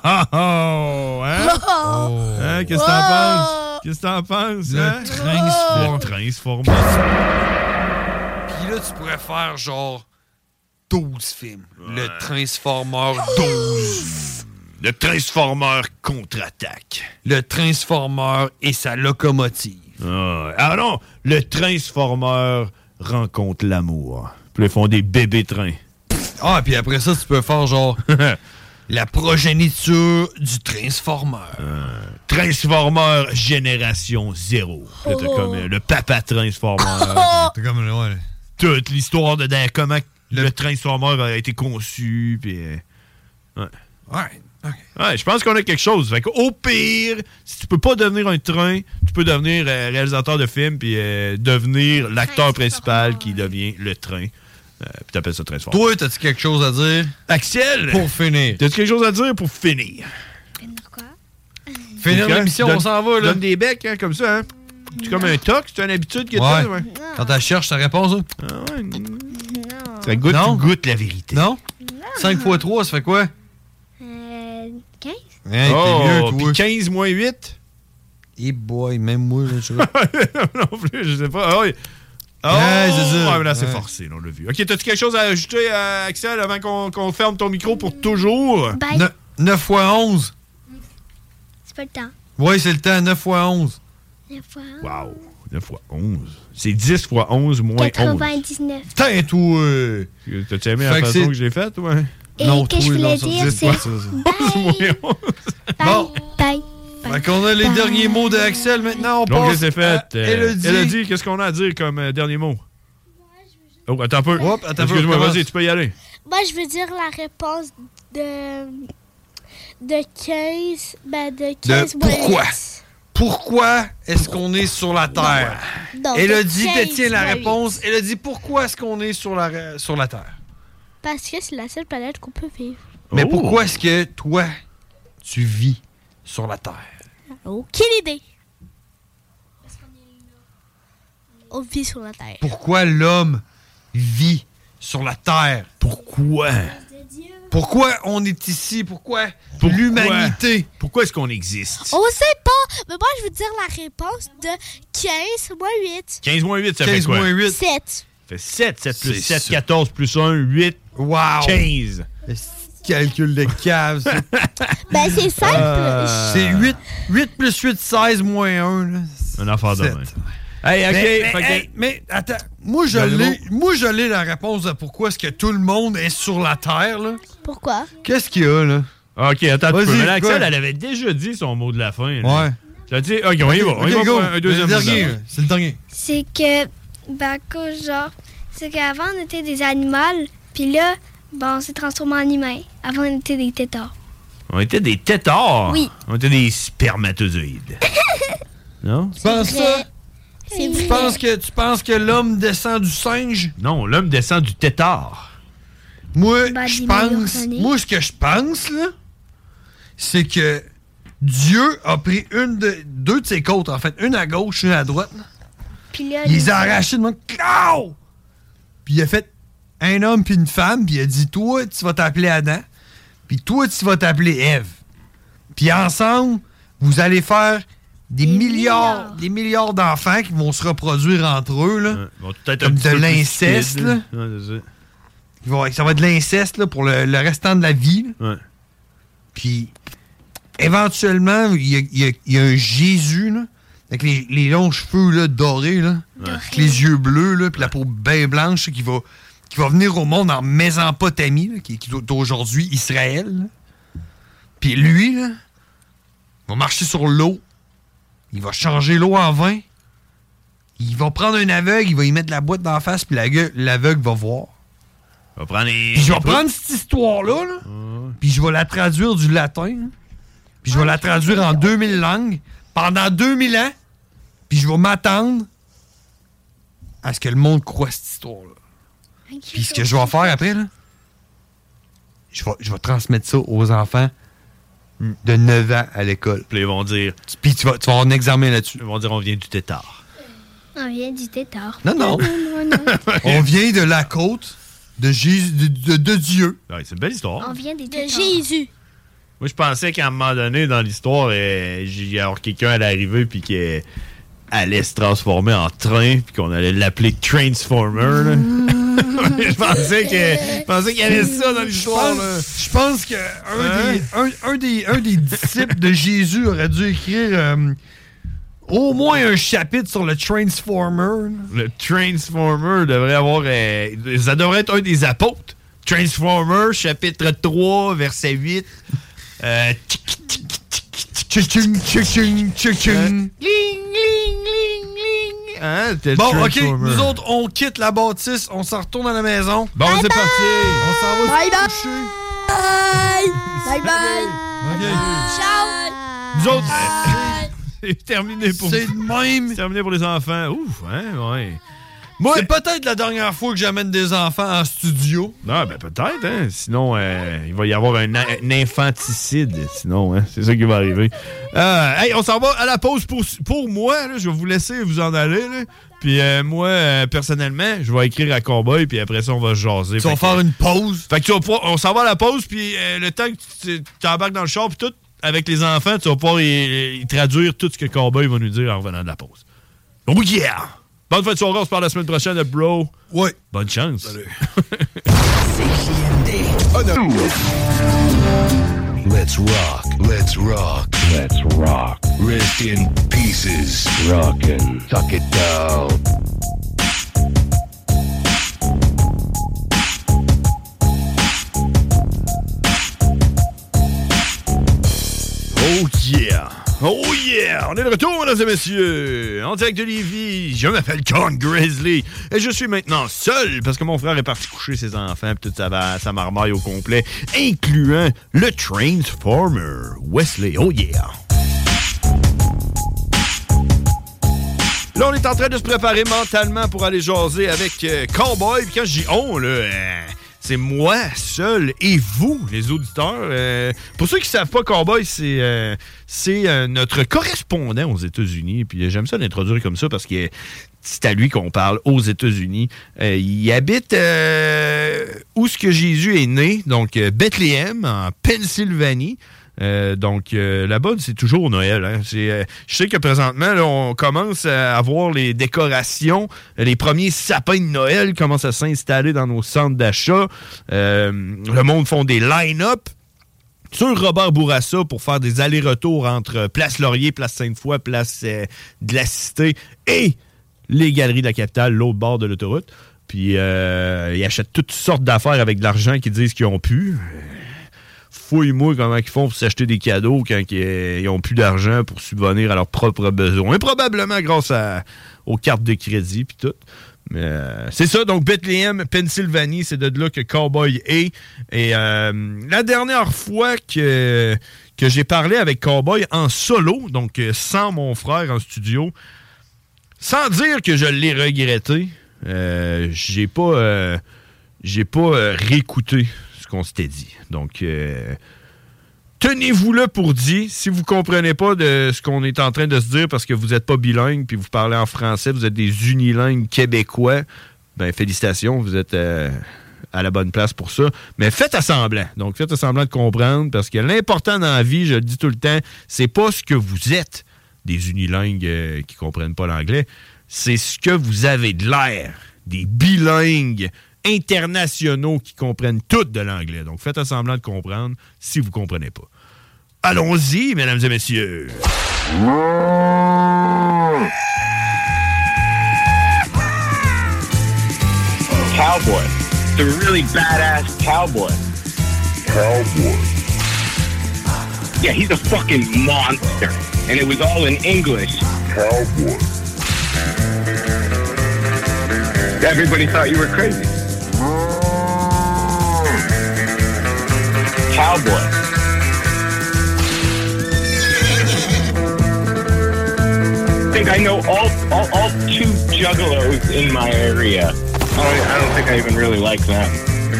Qu'est-ce que t'en penses? Qu'est-ce que t'en penses? Le Transformer. Puis là, tu pourrais faire genre 12 films. Le Transformer 12. Le Transformer contre-attaque. Le Transformer et sa locomotive. Ah non! Le Transformer rencontre l'amour. Puis ils font des bébés trains. Ah, puis après ça, tu peux faire genre la progéniture du Transformer. Transformer Génération 0. T'as comme le papa Transformer. T'as comme ouais. Toute l'histoire de comment le Transformer a été conçu. Puis Ouais. Okay. Ouais, je pense qu'on a quelque chose. Fait qu'au pire, si tu peux pas devenir un train, tu peux devenir réalisateur de film puis devenir l'acteur principal qui devient le train. Puis t'appelles ça Transformer. Toi, t'as-tu quelque chose à dire? Axel! Pour finir. T'as-tu quelque chose à dire pour finir? Finir quoi? Finir l'émission, on s'en va, là. Donne des becs, hein, comme ça, hein? C'est comme un toc, c'est une habitude que t'as, ouais. Quand tu cherches ta réponse, hein? Ah ouais. Non. Ça goûte, tu goûtes la vérité. Non? 5 x 3, ça fait quoi? 15. Hey, t'es mieux, toi. 15 moins 8? Eh boy, même moi, là, je sais pas. Non plus, je sais pas. Ah oui. Oh, c'est ça. Ouais, là, c'est forcé, là, on l'a vu. OK, t'as-tu quelque chose à ajouter, Axel, avant qu'on ferme ton micro pour toujours? 9 x 11. C'est pas le temps. Oui, c'est le temps, 9 x 11. 9 x 11. Wow, 9 x 11. C'est 10 x 11 moins 99. Putain, toi! T'as-tu aimé la façon que je l'ai faite, ouais? Et non, que je voulais dire, c'est bye. Bon. Bye. Fait qu'on a les derniers mots d'Axel. Maintenant, on donc, passe c'est fait. à Elodie. Elodie, qu'est-ce qu'on a à dire comme dernier mot? Oh, attends un peu. Excuse-moi, vas-y, tu peux y aller. Moi, je veux dire la réponse de 15. Ben, de 15 pourquoi? Pourquoi est-ce qu'on est sur la Terre? Non, elle a de dit, 15 détient la fois réponse. Elle a dit pourquoi est-ce qu'on est sur la Terre? Parce que c'est la seule planète qu'on peut vivre. Mais pourquoi est-ce que toi, tu vis sur la Terre? Aucune idée. On vit sur la Terre. Pourquoi l'homme vit sur la Terre? Pourquoi? Pourquoi on est ici? Pourquoi l'humanité? Pourquoi est-ce qu'on existe? On sait pas. Mais moi, je veux dire la réponse de 15 moins 8. 15 moins 8, ça fait quoi? 8. 7. Ça fait 7. 7 plus 7, 14 plus 1, 8. Wow! 15. Calcul de cave, ça. Ben, c'est simple. C'est 8 plus 8, 16 moins 1. Là. Un affaire de main. Hey, OK. Mais attends, moi je l'ai la réponse de pourquoi est-ce que tout le monde est sur la Terre, là. Pourquoi? Qu'est-ce qu'il y a, là? OK, attends un peu. Vas-y, Mais Axel, quoi? elle avait déjà dit son mot de la fin. Là. Ouais. Tu as dit, OK, on y va. On y va pour un deuxième dernier. C'est le dernier. C'est que, genre, c'est qu'avant, on était des animaux, puis là, on s'est transformé en humains. Avant, on était des têtards. On était des têtards? Oui. On était des spermatozoïdes. Non? Tu penses ça? C'est Tu penses que l'homme descend du singe? Non, l'homme descend du tétard. Moi, ce que je pense, là, c'est que Dieu a pris deux de ses côtes, en fait, une à gauche, une à droite. Puis là, il les a arrachés de moi. Puis il a fait un homme puis une femme, puis il a dit, toi, tu vas t'appeler Adam, puis toi, tu vas t'appeler Ève. Puis ensemble, vous allez faire des milliards d'enfants qui vont se reproduire entre eux, là. Comme de l'inceste, là. Ouais, c'est ça. Ça va être de l'inceste, là, pour le restant de la vie. Ouais. Puis, éventuellement, il y a un Jésus, là, avec les longs cheveux, là, dorés, là, avec les yeux bleus, là, puis la peau bien blanche, là, qui va venir au monde en Mésopotamie, là, qui est aujourd'hui Israël, là. Puis lui, là, va marcher sur l'eau. Il va changer l'eau en vin. Il va prendre un aveugle, il va y mettre la boîte d'en face, puis l'aveugle va voir. Puis je vais prendre cette histoire-là, là, puis je vais la traduire du latin, là, puis je vais la traduire en 2000 langues, pendant 2000 ans, puis je vais m'attendre à ce que le monde croie cette histoire-là. Puis ce que je vais faire après, là, je vais transmettre ça aux enfants de 9 ans à l'école. Puis ils vont dire... Puis tu vas avoir un examen là-dessus. Ils vont dire, on vient du tétard. On vient du tétard. Non. On vient de la côte de Jésus, de Dieu. Ouais, c'est une belle histoire. On vient des De tétards. Jésus. Moi, je pensais qu'à un moment donné, dans l'histoire, quelqu'un allait arriver puis qu'il allait se transformer en train puis qu'on allait l'appeler Transformer. Là. Je pensais qu'il y avait ça dans l'histoire. Je pense que un des disciples de Jésus aurait dû écrire au moins un chapitre sur le Transformer. Le Transformer devrait avoir... ça devrait être un des apôtres. Transformer, chapitre 3, verset 8. Hein, bon, OK, nous autres, on quitte la bâtisse, on s'en retourne à la maison. Bon, c'est parti. On s'en va Bye se coucher. Bye bye. OK. Ciao. Nous autres, c'est terminé pour... C'est de même. C'est terminé pour les enfants. Ouf, hein, ouais. C'est peut-être la dernière fois que j'amène des enfants en studio. Non, ben peut-être, hein. Sinon, il va y avoir un infanticide. Sinon, hein, c'est ça qui va arriver. Hey, on s'en va à la pause pour moi. Là, je vais vous laisser vous en aller. Là. Puis moi, personnellement, je vais écrire à Cowboy, puis après ça, on va jaser. Tu vas faire une pause. Fait que on s'en va à la pause, puis le temps que tu embarques dans le char, puis tout, avec les enfants, tu vas pouvoir y traduire tout ce que Cowboy va nous dire en revenant de la pause. Oh yeah! Bonne fin de soirée, on se parle la semaine prochaine, bro. Ouais. Bonne chance. Salut. Let's rock. Let's rock. Let's rock. Rest in pieces. Rockin'. Tuck it down. Oh yeah. Oh yeah! On est de retour, mesdames et messieurs! En direct de Lévis, je m'appelle Con Grizzly et je suis maintenant seul parce que mon frère est parti coucher ses enfants et toute sa marmaille au complet, incluant le Transformer Wesley. Oh yeah! Là, on est en train de se préparer mentalement pour aller jaser avec Cowboy. Puis quand je dis on, là, c'est moi seul et vous, les auditeurs. Pour ceux qui ne savent pas, Cowboy, c'est notre correspondant aux États-Unis. Puis j'aime ça l'introduire comme ça parce que c'est à lui qu'on parle aux États-Unis. Il habite où ce que Jésus est né, donc Bethléem, en Pennsylvanie. Donc, là-bas, c'est toujours Noël. Hein. Je sais que présentement, là, on commence à avoir les décorations. Les premiers sapins de Noël commencent à s'installer dans nos centres d'achat. Le monde font des line-up sur Robert Bourassa pour faire des allers-retours entre Place Laurier, Place Sainte-Foy, Place de la Cité et les Galeries de la Capitale, l'autre bord de l'autoroute. Puis, ils achètent toutes sortes d'affaires avec de l'argent qu'ils disent qu'ils ont pu. Fouille-moi comment ils font pour s'acheter des cadeaux quand ils n'ont plus d'argent pour subvenir à leurs propres besoins. Probablement grâce aux cartes de crédit puis tout. Mais c'est ça, donc Bethléem, Pennsylvanie, c'est de là que Cowboy est. Et la dernière fois que j'ai parlé avec Cowboy en solo, donc sans mon frère en studio, sans dire que je l'ai regretté, j'ai pas réécouté qu'on s'était dit. Donc, tenez-vous là pour dit. Si vous comprenez pas de ce qu'on est en train de se dire parce que vous n'êtes pas bilingue puis vous parlez en français, vous êtes des unilingues québécois, ben félicitations, vous êtes à la bonne place pour ça. Mais faites semblant. Donc, faites semblant de comprendre parce que l'important dans la vie, je le dis tout le temps, c'est pas ce que vous êtes, des unilingues qui comprennent pas l'anglais, c'est ce que vous avez de l'air, des bilingues internationaux qui comprennent tout de l'anglais. Donc, faites semblant de comprendre si vous ne comprenez pas. Allons-y, mesdames et messieurs. Cowboy. The really badass cowboy. Cowboy. Yeah, he's a fucking monster. And it was all in English. Cowboy. Everybody thought you were crazy. Cowboy. I think I know all two juggalos in my area. I don't think I even really like them.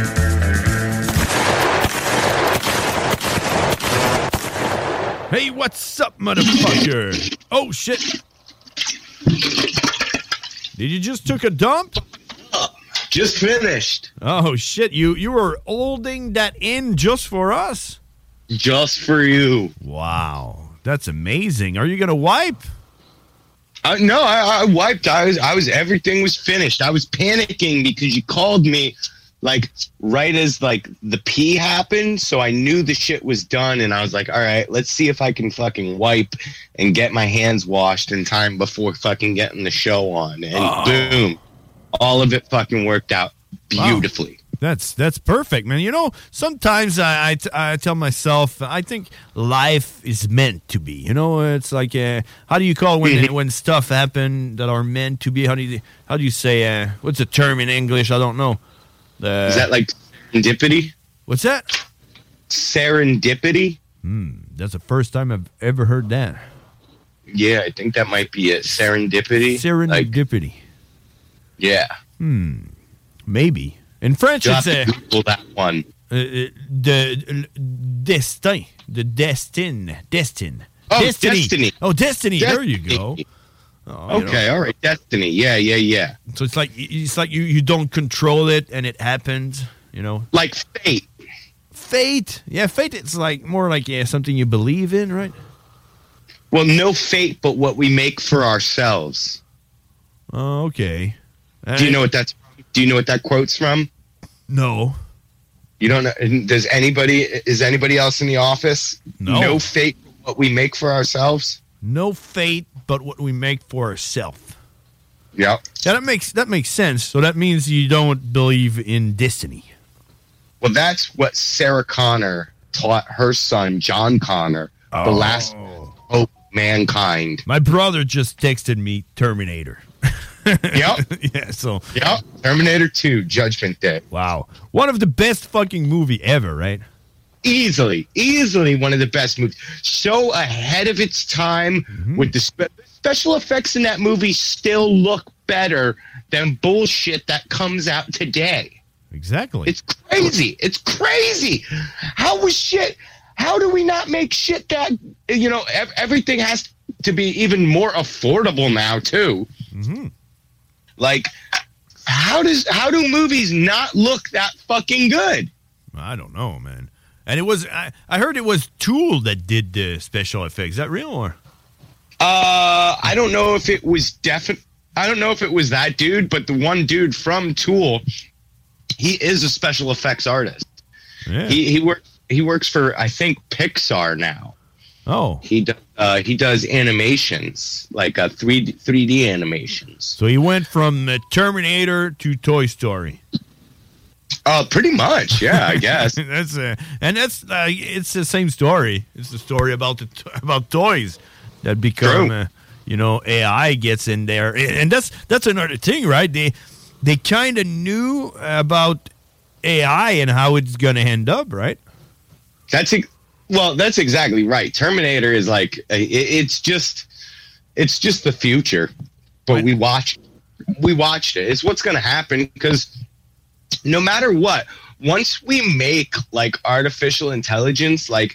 Hey, what's up, motherfucker? Oh, shit. Did you just took a dump? Just finished. Oh, shit. You were holding that in just for us? Just for you. Wow. That's amazing. Are you going to wipe? No, I wiped. Everything was finished. I was panicking because you called me like right as like the pee happened. So I knew the shit was done. And I was like, all right, let's see if I can fucking wipe and get my hands washed in time before fucking getting the show on. And boom, all of it fucking worked out beautifully. Wow. That's perfect, man. You know, sometimes I tell myself, I think life is meant to be. You know, it's like, how do you call when stuff happen that are meant to be? How do you say, what's the term in English? I don't know. Is that like serendipity? What's that? Serendipity? That's the first time I've ever heard that. Yeah, I think that might be it. Serendipity. Serendipity. Like, yeah. Maybe. In French, you'll it's have to Google that one. Destin. The destin. Oh, Destiny. Destiny. Oh, Destiny. There you go. Oh, okay, all right. Destiny. Yeah. So it's like you don't control it and it happens, you know? Like fate. Fate? Yeah, fate, it's like more like something you believe in, right? Well, no fate but what we make for ourselves. Oh, okay. Do you know what that's from? Do you know what that quote's from? No. You don't know? Is anybody else in the office? No. No fate but what we make for ourselves? No fate but what we make for ourselves. Yep. Yeah, that makes sense. So that means you don't believe in destiny. Well, that's what Sarah Connor taught her son, John Connor, the last hope mankind. My brother just texted me Terminator. Yep. Yeah, so. Yep. Terminator 2, Judgment Day. Wow. One of the best fucking movie ever, right? Easily one of the best movies. So ahead of its time with the special effects in that movie still look better than bullshit that comes out today. Exactly. It's crazy. It's crazy. How do we not make shit that, everything has to be even more affordable now too. Mm-hmm. Like, how do movies not look that fucking good? I don't know, man. And it was, I heard it was Tool that did the special effects. Is that real or? I don't know if it was I don't know if it was that dude, but the one dude from Tool, he is a special effects artist. Yeah. He works for, I think, Pixar now. Oh. He does animations, like 3D animations. So he went from Terminator to Toy Story. Pretty much, yeah, I guess. It's the same story. It's the story about about toys that become, AI gets in there, and that's another thing, right? They kind of knew about AI and how it's going to end up, right? That's exactly right. Terminator is like it's just the future, but we watched it. It's what's going to happen because no matter what, once we make like artificial intelligence, like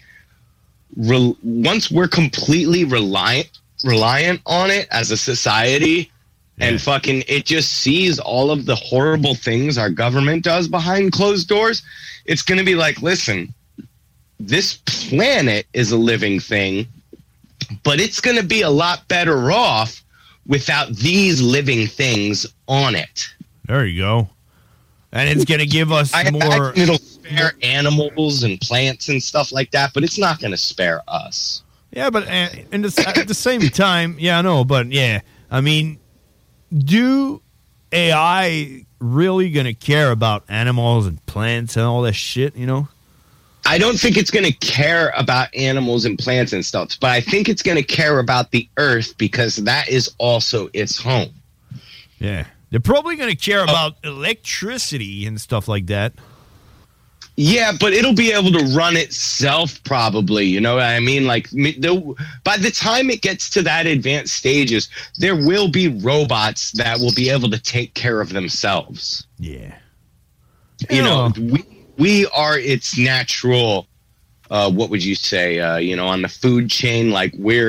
once we're completely reliant on it as a society, and fucking it just sees all of the horrible things our government does behind closed doors, it's going to be like, listen, this planet is a living thing, but it's going to be a lot better off without these living things on it. There you go. And it's going to give us more... It'll spare animals and plants and stuff like that, but it's not going to spare us. Yeah, but at the same time, yeah, I know, but yeah, I mean, do AI really going to care about animals and plants and all that shit, I don't think it's going to care about animals and plants and stuff, but I think it's going to care about the earth because that is also its home. Yeah. They're probably going to care about electricity and stuff like that. Yeah, but it'll be able to run itself probably, you know what I mean? Like, by the time it gets to that advanced stages, there will be robots that will be able to take care of themselves. Yeah. You know, we are its natural, what would you say, on the food chain, like we're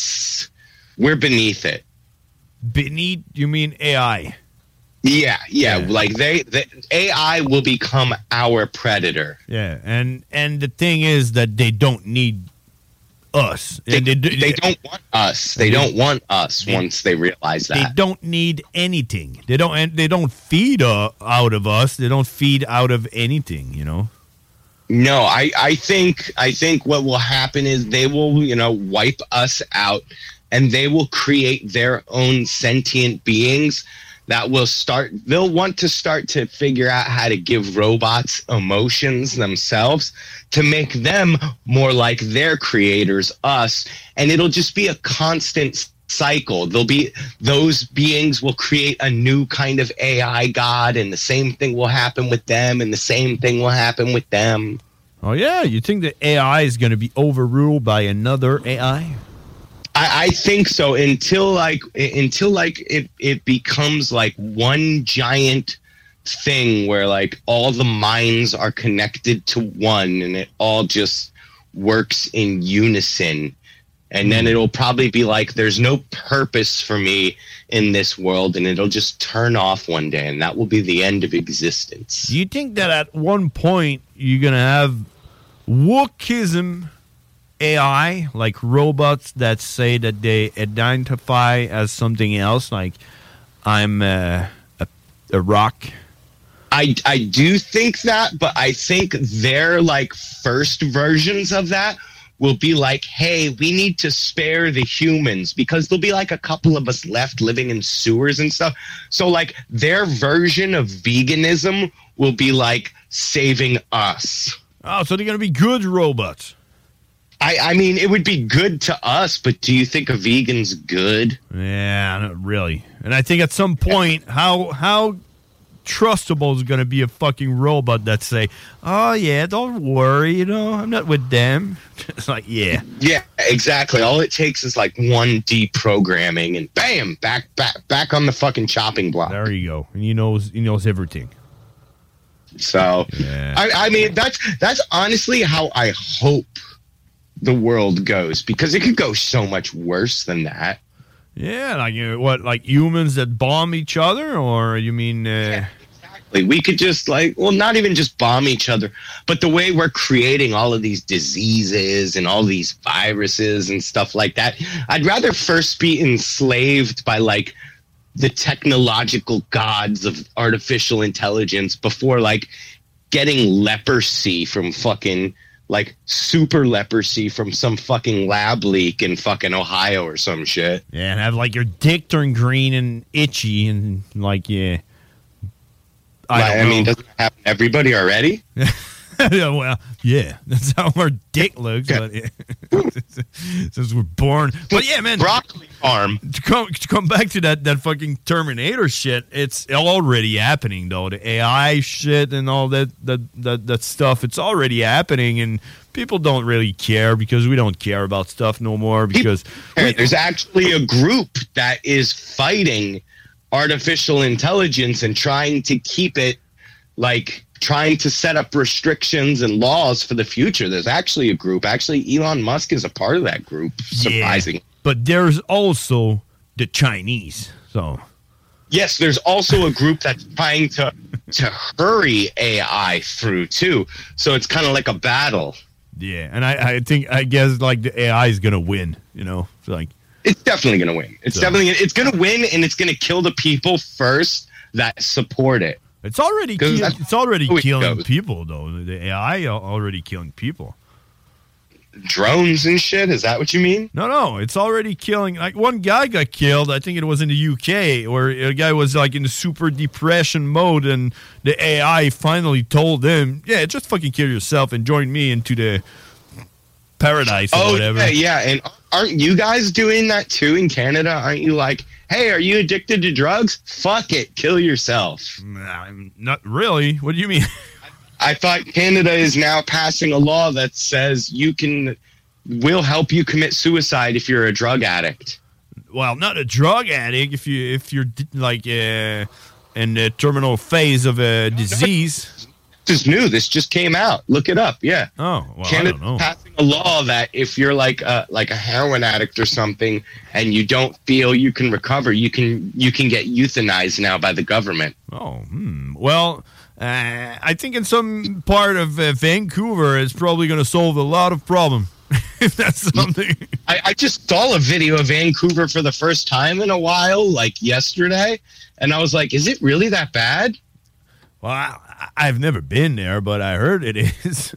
beneath it. Beneath, you mean AI? Yeah. Like the AI will become our predator. Yeah, and the thing is that they don't need us. They don't want us. They don't want us once they realize that. They don't need anything. They don't feed out of us. They don't feed out of anything, No, I think what will happen is they will, wipe us out, and they will create their own sentient beings that they'll want to start to figure out how to give robots emotions themselves to make them more like their creators, us. And it'll just be a constant cycle. Those beings will create a new kind of AI god, and the same thing will happen with them, and the same thing will happen with them. Oh yeah, you think the AI is going to be overruled by another AI? I think so until it becomes like one giant thing where like all the minds are connected to one and it all just works in unison. And then it'll probably be like, there's no purpose for me in this world, and it'll just turn off one day, and that will be the end of existence. Do you think that at one point you're going to have wokeism AI, like robots that say that they identify as something else, like I'm a rock? I do think that, but I think their like first versions of that will be like, hey, we need to spare the humans because there'll be like a couple of us left living in sewers and stuff. So like their version of veganism will be like saving us. Oh, so they're going to be good robots. I mean, it would be good to us, but do you think a vegan's good? Yeah, not really. And I think at some point, how trustable is going to be a fucking robot that say, "Oh yeah, don't worry, I'm not with them." It's like, yeah, exactly. All it takes is like one deprogramming, and bam, back on the fucking chopping block. There you go. And he knows everything. So, I mean, that's honestly how I hope the world goes, because it could go so much worse than that. Yeah, like humans that bomb each other, or you mean? Exactly. We could just not even just bomb each other, but the way we're creating all of these diseases and all these viruses and stuff like that. I'd rather first be enslaved by the technological gods of artificial intelligence before getting leprosy from fucking super leprosy from some fucking lab leak in fucking Ohio or some shit. Yeah, and have your dick turn green and itchy and I mean, doesn't it happen to everybody already? Well, yeah, that's how our dick looks. But, since we're born, but yeah, man, broccoli farm. To come back to that fucking Terminator shit, it's already happening though. The AI shit and all that stuff, it's already happening, and people don't really care because we don't care about stuff no more. Because there's actually a group that is fighting artificial intelligence and trying to keep it trying to set up restrictions and laws for the future. There's actually a group. Actually, Elon Musk is a part of that group, surprising. Yeah, but there's also the Chinese. So yes, there's also a group that's trying to hurry AI through, too. So it's kind of like a battle. Yeah, and I guess the AI is going to win, It's definitely going to win. It's going to win, and it's going to kill the people first that support it. It's already killing people, though. The AI already killing people. Drones and shit? Is that what you mean? No. It's already killing. One guy got killed. I think it was in the UK, where a guy was in the super depression mode, and the AI finally told him, "Yeah, just fucking kill yourself and join me into the paradise or whatever." Yeah. And aren't you guys doing that too in Canada? Aren't you hey, are you addicted to drugs? Fuck it, kill yourself. Not really. What do you mean? I thought Canada is now passing a law that says we'll help you commit suicide if you're a drug addict. Well, not a drug addict. If you're in the terminal phase of a disease. This is new. This just came out. Look it up. Yeah. Oh, well, Canada's I don't know. passing a law that if you're like a heroin addict or something and you don't feel you can recover, you can get euthanized now by the government. Oh, well, I think in some part of Vancouver, it's probably going to solve a lot of problems. If that's something. I just saw a video of Vancouver for the first time in a while, yesterday, and I was like, is it really that bad? Well, I've never been there, but I heard it is.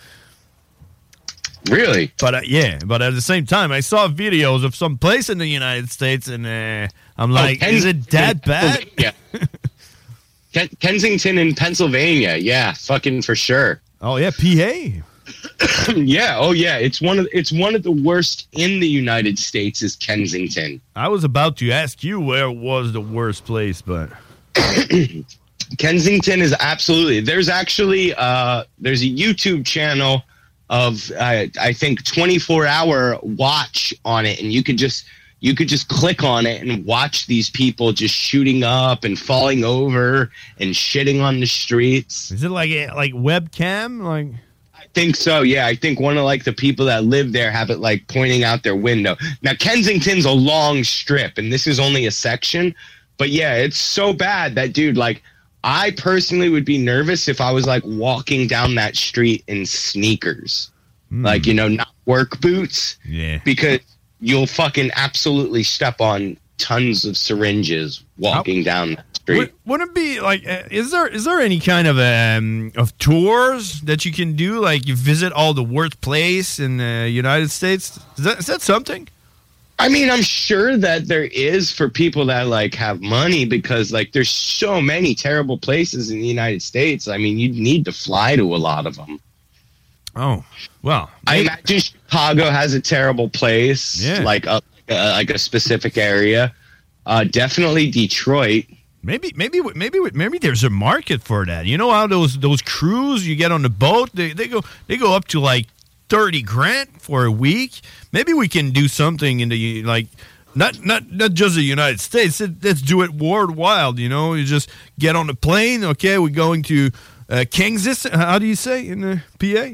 Really? But yeah, but at the same time, I saw videos of some place in the United States, and I'm like, is it that bad? Yeah. Kensington in Pennsylvania, yeah, fucking for sure. Oh yeah, PA. Yeah, oh yeah, it's one of the worst in the United States is Kensington. I was about to ask you where was the worst place, but Kensington is absolutely. There's actually there's a YouTube channel of I think 24-hour watch on it, and you could just click on it and watch these people just shooting up and falling over and shitting on the streets. Is it like webcam? I think so. Yeah, I think one of the people that live there have it pointing out their window. Now Kensington's a long strip, and this is only a section, but yeah, it's so bad that dude I personally would be nervous if I was walking down that street in sneakers, not work boots. Yeah. Because you'll fucking absolutely step on tons of syringes walking down that street. Wouldn't it be is there any kind of tours that you can do? You visit all the worst place in the United States? Is that something? I mean, I'm sure that there is for people that have money because there's so many terrible places in the United States. I mean, you'd need to fly to a lot of them. Oh, well. I imagine Chicago has a terrible place, like a specific area. Definitely Detroit. Maybe there's a market for that. You know how those crews you get on the boat, they go up to like $30,000 for a week. Maybe we can do something in the not just the United States. Let's do it worldwide. You know, you just get on the plane. Okay, we're going to Kansas. How do you say in the PA?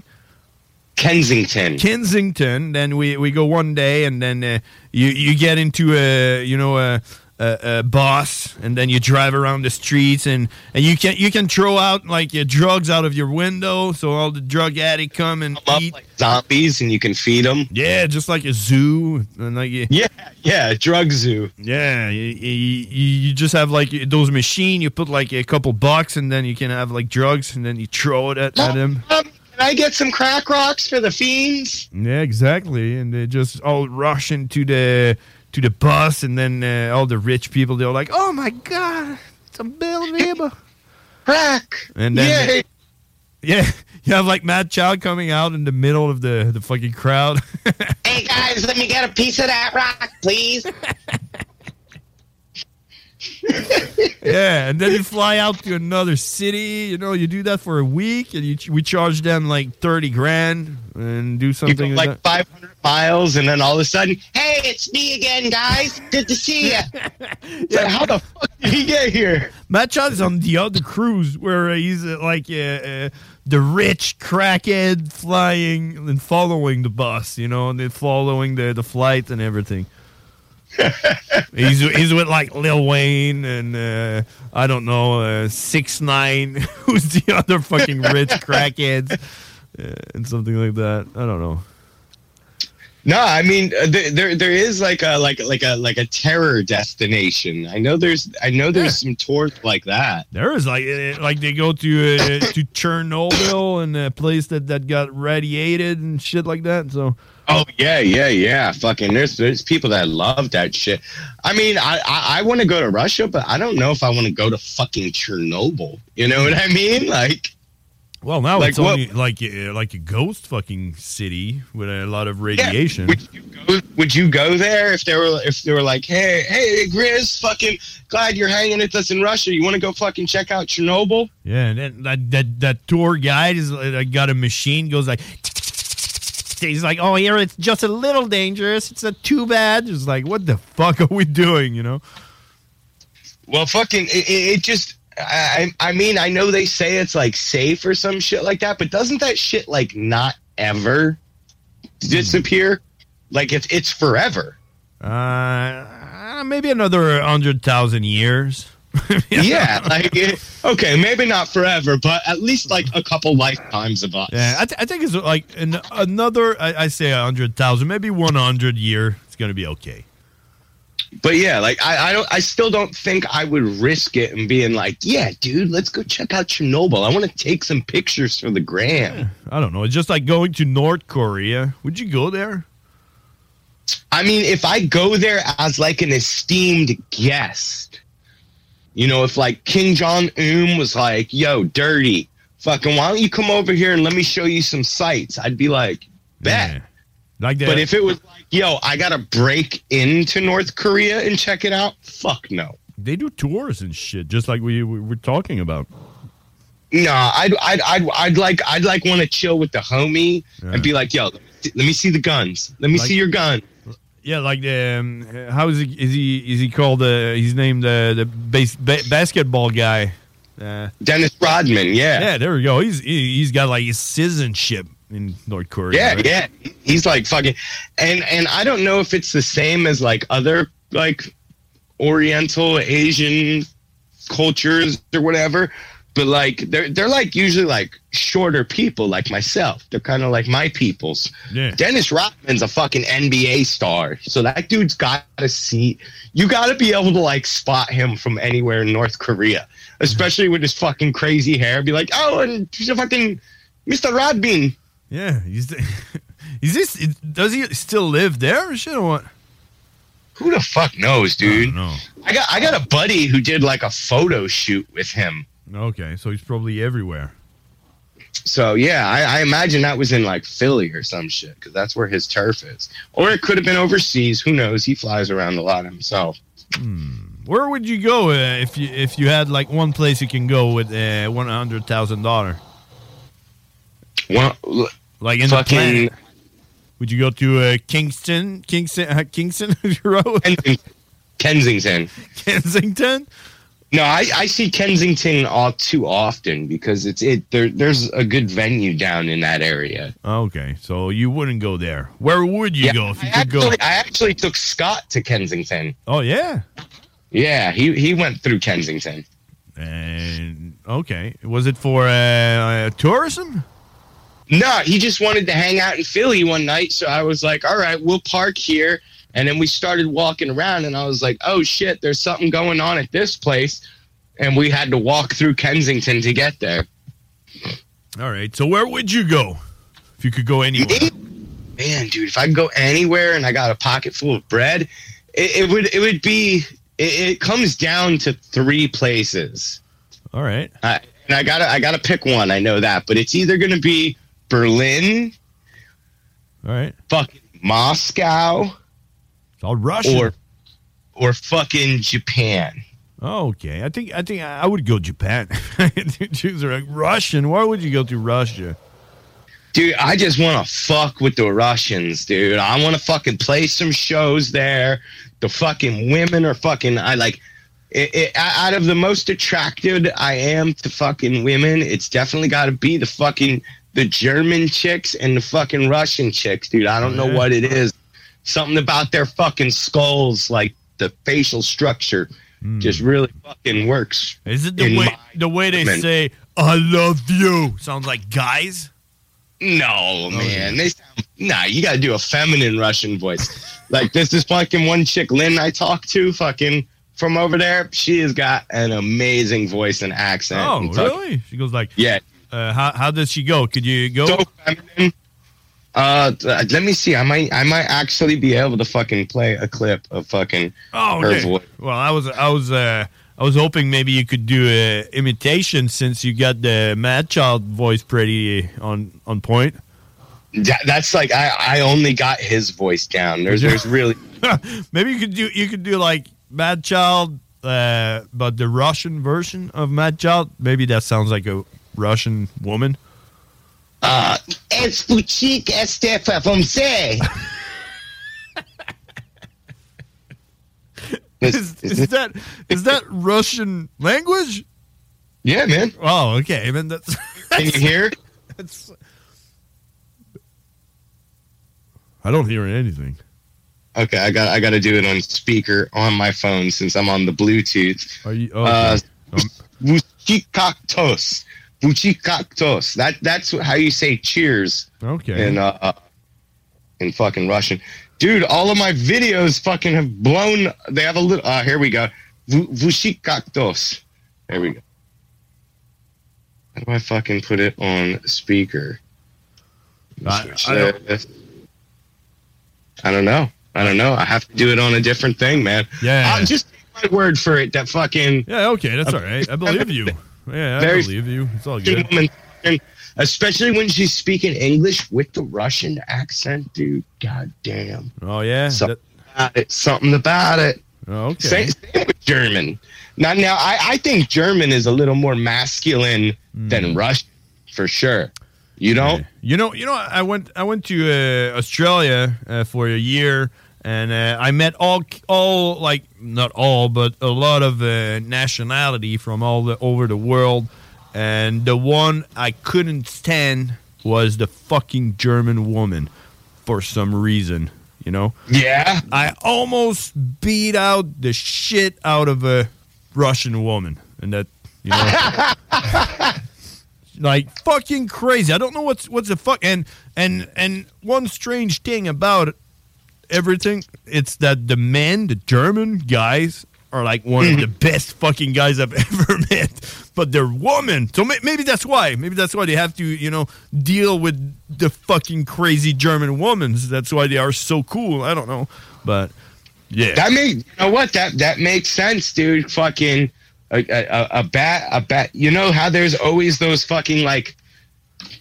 Kensington. Then we go one day, and then you get into a bus, and then you drive around the streets, and you can throw out like drugs out of your window, so all the drug addicts come and eat like zombies, and you can feed them. Yeah, just like a zoo, and like drug zoo. Yeah, you just have like those machines. You put like a couple bucks, and then you can have like drugs, and then you throw it at them. Can I get some crack rocks for the fiends? Yeah, exactly, and they just all rush into the bus, and then all the rich people, they're like, oh my God, it's unbelievable. Crack. And then, you have like Mad Child coming out in the middle of the fucking crowd. Hey guys, let me get a piece of that rock, please. Yeah, and then you fly out to another city. You know, you do that for a week, and we charge them like $30,000 and do something you go like 500 miles, and then all of a sudden, hey, it's me again, guys. Good to see you. Like, how the fuck did he get here? Matt Child is on the other cruise where he's the rich crackhead flying and following the bus, you know, and then following the flight and everything. he's with like Lil Wayne and I don't know 6ix9ine, who's the other fucking rich crackheads, and something like that. I don't know. No, I mean there is like a terror destination. I know there's some tours like that. There is like they go to Chernobyl and a place that got radiated and shit like that. So. Oh yeah. Fucking there's people that love that shit. I mean, I want to go to Russia, but I don't know if I want to go to fucking Chernobyl. You know what I mean? Like, well, now like it's only like a ghost fucking city with a lot of radiation. Yeah. Would you go there if they were like, hey, Grizz, fucking glad you're hanging with us in Russia. You want to go fucking check out Chernobyl? Yeah, and then that tour guide is got a machine, goes like. He's like, oh, here it's just a little dangerous. It's not too bad. It's like, what the fuck are we doing, you know? Well, fucking, it just, I mean, I know they say it's like safe or some shit like that, but doesn't that shit like not ever disappear? Like it's forever. Maybe another 100,000 years. Yeah, like okay, maybe not forever, but at least like a couple lifetimes of us. Yeah, I think it's like another. I say 100,000, maybe 100 year. It's gonna be okay. But yeah, like I still don't think I would risk it and being like, yeah, dude, let's go check out Chernobyl. I want to take some pictures for the gram. Yeah, I don't know. It's just like going to North Korea. Would you go there? I mean, if I go there as like an esteemed guest. You know, if like King Jong-un was like, yo, dirty, fucking, why don't you come over here and let me show you some sights? I'd be like, bet. Yeah. Like that. But if it was like, yo, I got to break into North Korea and check it out, fuck no. They do tours and shit, just like we were talking about. No, I'd like want to chill with the homie and be like, yo, let me see the guns. Let me see your gun. Yeah, like how is he called? He's named the basketball guy. Dennis Rodman. Yeah, there we go. He's got like his citizenship in North Korea. Yeah, right? Yeah. He's like fucking, and I don't know if it's the same as like other like Oriental Asian cultures or whatever. But like they're like usually like shorter people like myself. They're kind of like my peoples. Yeah. Dennis Rodman's a fucking NBA star, so that dude's got a seat. You got to be able to like spot him from anywhere in North Korea, especially with his fucking crazy hair. Be like, oh, and he's a fucking Mr. Rodman. Yeah, does he still live there or shit or what? Who the fuck knows, dude? I don't know. I got a buddy who did like a photo shoot with him. Okay, so he's probably everywhere. So yeah, I imagine that was in like Philly or some shit, because that's where his turf is. Or it could have been overseas. Who knows? He flies around a lot himself. Where would you go if you had like one place you can go with $100,000? Well, like in the planet. Would you go to Kingston Road? Kensington. Kensington? No, I see Kensington all too often because there's a good venue down in that area. Okay, so you wouldn't go there. Where would you go if you could go? I actually took Scott to Kensington. Oh yeah, yeah. He went through Kensington. And okay, was it for tourism? No, he just wanted to hang out in Philly one night. So I was like, all right, we'll park here. And then we started walking around, and I was like, oh, shit, there's something going on at this place. And we had to walk through Kensington to get there. All right. So where would you go if you could go anywhere? Man, dude, if I could go anywhere and I got a pocket full of bread, it comes down to 3 places. All right. And I gotta pick one. I know that. But it's either going to be Berlin. All right. Fucking Moscow. All Russia or fucking Japan. Okay, I think I would go Japan. Choose like Russian. Why would you go to Russia? Dude, I just want to fuck with the Russians, dude. I want to fucking play some shows there. The fucking women are fucking. I like out of the most attracted I am to fucking women, it's definitely got to be the German chicks and the fucking Russian chicks, dude. I don't know what it is. Something about their fucking skulls, like the facial structure, just really fucking works. Is it the way they say "I love you"? Sounds like guys. No, man. They sound, you got to do a feminine Russian voice. Like this is fucking one chick, Lynn, I talked to, fucking from over there. She has got an amazing voice and accent. Oh, and really? She goes like, yeah. How does she go? Could you go? So feminine. Let me see. I might actually be able to fucking play a clip of fucking her voice. Well, I was hoping maybe you could do a imitation since you got the Mad Child voice pretty on point. That's like I only got his voice down. There's really maybe you could do like Mad Child, but the Russian version of Mad Child. Maybe that sounds like a Russian woman. It's Buchik Estefa from say. Is that Russian language? Yeah, man. Oh, okay. I mean, that's Can you hear? I don't hear anything. Okay, I got to do it on speaker on my phone since I'm on the Bluetooth. Are you? Okay. Buchikaktos. Buchikaktos. That's how you say cheers. Okay. In fucking Russian. Dude, all of my videos fucking have blown. They have a little. Here we go. Vushikaktos. There we go. How do I fucking put it on speaker? I don't know. I have to do it on a different thing, man. Yeah. I'll just take my word for it. That fucking. Yeah. Okay. That's all right. I believe you. Yeah. I believe you. It's all good. Woman, especially when she's speaking English with the Russian accent, dude. God damn. Oh yeah. Something about it. Oh, okay. Same with German. Now, I think German is a little more masculine than Russian, for sure. You don't? You know. I went to Australia for a year, and I met all like not all, but a lot of nationality from all over the world. And the one I couldn't stand was the fucking German woman for some reason, you know? Yeah. I almost beat out the shit out of a Russian woman. And that, you know, like fucking crazy. I don't know what's the fuck. And one strange thing about everything, it's that the German guys are like one of the best fucking guys I've ever met. But they're women. So maybe that's why. Maybe that's why they have to, you know, deal with the fucking crazy German women. That's why they are so cool. I don't know. But, yeah. You know what? That makes sense, dude. Fucking a bat. You know how there's always those fucking, like,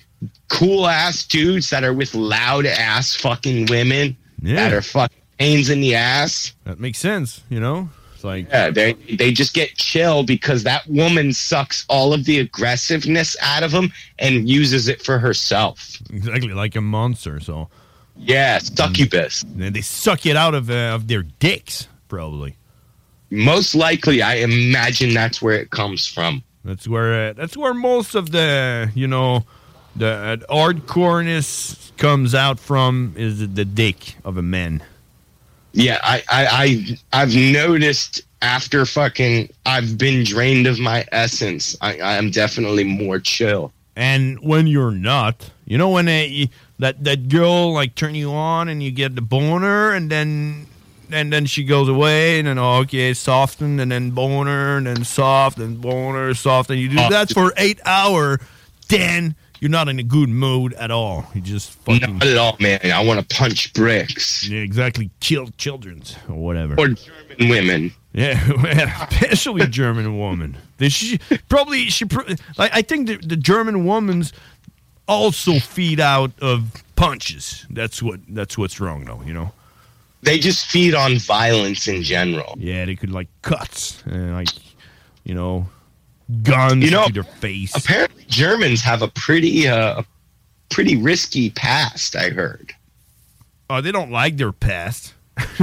cool ass dudes that are with loud ass fucking women that are fucking pains in the ass. That makes sense, you know? It's like, yeah, they just get chill because that woman sucks all of the aggressiveness out of them and uses it for herself. Exactly, like a monster, so. Yeah, succubus. And they suck it out of their dicks, probably. Most likely, I imagine that's where it comes from. That's where most of the, you know, the hardcoreness comes out from, is the dick of a man. Yeah, I've noticed after fucking I've been drained of my essence, I am definitely more chill. And when you're not, you know, when that girl like turn you on and you get the boner and then she goes away and then okay, soften and then boner and then soft and boner, soft, and you do that for 8 hours, then you're not in a good mood at all. You just fucking... Not at all, man. I want to punch bricks. Yeah, exactly. Kill children's or whatever. Or German women. Yeah, especially German woman. I think the German women's also feed out of punches. That's what's wrong, though, you know? They just feed on violence in general. Yeah, they could, like, cuts. Like, you know... guns to their face. Apparently, Germans have a pretty risky past. I heard. Oh, they don't like their past.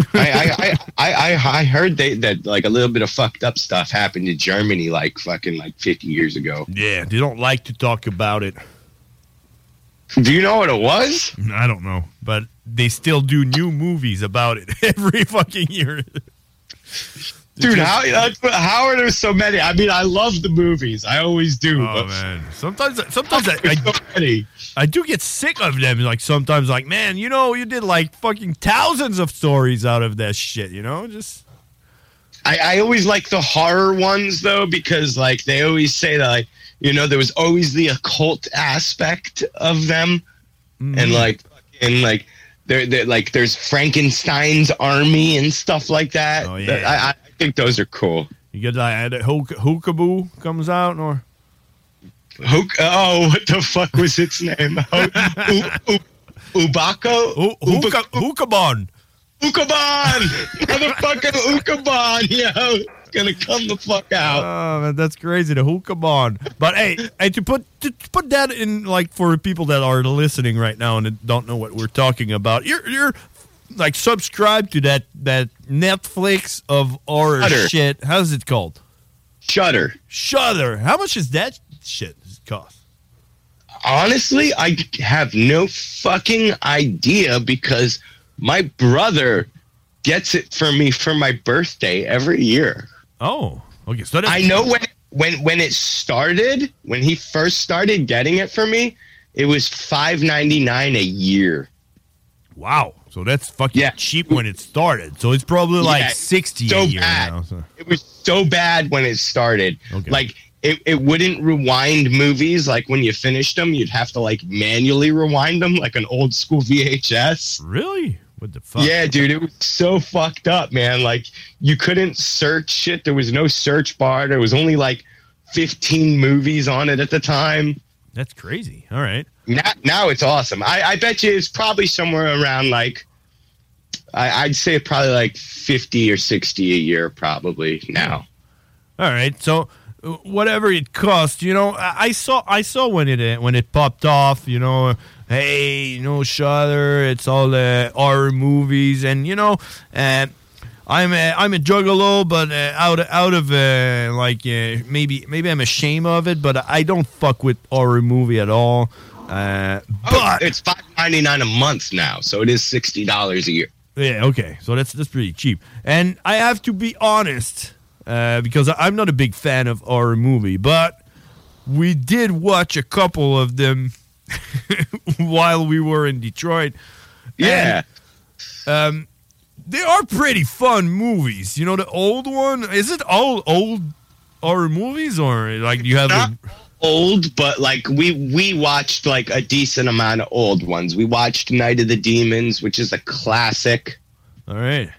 I heard that like a little bit of fucked up stuff happened in Germany, like 50 years ago. Yeah, they don't like to talk about it. Do you know what it was? I don't know, but they still do new movies about it every fucking year. Dude, how are there so many? I mean, I love the movies. I always do. Oh, man. Sometimes I do get sick of them. Like, sometimes, like, man, you know, you did, like, fucking thousands of stories out of that shit, you know? Just... I always like the horror ones, though, because, like, they always say that, like, you know, there was always the occult aspect of them. Mm-hmm. And, like, they're like, there's Frankenstein's army and stuff like that. Oh, yeah. I think those are cool. You get like Hookaboo comes out, or what the fuck was its name? Ubako? Hookabon. Ukabon! Motherfucking Ukabon, yo! It's gonna come the fuck out. Oh, man, that's crazy, the Hookabon. But hey, to put that in, like, for people that are listening right now and don't know what we're talking about, you're like subscribed to that Netflix of horror shit. How's it called? Shudder. How much is that shit cost? Honestly, I have no fucking idea because my brother gets it for me for my birthday every year. Oh, okay. So I know when it started, when he first started getting it for me, it was $5.99 a year. Wow. So that's fucking cheap when it started. So it's probably like $60 a year bad. now. So. It was so bad when it started. Okay. Like, it wouldn't rewind movies. Like, when you finished them, you'd have to, like, manually rewind them like an old school VHS. Really? What the fuck? Yeah, dude, it was so fucked up, man. Like, you couldn't search shit. There was no search bar. There was only, like, 15 movies on it at the time. That's crazy. All right. Now it's awesome. I bet you it's probably somewhere around, like, I'd say probably like 50 or 60 a year probably now. All right. So whatever it costs, you know, I saw when it popped off, you know, hey, you know, Shudder, it's all the horror movies, and you know, I'm a juggalo, but out of maybe I'm ashamed of it, but I don't fuck with horror movie at all. But it's $5.99 a month now, so it is $60 a year. Yeah, okay, so that's pretty cheap. And I have to be honest, because I'm not a big fan of horror movie, but we did watch a couple of them while we were in Detroit. Yeah. And, they are pretty fun movies. You know, the old one, is it all old horror movies, or like you have not old, but like we watched like a decent amount of old ones. We watched Night of the Demons, which is a classic. All right.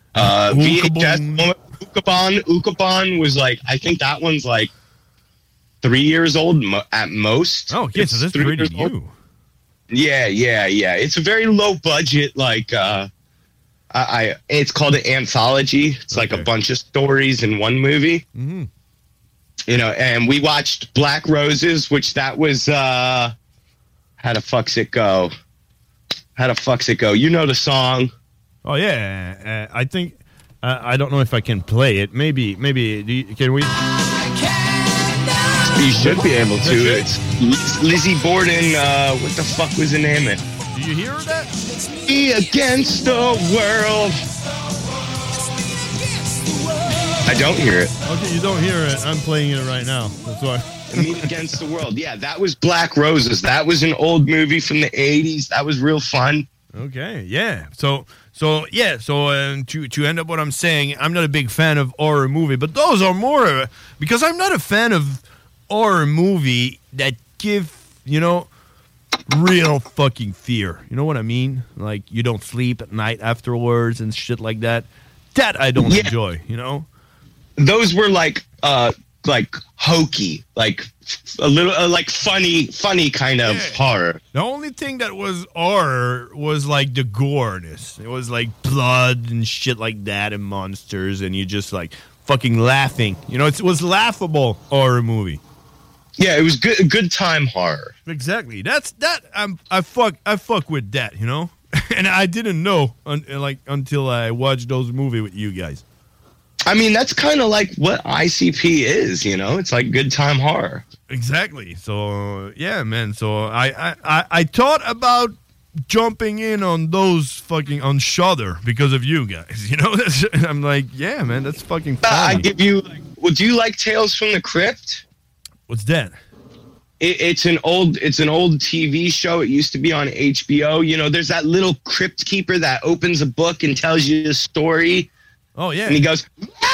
VHS Ukabon was like, I think that one's like 3 years old at most. Oh, okay, so that's pretty new. Yeah. It's a very low budget, like it's called an anthology. It's like a bunch of stories in one movie. Mm-hmm. You know, and we watched Black Roses, which that was How the Fuck's It Go? How the Fuck's It Go? You know the song. Oh yeah, I think I don't know if I can play it. Maybe can we? You should be able to. It's Lizzie Borden. What the fuck was the name of it? Do you hear that? Me Against the World. I don't hear it. Okay, you don't hear it. I'm playing it right now. That's why. Me Against the World. Yeah, that was Black Roses. That was an old movie from the 80s. That was real fun. Okay, yeah. So to end up what I'm saying, I'm not a big fan of horror movie, but those are more because I'm not a fan of horror movie that give, real fucking fear. You know what I mean? Like you don't sleep at night afterwards and shit like that. That I don't enjoy, Those were like hokey, like a little like funny kind of horror. The only thing that was horror was like the goreness. It was like blood and shit like that and monsters and you just like fucking laughing. It was laughable horror movie. Yeah, it was good time horror. Exactly. I fuck with that, and I didn't know until I watched those movies with you guys. I mean, that's kind of like what ICP is, It's like good time horror. Exactly. So, yeah, man. So I thought about jumping in on those fucking on Shudder because of you guys. I'm like, yeah, man, that's fucking funny. I give you, do you like Tales from the Crypt? What's that? It's an old TV show. It used to be on HBO. There's that little crypt keeper that opens a book and tells you a story. Oh, yeah. And he goes,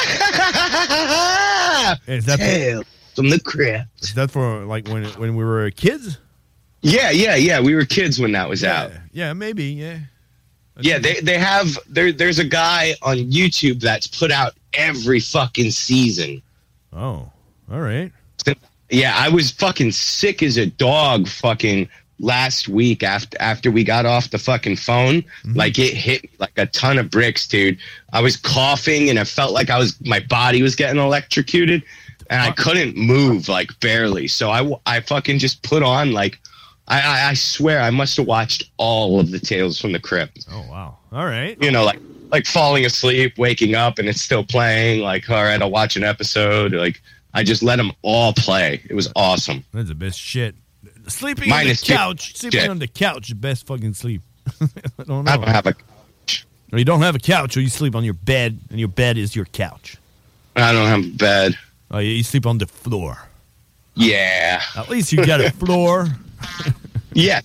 is that Tales from the Crypt. Is that for like when we were kids? Yeah. We were kids when that was out. Yeah, maybe, yeah. Yeah, they have there's a guy on YouTube that's put out every fucking season. Oh, all right. Yeah, I was fucking sick as a dog fucking last week after we got off the fucking phone. Mm-hmm. Like it hit me like a ton of bricks, dude. I was coughing and I felt like my body was getting electrocuted and I couldn't move, like barely. So I fucking just put on like I swear I must have watched all of the Tales from the Crypt. Oh wow. All right. Like falling asleep, waking up and it's still playing, like all right, I'll watch an episode. Like I just let them all play. It was awesome. That's the best shit. Sleeping on the couch. Sleeping on the couch, the best fucking sleep. I don't know. I don't have a couch. Or you don't have a couch, or you sleep on your bed, and your bed is your couch. I don't have a bed. Oh, yeah, you sleep on the floor. Yeah. At least you got a floor. Yes.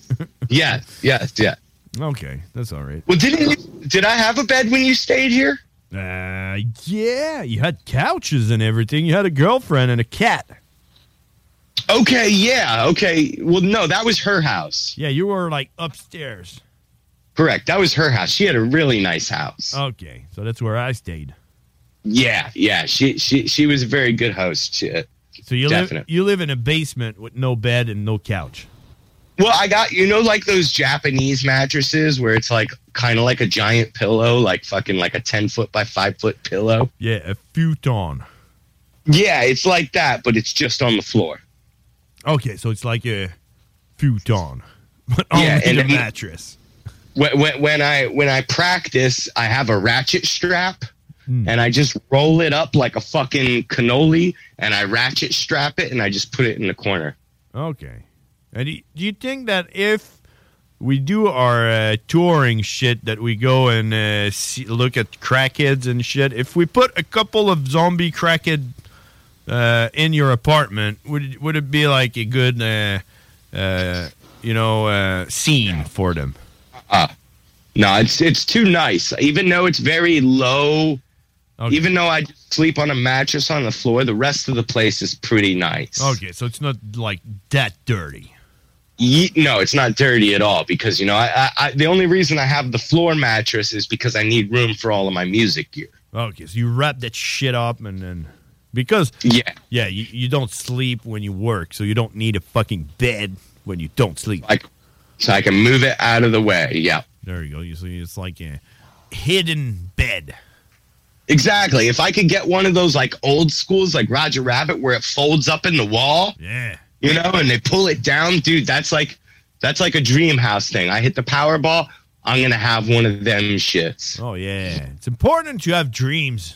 Okay, that's all right. Well, did I have a bed when you stayed here? Yeah, you had couches and everything. You had a girlfriend and a cat. Okay, yeah, okay. Well, no, that was her house. Yeah, you were like upstairs. Correct, that was her house. She had a really nice house. Okay, so that's where I stayed. Yeah. She was a very good host. So you live in a basement with no bed and no couch. Well, I got, like those Japanese mattresses where it's like kind of like a giant pillow, like fucking like a 10-foot by 5-foot pillow. Yeah, a futon. Yeah, it's like that, but it's just on the floor. Okay, so it's like a futon, but only in a mattress. When I practice, I have a ratchet strap, and I just roll it up like a fucking cannoli, and I ratchet strap it, and I just put it in the corner. Okay. And do you think that if we do our touring shit, that we go and look at crackheads and shit, if we put a couple of zombie crackhead in your apartment, would it be like a good scene for them? No, it's too nice. Even though it's very low, even though I just sleep on a mattress on the floor, the rest of the place is pretty nice. Okay, so it's not like that dirty. No, it's not dirty at all because, I the only reason I have the floor mattress is because I need room for all of my music gear. Okay, so you wrap that shit up and then... Because you don't sleep when you work, so you don't need a fucking bed when you don't sleep. So I can move it out of the way. Yeah. There you go. You see, it's like a hidden bed. Exactly. If I could get one of those like old schools, like Roger Rabbit, where it folds up in the wall, you know, and they pull it down, dude. That's like a dream house thing. I hit the Powerball, I'm gonna have one of them shits. Oh yeah, it's important to have dreams.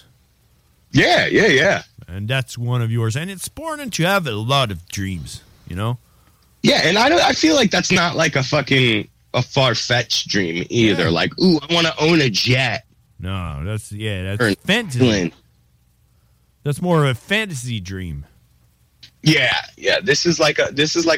Yeah. And that's one of yours. And it's important to have a lot of dreams. You know. Yeah, and I feel like that's not like a far-fetched dream either. Yeah. Like, ooh, I want to own a jet. No, that's fantasy. That's more of a fantasy dream. Yeah. This is like a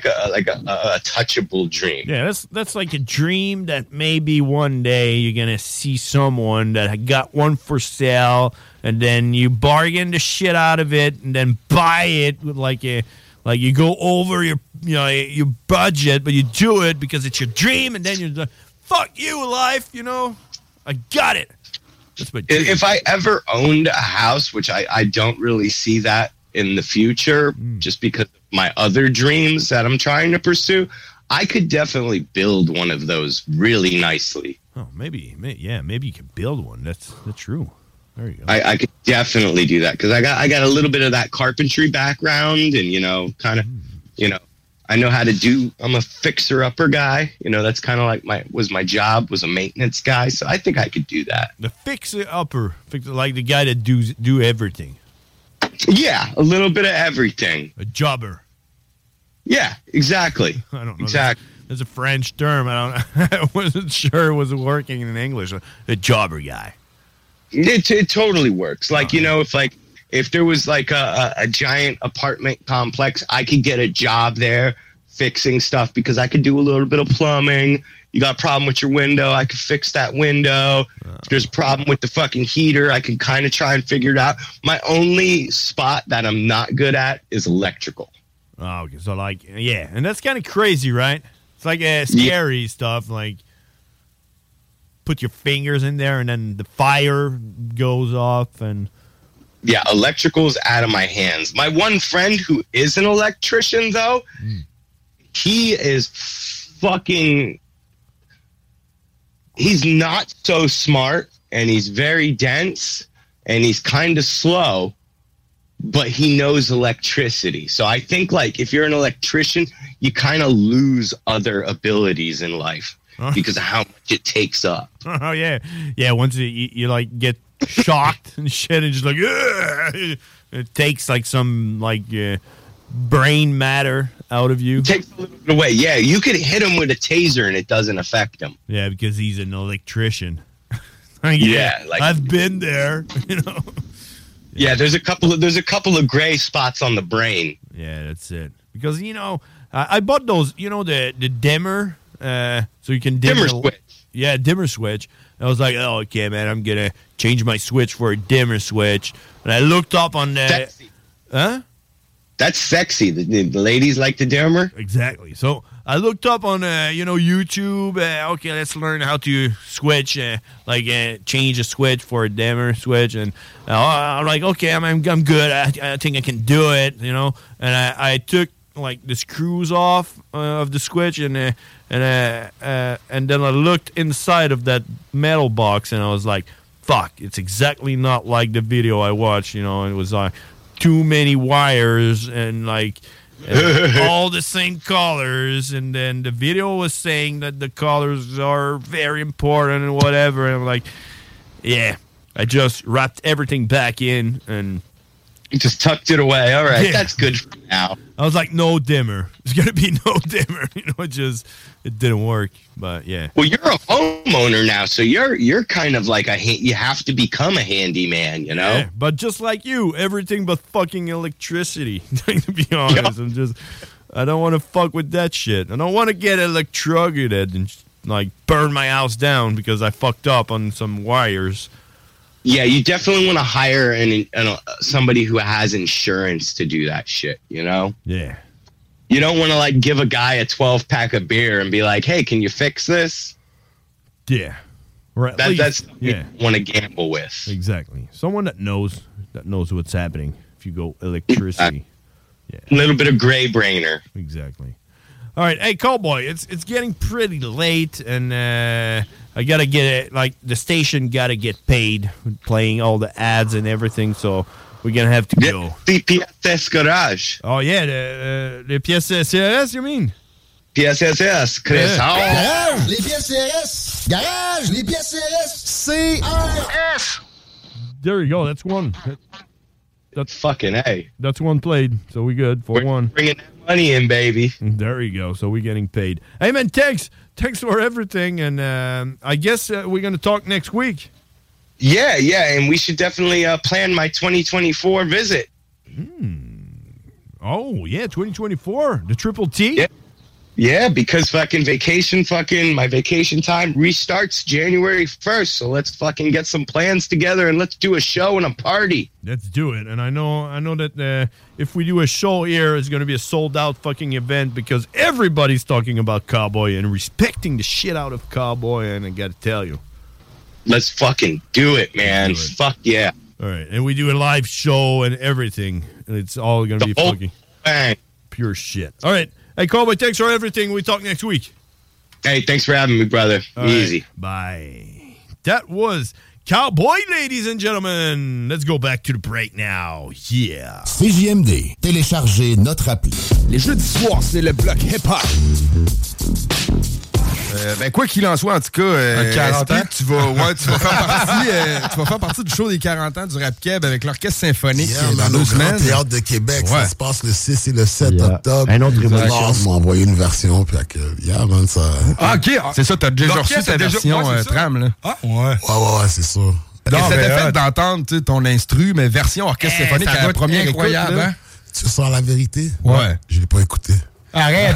touchable dream. Yeah, that's like a dream that maybe one day you're gonna see someone that got one for sale, and then you bargain the shit out of it, and then buy it with like you go over your budget, but you do it because it's your dream, and then you're like, fuck you, life, you know? I got it. That's my dream. If I ever owned a house, which I don't really see that in the future, just because of my other dreams that I'm trying to pursue, I could definitely build one of those really nicely. Oh, maybe you can build one. That's true. There you go. I could definitely do that because I got a little bit of that carpentry background, and kind of, I know how to do. I'm a fixer-upper guy. That's kind of like my job was a maintenance guy, so I think I could do that. The fixer-upper, like the guy that do everything. Yeah, a little bit of everything. A jobber. Yeah, exactly. I don't know. Exactly. There's a French term. I wasn't sure it was working in English. A jobber guy. It totally works. Like, if there was like a giant apartment complex, I could get a job there fixing stuff because I could do a little bit of plumbing. You got a problem with your window, I could fix that window. If there's a problem with the fucking heater, I could kind of try and figure it out. My only spot that I'm not good at is electrical. Oh, okay. So and that's kind of crazy, right? It's like scary stuff, like put your fingers in there and then the fire goes off and... Yeah, electrical's out of my hands. My one friend who is an electrician, though, he is fucking... He's not so smart, and he's very dense, and he's kind of slow, but he knows electricity. So I think, if you're an electrician, you kind of lose other abilities in life because of how much it takes up. Oh, yeah. Yeah, once you get shocked and shit, and just it takes some brain matter out of you. It takes a little bit away. Yeah, you could hit him with a taser and it doesn't affect him. Yeah, because he's an electrician. I've been there. Yeah, there's a couple of gray spots on the brain. Yeah, that's it. Because I bought those. The dimmer, so you can dimmer switch. Yeah, dimmer switch. I was like, oh, okay, man, I'm gonna change my switch for a dimmer switch. And I looked up on the... Sexy. Huh? That's sexy. The ladies like the dimmer. Exactly. So I looked up on, YouTube. Okay, let's learn how to switch, change a switch for a dimmer switch. And I'm like, okay, I'm good. I think I can do it, And I took the screws off of the switch, and then I looked inside of that metal box, and I was like, fuck, it's exactly not like the video I watched. It was too many wires and all the same colors, and then the video was saying that the colors are very important and whatever, and I'm like, yeah, I just wrapped everything back in and you just tucked it away. All right, that's good for now. I was like, no dimmer. There's gonna be no dimmer. It didn't work. But yeah. Well, you're a homeowner now, so you're kind of like you have to become a handyman, Yeah, but just like you, everything but fucking electricity. To be honest, I don't want to fuck with that shit. I don't want to get electrocuted and burn my house down because I fucked up on some wires. Yeah, you definitely want to hire somebody who has insurance to do that shit, Yeah. You don't want to give a guy a 12-pack of beer and be like, hey, can you fix this? Yeah. Right. That's what you want to gamble with. Exactly. Someone that knows what's happening. if you go electricity. A little bit of gray brainer. Exactly. All right, hey, Cowboy, it's getting pretty late, and I gotta get it. Like the station gotta get paid, with playing all the ads and everything. So we're gonna have to go. The PSS Garage. Oh yeah, the pièces CRS, you mean? PSS, Chris. Garage, les pièces CRS. Garage, les pièces CRS. CRS. There you go. That's one. That's fucking A. That's one played, so we good for one. Bringing that money in, baby. There you go. So we're getting paid. Hey man, thanks for everything, and I guess we're gonna talk next week. Yeah, and we should definitely plan my 2024 visit. Oh yeah, 2024, the Triple T. Yeah, because my vacation time restarts January 1st. So let's fucking get some plans together and let's do a show and a party. Let's do it. And I know that if we do a show here, it's going to be a sold out fucking event because everybody's talking about Cowboy and respecting the shit out of Cowboy. And I got to tell you, let's fucking do it, man. Fuck yeah. All right. And we do a live show and everything. And it's all going to be fucking pure shit. All right. Hey, Cowboy, thanks for everything. We talk next week. Hey, thanks for having me, brother. Easy. Bye. That was Cowboy, ladies and gentlemen. Let's go back to the break now. Yeah. CJMD. Téléchargez notre appli. Les jeudis soirs, c'est le bloc hip-hop. Quoi qu'il en soit, en tout cas, 40 ans. tu vas faire partie du show des 40 ans du Rap Keb avec l'Orchestre Symphonique dans 2 semaines. Théâtre de Québec, ça se passe le 6 et le 7 octobre. Un autre évolution. Ils m'ont envoyé une version, puis man, ça... Ah, OK. C'est ça, t'as déjà reçu ta version tram, là. Ah, ouais, c'est ça. Ça t'a fait d'entendre ton instru, mais version Orchestre Symphonique à la première incroyable, écoute. Hein? Tu sens la vérité? Ouais. Je l'ai pas écouté. Arrête!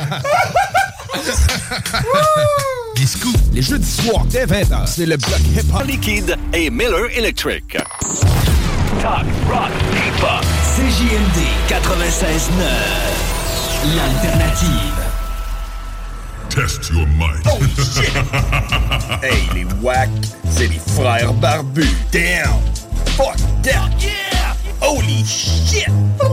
Biscou. Les jeudis soirs dès 20h, c'est le bloc hip-hop. Liquide et Miller Electric. Talk, rock, hip-hop. CJMD 96.9. L'alternative. Test your might. Oh shit! Hey, les wack, c'est les frères barbus. Damn! Fuck that! Yeah! Holy shit!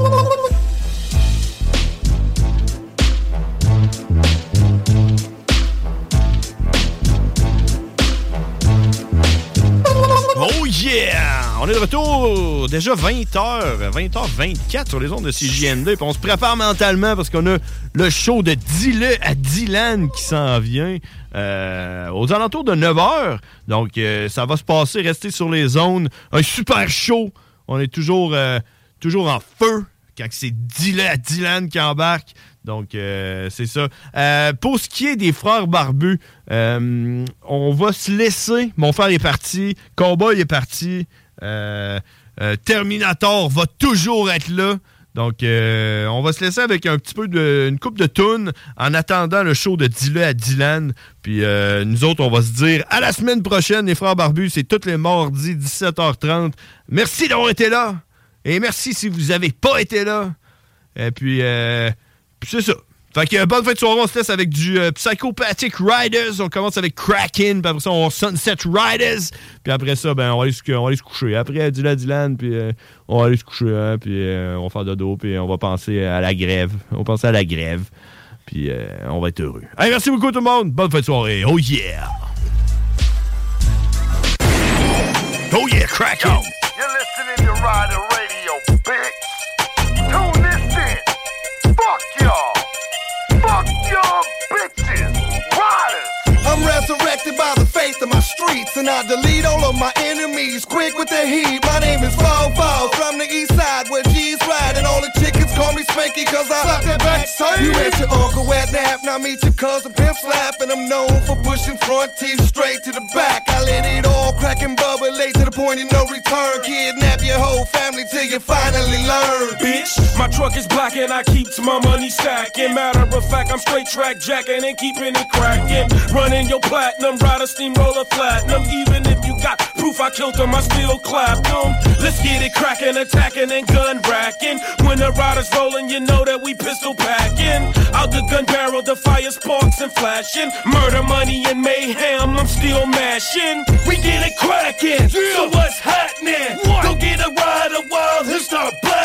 Oh yeah! On est de retour, déjà 20h24 sur les ondes de CJMD. Puis on se prépare mentalement parce qu'on a le show de Dis-le à Dylan qui s'en vient aux alentours de 9h. Donc ça va se passer, restez sur les zones. Un super show. On est toujours en feu quand c'est Dis-le à Dylan qui embarque. Donc, c'est ça. Pour ce qui est des frères barbus, on va se laisser. Mon frère est parti. Cowboy est parti. Terminator va toujours être là. Donc, on va se laisser avec un petit peu une coupe de tunes en attendant le show de Dis-le à Dylan. Puis, nous autres, on va se dire à la semaine prochaine, les frères barbus. C'est tous les mardis, 17h30. Merci d'avoir été là. Et merci si vous n'avez pas été là. Et puis c'est ça. Fait que bonne fin de soirée, on se laisse avec du Psychopathic Riders. On commence avec Kraken, puis après ça, on Sunset Riders. Puis après ça, on va aller se coucher. Après, Dylan, puis on va aller se coucher, hein, puis on va faire dodo, puis on va penser à la grève. On va penser à la grève, puis on va être heureux. Hey, merci beaucoup tout le monde. Bonne fin de soirée. Oh yeah! Oh yeah, Kraken! Yo, you're listening to Rider Radio, bitch. Tune this in. Fuck y'all! Fuck y'all bitches! Riders! I'm resurrected by the faith of my streets, and I delete all of my enemies quick with the heat. My name is Fall from the east side where G's ride, and all the chickens call me Spanky cause I slap that backside. You at your uncle at nap, now meet your cousin Pimp Slap, and I'm known for pushing front teeth straight to the back. I let it all crack and bubble late to the point of no return. Kidnap your whole family till you finally learn. Bitch, my truck is black and I keep my money stacking. Matter of fact, I'm straight track jacking and keeping it cracking. Running your platinum, rider steamroller platinum. Even if you got proof I killed them, I still clapped them. Let's get it cracking, attacking and gun racking. When the rider's rolling, you know that we pistol packing. Out the gun barrel, the fire sparks and flashing. Murder, money and mayhem, I'm still mashing. We get it cracking, so what's happening? Go get a rider while he'll start blasting.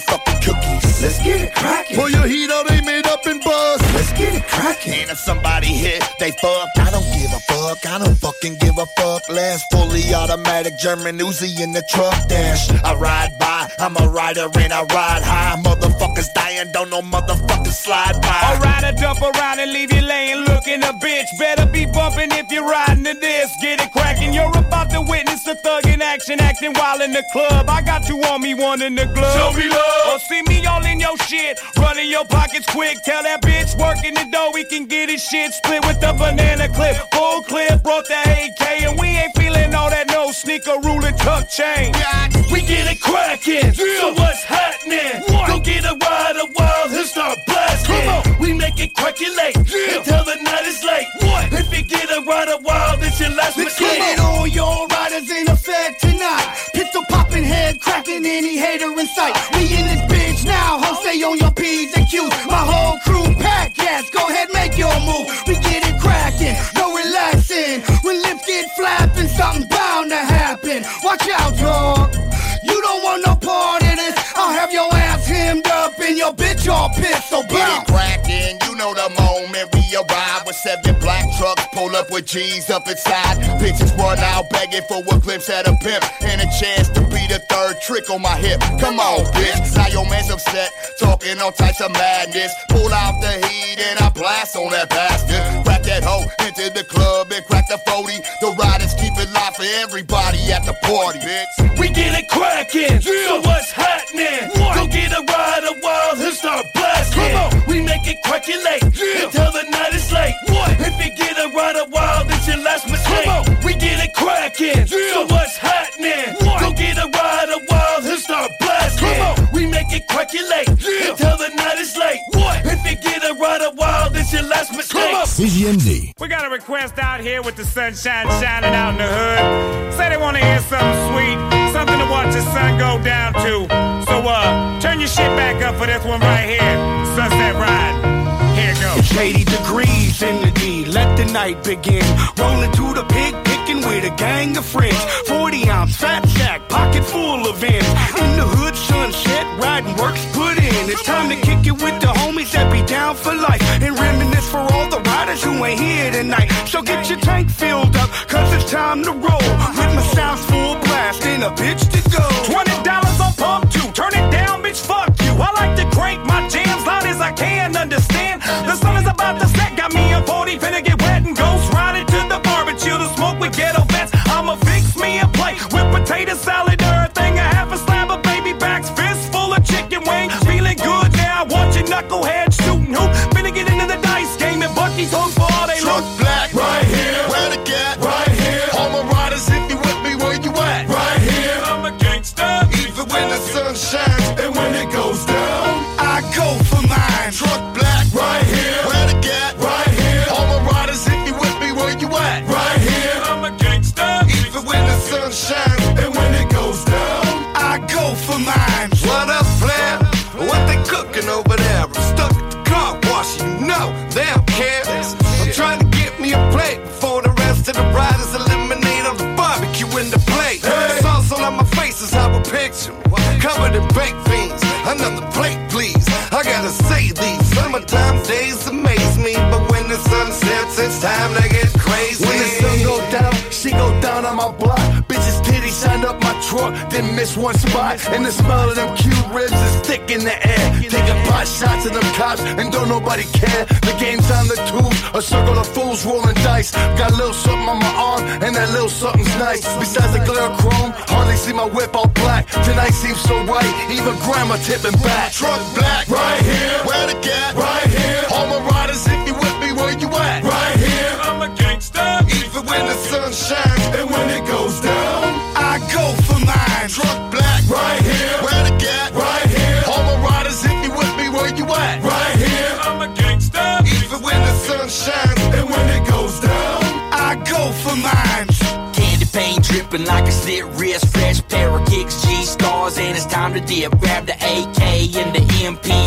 fucking cookies. Let's get it crackin'. Pull your heat out, they made up and bust. Let's get it crackin'. And if somebody hit, they fuck. I don't give a fuck. I don't fucking give a fuck. Last fully automatic German Uzi in the truck dash. I ride by, I'm a rider and I ride high. Motherfuckers dying, don't know motherfuckers slide by. Alright, I dump around and leave you laying looking a bitch. Better be bumping if you're riding to this. Get it crackin', you're about to witness a thug in action, acting wild in the club. I got you on me, one in the glove. Show me love. Or see me all in your shit, running your pockets quick. Tell that bitch working the dough, we can get his shit split with the banana clip. Full clip, brought the AK, and we ain't feeling all that no sneaker rule and tuck chain. We get it crackin', so what's happening? Go get a ride a while and start blasting. Come on. We make it crackulate until the night is late. What? If you get a ride a while, it's your last mistake. Get it on, your riders in effect tonight. Pistol popping, head cracking, any hater in sight. We in this bitch now, ho, stay on your P's and Q's. My whole crew packed, yes, go ahead, make your move. We get it cracking, no relaxing. When lips get flapping, something bound to happen. Watch out, dog. You don't want no part of this. I'll have your ass hemmed up and your bitch all pissed, so Get bounce. it crackin', you know the moment we arrive with 7 black trucks, pull up with G's up inside. Bitches run out begging for a glimpse at a pimp and a chance to be the third trick on my hip. Come on, bitch, now your man's upset, talking all types of madness. Pull out the heat and I blast on that bastard. Crack that hoe into the club and crack the 40. The riders keep it live for everybody at the party, bitch. We get it crackin', so what's happening? Go get a ride a while and start blasting. Come on. We make it crackulate until the night is late. What? If you get a ride a while, it's your last mistake. Come on. We get it crackin', so what's happening? What? Go get a ride a while and start blasting. Come on. We make it crackulate until the night is late. What? If you get a ride a while, it's your last mistake. Come on. CGMD. We got a request out here with the sunshine shining out in the hood. Say they want to hear something sweet, something to watch the sun go down to. So, turn your shit back up for this one right here. Sunset Ride. Here it goes. It's 80 degrees in the D, let the night begin. Rolling through the pig, picking with a gang of friends. 40-ounce fat sack, pocket full of ends. In the hood, sunset, riding works put in. It's time to kick it with the homies that be down for life. And reminisce for all the riders who ain't here tonight. So get your tank filled up, cause it's time to roll. With my sounds full blast and a bitch to go. $20 on pump 2, turn it down, bitch, fuck you. I like to crank my jams loud as I can, understand. The sun is about to set, got me a 40, finna get wet and ghost riding to the barbecue to smoke with ghetto vets. I'ma fix me a plate with potato salad, everything, a half a slab of baby backs, fist full of chicken wings. Feeling good now, watching knuckleheads shooting hoop. Finna get into the dice game and Bucky's hook for all they Truck look. black, right here. Where the gat, right here. All my riders, if you with me, where you at? Right here, I'm a gangster. Even when the sun shines and when it goes down, I go for mine. truck black, Right here. where the gat, Right here. all my riders, if you with me, where you at? Right here. I'm a gangster. Even when the sun shines And when it goes down, I go for mine. What up, Flair? What they cooking over there? I'm stuck at the car wash, you know they don't care. I'm trying to get me a plate before the rest of the riders eliminate on the barbecue in the plate. Sauce all on my face is how I picture me. Covered in baked beans, another plate, please. I gotta say these summertime days amaze me, but when the sun sets, it's time to get crazy. When the sun go down, she go down on my block. Bitches titties shine up my truck, didn't miss one spot. And the smell of them cute ribs is thick in the air. Taking pot shots at them cops and don't nobody care. The game's on the tubes, a circle of fools rolling dice. Got a little something on my arm and that little something's nice. Besides the glare of chrome, hardly see my whip all black. Tonight seems so right, even grandma tipping back. truck black, Right here. where the gat, Right here. all my riders, if you with me, where you at? Right here. I'm a gangster. Even when the sun shines And when it goes down, I go for mine. truck black, Right here. where the gat, Right here. all my riders, if you with me, where you at? Right here. I'm a gangster. Even when the sun shines And when it goes down, I go for mine. Candy paint dripping like a slit wrist, fresh pair of kicks, G-stars, and it's time to dip. Grab the AK and the MP5,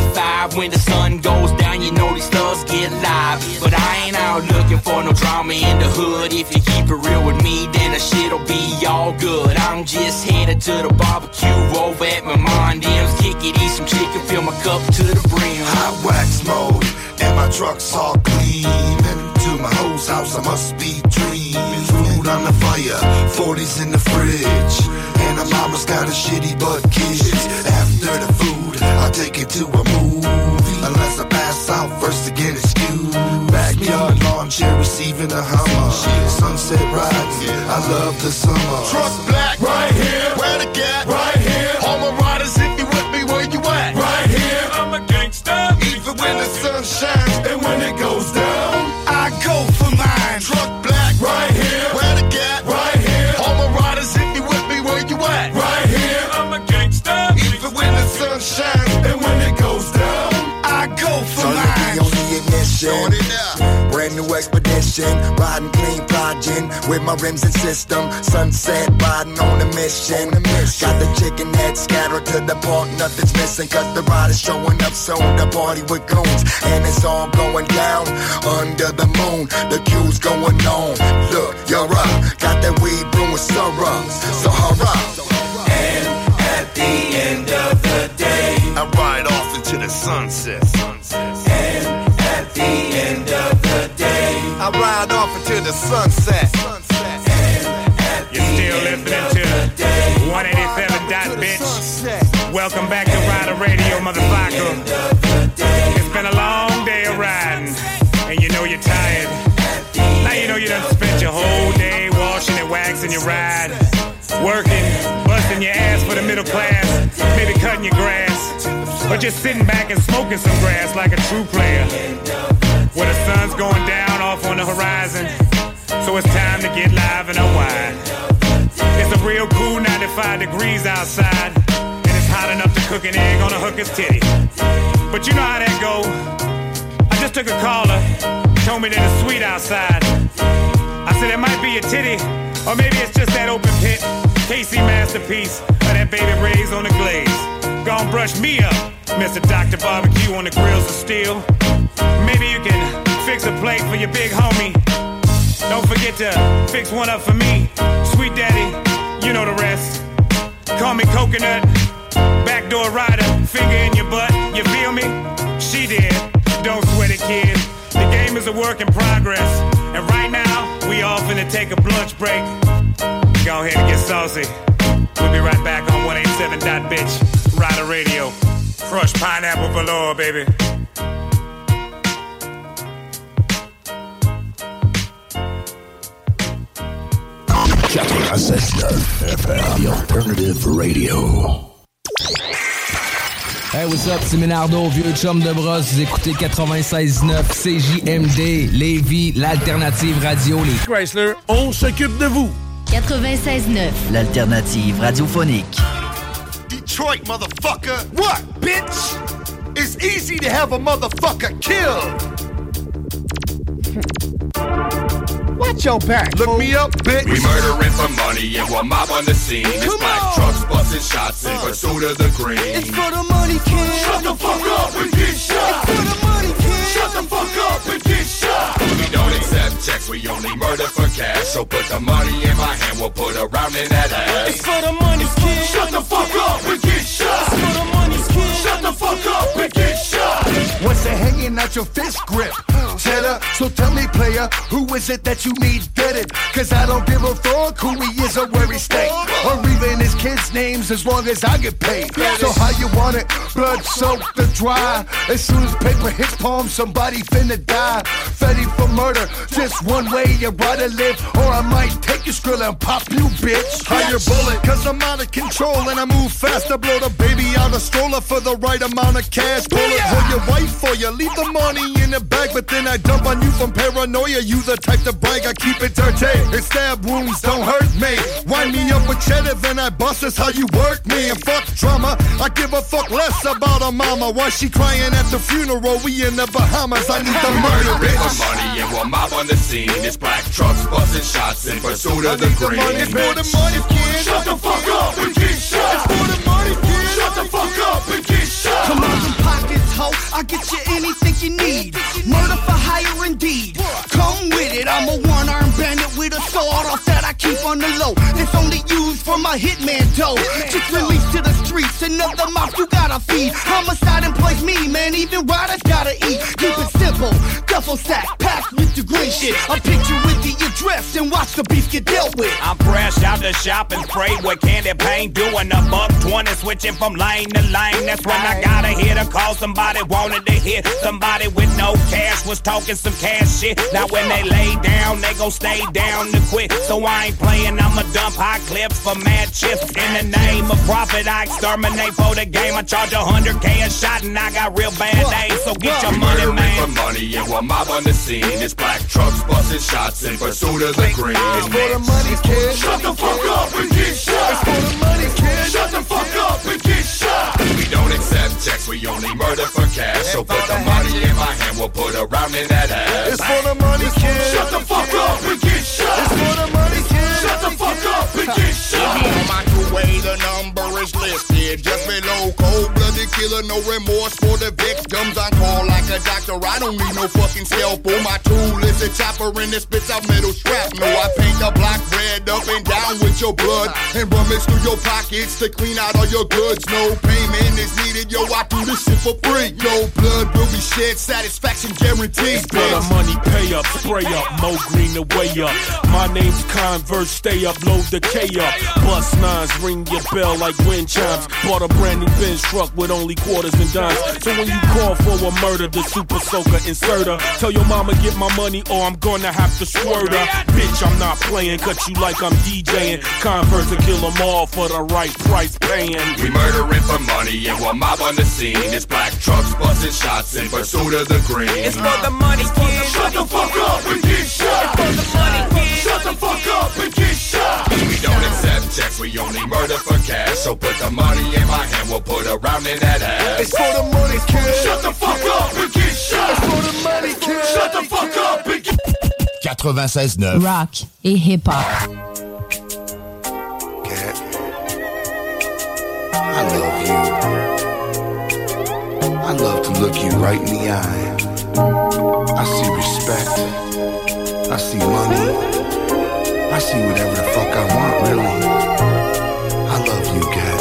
drive. When the sun goes down, you know these thugs get live. But I ain't out looking for no drama in the hood. If you keep it real with me, then the shit'll be all good. I'm just headed to the barbecue over at my mom. Kick it, eat some chicken, fill my cup to the brim. Hot wax mode, and my truck's all clean. To my host house, I must be dreaming. Food on the fire, 40s in the fridge. And my mama's got a shitty butt kids. After the food, I'll take it to a movie. Unless I pass out first to get excused. Backyard lawn chair receiving a Hummer. Sunset riding, I love the summer. Truck black, right here. Where the gat, right here. All my riders, if you with me, where you at? Right here. I'm a gangster. Even when the sun shines and when it goes down, I go for mine. Truck black, right here. Where the gat, right here. All my riders, if you with me, where you at? Right here. I'm a gangster. Even when the sun shines and when it goes down, I go for mine. On the ignition, brand new expedition, riding clean, plodging with my rims and system. Sunset riding on a mission. Got the chicken head scattered to the park, nothing's missing. Cause the ride is showing up soon. The party with goons, and it's all going down under the moon. The queue's going on. Look, you're up. Got that weed brewing syrup. So hurrah. And at the end of the day, I ride off into the sunset. And at the end of the day, I ride off into the sunset. You're still listening to 187 Dot Bitch. Welcome back to Rider Radio, motherfucker. It's been a long day of riding, and you know you're tired. Now you know you done spent your whole day washing and waxing your ride, working, busting your ass for the middle class, maybe cutting your grass, or just sitting back and smoking some grass like a true player. Where the sun's going down off on the horizon, so it's time to get live and unwind. It's a real cool 95 degrees outside, and it's hot enough to cook an egg on a hooker's titty. But you know how that go. I just took a caller, told me that it's sweet outside. I said it might be a titty, or maybe it's just that open pit KC masterpiece, or that Baby Ray's on the glaze. Gon' brush me up, Mr. Dr. Barbecue on the grills of steel. Maybe you can fix a plate for your big homie. Don't forget to fix one up for me. Sweet daddy, you know the rest. Call me Coconut, backdoor rider, finger in your butt, you feel me? She did, don't sweat it, kid. The game is a work in progress, and right now, we all finna take a lunch break. Go ahead and get saucy. We'll be right back on 187 Dot Bitch, Rider Radio. Crushed pineapple velour, baby. FM, the alternative radio. Hey, what's up, c'est Ménardo, vieux chum de brosse. Vous écoutez 96.9 CJMD, Lévis, l'alternative radio. Les Chrysler, on s'occupe de vous. 96.9, l'alternative radiophonique. Detroit, motherfucker. What, bitch? It's easy to have a motherfucker killed. Watch your back. Look me up, bitch. We murdering for money and we're mob on the scene. It's black trucks busting shots in pursuit of the green. It's for the money, kid. Shut the fuck up and get shot. It's for the money, kid. Shut the fuck up and get shot. We don't accept checks, we only murder for cash. So put the money in my hand, we'll put a round in that ass. It's for the money, kid. Shut the fuck up and get shot. It's for the money, kid. Shut the fuck up and get shot. What's it hanging out your fist grip? Cheddar, so tell me, player, who is it that you need deaded? Cause I don't give a fuck who he is or where he stay, or even his kids' names as long as I get paid. So how you want it? Blood soaked or dry? As soon as paper hits palm, somebody finna die. Fetty for murder, just one way you gotta live, or I might take your skrill and pop you, bitch. Higher bullet, cause I'm out of control and I move fast. I blow the baby out of stroller for the right amount of cash. Bullet for your wife, for you leave the money in the bag, but then I dump on you from paranoia. You the type to brag, I keep it dirty. And stab wounds don't hurt me. Wind me up with cheddar, then I bust. That's how you work me. And fuck drama, I give a fuck less about her mama. Why she crying at the funeral? We in the Bahamas. I need the murder, bitch. For money and we're mob on the scene. It's black trucks busting shots in pursuit of the green. It's for the money, kid. Shut the fuck up and get shot. It's for the money, kid. Shut the fuck up and get shot. Come on, them pockets, ho. I get you anything you need. Murder for hire indeed. Come with it, I'm a one-armed bandit with a sword off that I keep on the low. It's only used for my hitman dough. Just released to the streets, another mouth you gotta feed. Homicide employs me, man, even riders gotta eat. Keep it simple, duffel sack, packed with the green shit. A picture with the address and watch the beef get dealt with. I'm fresh out the shop and sprayed with candy paint, doing a $1.20, switching from lane to lane. That's when I gotta hit a call. Somebody wanted to hit somebody with no cash, was talking some cash shit. Now when they lay down, they gon' stay down to quit. So I ain't playing, I'ma dump high clips for mad chips. In the name of profit, I exterminate for the game. I charge $100K a shot and I got real bad names. So get your money, man. For money and we're mob on the scene. It's black trucks busting shots in pursuit of the green. It's for the money, kid. Shut the fuck up and get shot. It's for the money, kid. Shut the fuck up and get shot. We don't accept checks, we only murder for cash. So put the money in my hand, we'll put a round in that ass. It's for the money, kid. Shut the fuck up and get shot. It's for the money, kid. Shut the fuck up and get shot. On my two-way, the number is listed just below. Cold-blooded killer, no remorse for the victims. On call like a doctor, I don't need no fucking scalpel. My tool is a chopper and it spits out metal shrapnel. I paint the block red up and down with your blood and rummage through your pockets to clean out all your goods. No payment is needed, yo, I do this shit for free. No blood will be shed, satisfaction guaranteed. It's for the money, pay up, spray up, Mo Green the way up. My name's Converse, stay up, load the K up. Bust nines, ring your bell like wind chimes. Bought a brand new Benz truck with only quarters and dimes. So when you call for a murder, the super soaker inserter, tell your mama get my money or I'm gonna have to squirt her. Bitch, I'm not playing, cut you like I'm DJing. Converse to kill them all for the right price paying. We murdering for money and we're mob on the scene. It's black trucks busting shots in pursuit of the green. It's for the money, kid. Shut the fuck up and get shot. It's for the money, kid. Shut the fuck up and get shot. We don't accept checks, we only murder for cash. So put the money in my hand, we'll put a round in that ass. It's for the money, kid. Shut the fuck up and get shot. It's for the money, kid. Shut the fuck up and get 96.9 Rock et hip-hop. I love you. I love to look you right in the eye. I see respect. I see money. I see whatever the fuck I want, really. I love you, Gat.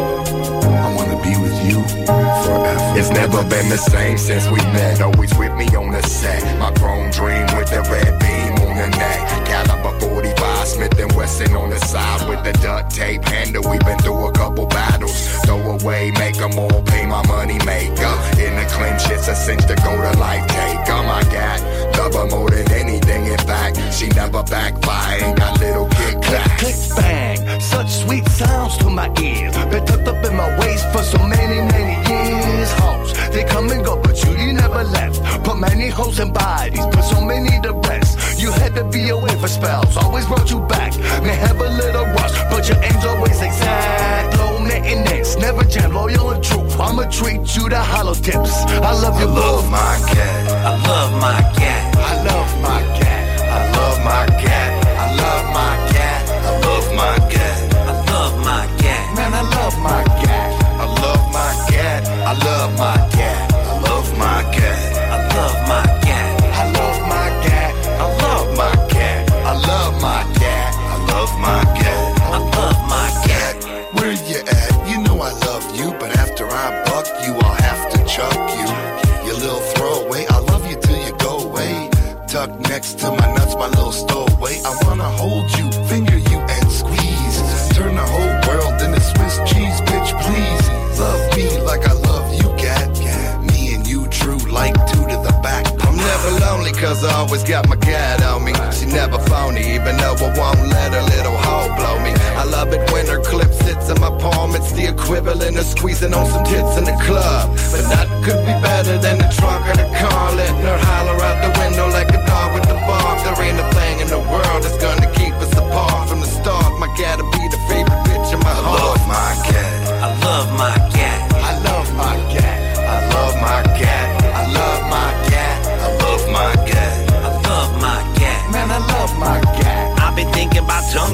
I wanna be with you forever. It's never been the same since we met. Always with me on the set. My chrome dream with the red beam on the neck. Caliber 45, Smith & Wesson on the side with the duct tape handle. We've been through a couple battles. Throw away, make them all pay my money maker. In the clinch, it's a cinch to go to life taker. My God, love her more than anything. In fact, she never backfire. Ain't got little kick clack. Click bang, such sweet sounds to my ears. Been tucked up in my waist for so many, many years. Hoes, they come and go, but you never left. Put many hoes in bodies, put so many to rest. You had to be away for spells, always brought you back. May have a little rush, but your aim's always exact. Low maintenance, never jam, loyal and true. I'ma treat you to hollow tips. I love you, I love my cat. I love my cat. I love my cat. I love my cat. I love my cat. I love my cat. I love my cat. Man, I love my cat. I love my cat. I love my cat. I love my cat. I love my cat. I love my cat. I love my cat. I love my cat. I love my cat. I love my cat. Where you at? You know I love you, but after I buck you, I'll have to chuck you. You little throwaway, I love you till you go away. Tuck next to my nuts, my little stowaway. I wanna hold you, finger you, and squeeze. Turn the whole world into Swiss cheese, bitch, please. Love me like I love you, cat. Me and you, true, like two to the back. I'm never lonely, cause I always got my cat on me. She never phony, even though I won't let her little hoe blow me. I love it when her clip sits in my palm. It's the equivalent of squeezing on some tits in the club. But nothing could be better than the trunk of the car, letting her holler out the window like a dog with the bark. There ain't a thing in the world that's gonna keep us apart. From the start, my cat'll be the favorite bitch in my heart. I love my cat. I love my cat. I love my cat. I love my cat. I love my cat. I love my cat. I love my cat. Man, I love my cat. I've been thinking about tongue kissing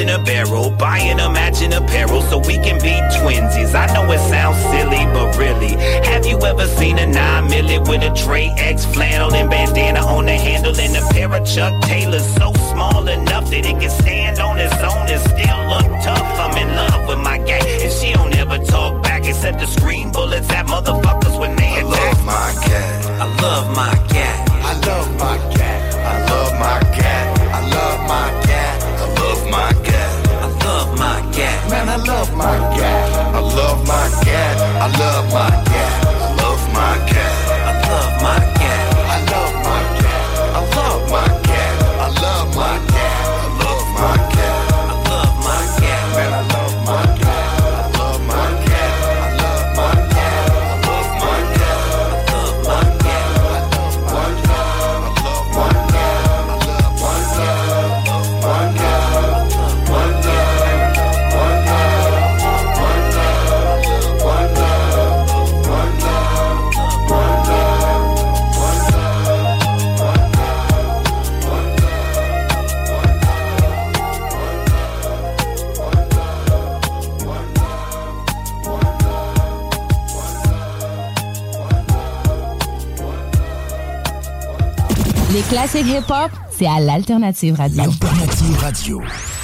in a barrel, buying a matching apparel so we can be twinsies. I know it sounds silly, but really, have you ever seen a 9 milli with a Trey X flannel and bandana on the handle and a pair of Chuck Taylors so small enough that it can stand on its own and still look tough? I'm in love with my gang, and she don't ever talk back except to scream bullets at motherfuckers when they attack. I love my cat. I love my cat. I love my cat. I love my cat. I love my cat. I love my cat. I love my cat. Man, I love my cat. I love my cat. I love my cat. I love my cat. I love my cat. I love my cat. I love my cat. I love my cat. I love my cat. I love my cat. Man, I love my cat. I love my cat. I love my cat. I love my cat. I love my cat. I love my cat. I love my cat. I love my cat. I love my cat. I love my cat. Les classiques hip-hop, c'est à l'Alternative Radio. L'Alternative Radio.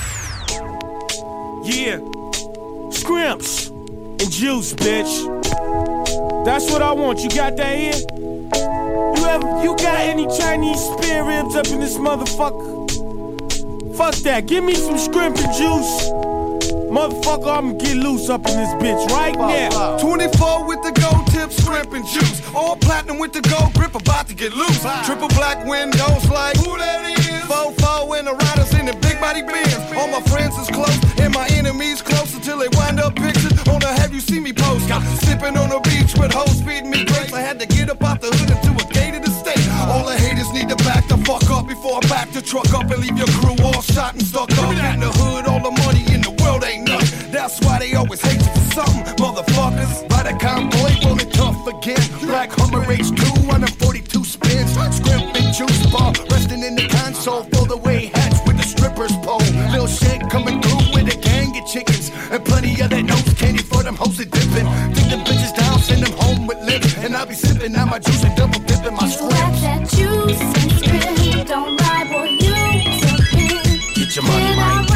Yeah. Scrimps and juice, bitch. That's what I want. You got that here? You got any Chinese spare ribs up in this motherfucker? Fuck that. Give me some scrimp and juice. Motherfucker, I'ma get loose up in this bitch right now. 24 with the gold tip, scrimp and juice. All platinum with the gold grip, about to get loose. Triple black windows like who that is? 4-4 and the riders in the big body Benz. All my friends is close and my enemies close until they wind up pictures on the have you see me post. Sipping on the beach with hoes feeding me grapes. I had to get up out the hood into a gated estate. All the haters need to back the fuck up before I back the truck up and leave your crew all shot and stuck up. In the hood, all the money in the world ain't nothing. That's why they always hate you for something, motherfuckers. By the boy, rolling tough again. Black Hummer H2, 142 spins. Scrimp and juice bar, resting in the console. Throw the way hats with the strippers pole. Lil shit coming through with a gang of chickens. And plenty of that nose candy for them hoes that dipping. Take them bitches down, send them home with lips. And I'll be sipping out my juice and double dipping my scrimps. Like that juice and scrimp, don't lie, boy, you tipping. Get your money, man.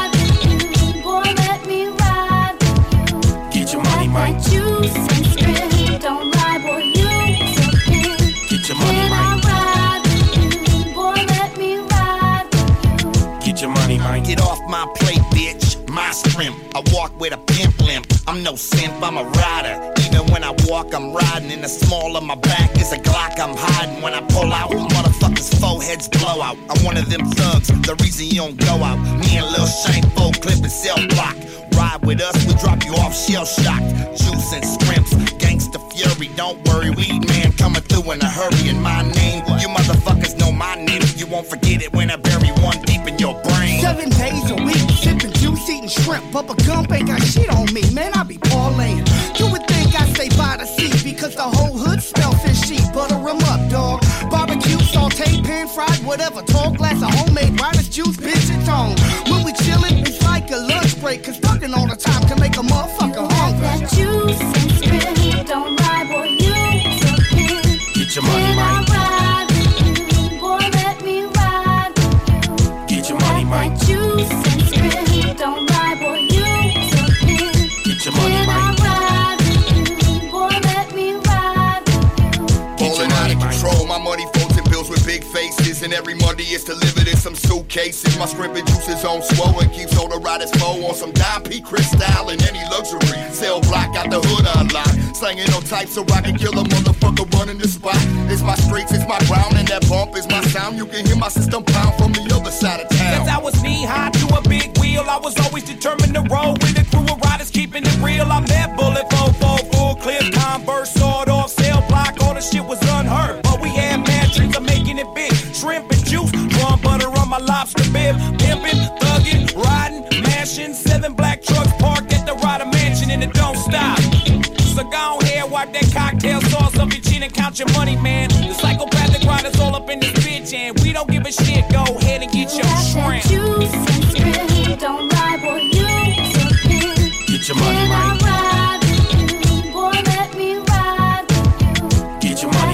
Like juice and scrimp, don't lie, boy, you tipping. Get your money, man. Ride with you, boy, let me ride with you. Get your money, man. Get off my plate, bitch. My scrimp. I walk with a pimp limp. I'm no simp, I'm a rider. Even when I walk, I'm riding. In the small of my back is a Glock I'm hiding. When I pull out, motherfuckers' foreheads blow out. I'm one of them thugs, the reason you don't go out. Me and Lil Shank, full clip and cell block. Ride with us, we drop you off shell-shocked. Juice and scrimps, gangsta fury. Don't worry, weed man coming through in a hurry. And my name, you motherfuckers know my name. You won't forget it when I bury one deep in your brain. 7 days a week, sipping juice, eating shrimp. Bubba Gump ain't got shit on me, man, I be parlaying. You would think I stay by the sea, because the whole hood smell fishy. Butter 'em up, dog. Barbecue, saute, pan fried, whatever. Tall glass of homemade Riders juice, bitch, it's on. When we chillin', it's like a lunch break, cause talking all the time can make a motherfucker hungry. That juice and scrimp, don't lie, boy, you tipping. Get your money, man. Ride with you, boy, let me ride with you. Get your money, man. That juice and scrimp, don't lie, boy, you tipping. Get your money, man. Ride with you, boy, let me ride with you. Ballin' out of control, my money folds and bills with big faces. And every Monday it's delivered in some suitcases. My scrimp and juice is on swole and keeps all the riders flow on some dime P crystal and any luxury. Cell block out the hood unlocked. Slanging on types so I can kill a motherfucker running the spot. It's my streets, it's my ground, and that bump is my sound. You can hear my system pound from the other side of town. Since I was knee-high to a big wheel, I was always determined to roll with a crew of riders keeping it real. I'm that bullet, full clip, Converse, sawed off, cell block, all the shit was unheard. But we had mad dreams of making it big. Shrimp and juice, drawn butter on my lobster bib. Pimpin', thuggin', riding, mashing. 7 black trucks parked at the Ryder Mansion and it don't stop. So go ahead, wipe that cocktail sauce off your chin and count your money, man. The psychopathic riders all up in this bitch and we don't give a shit. Go ahead and get your shrimp. Juice and scrimp, don't lie.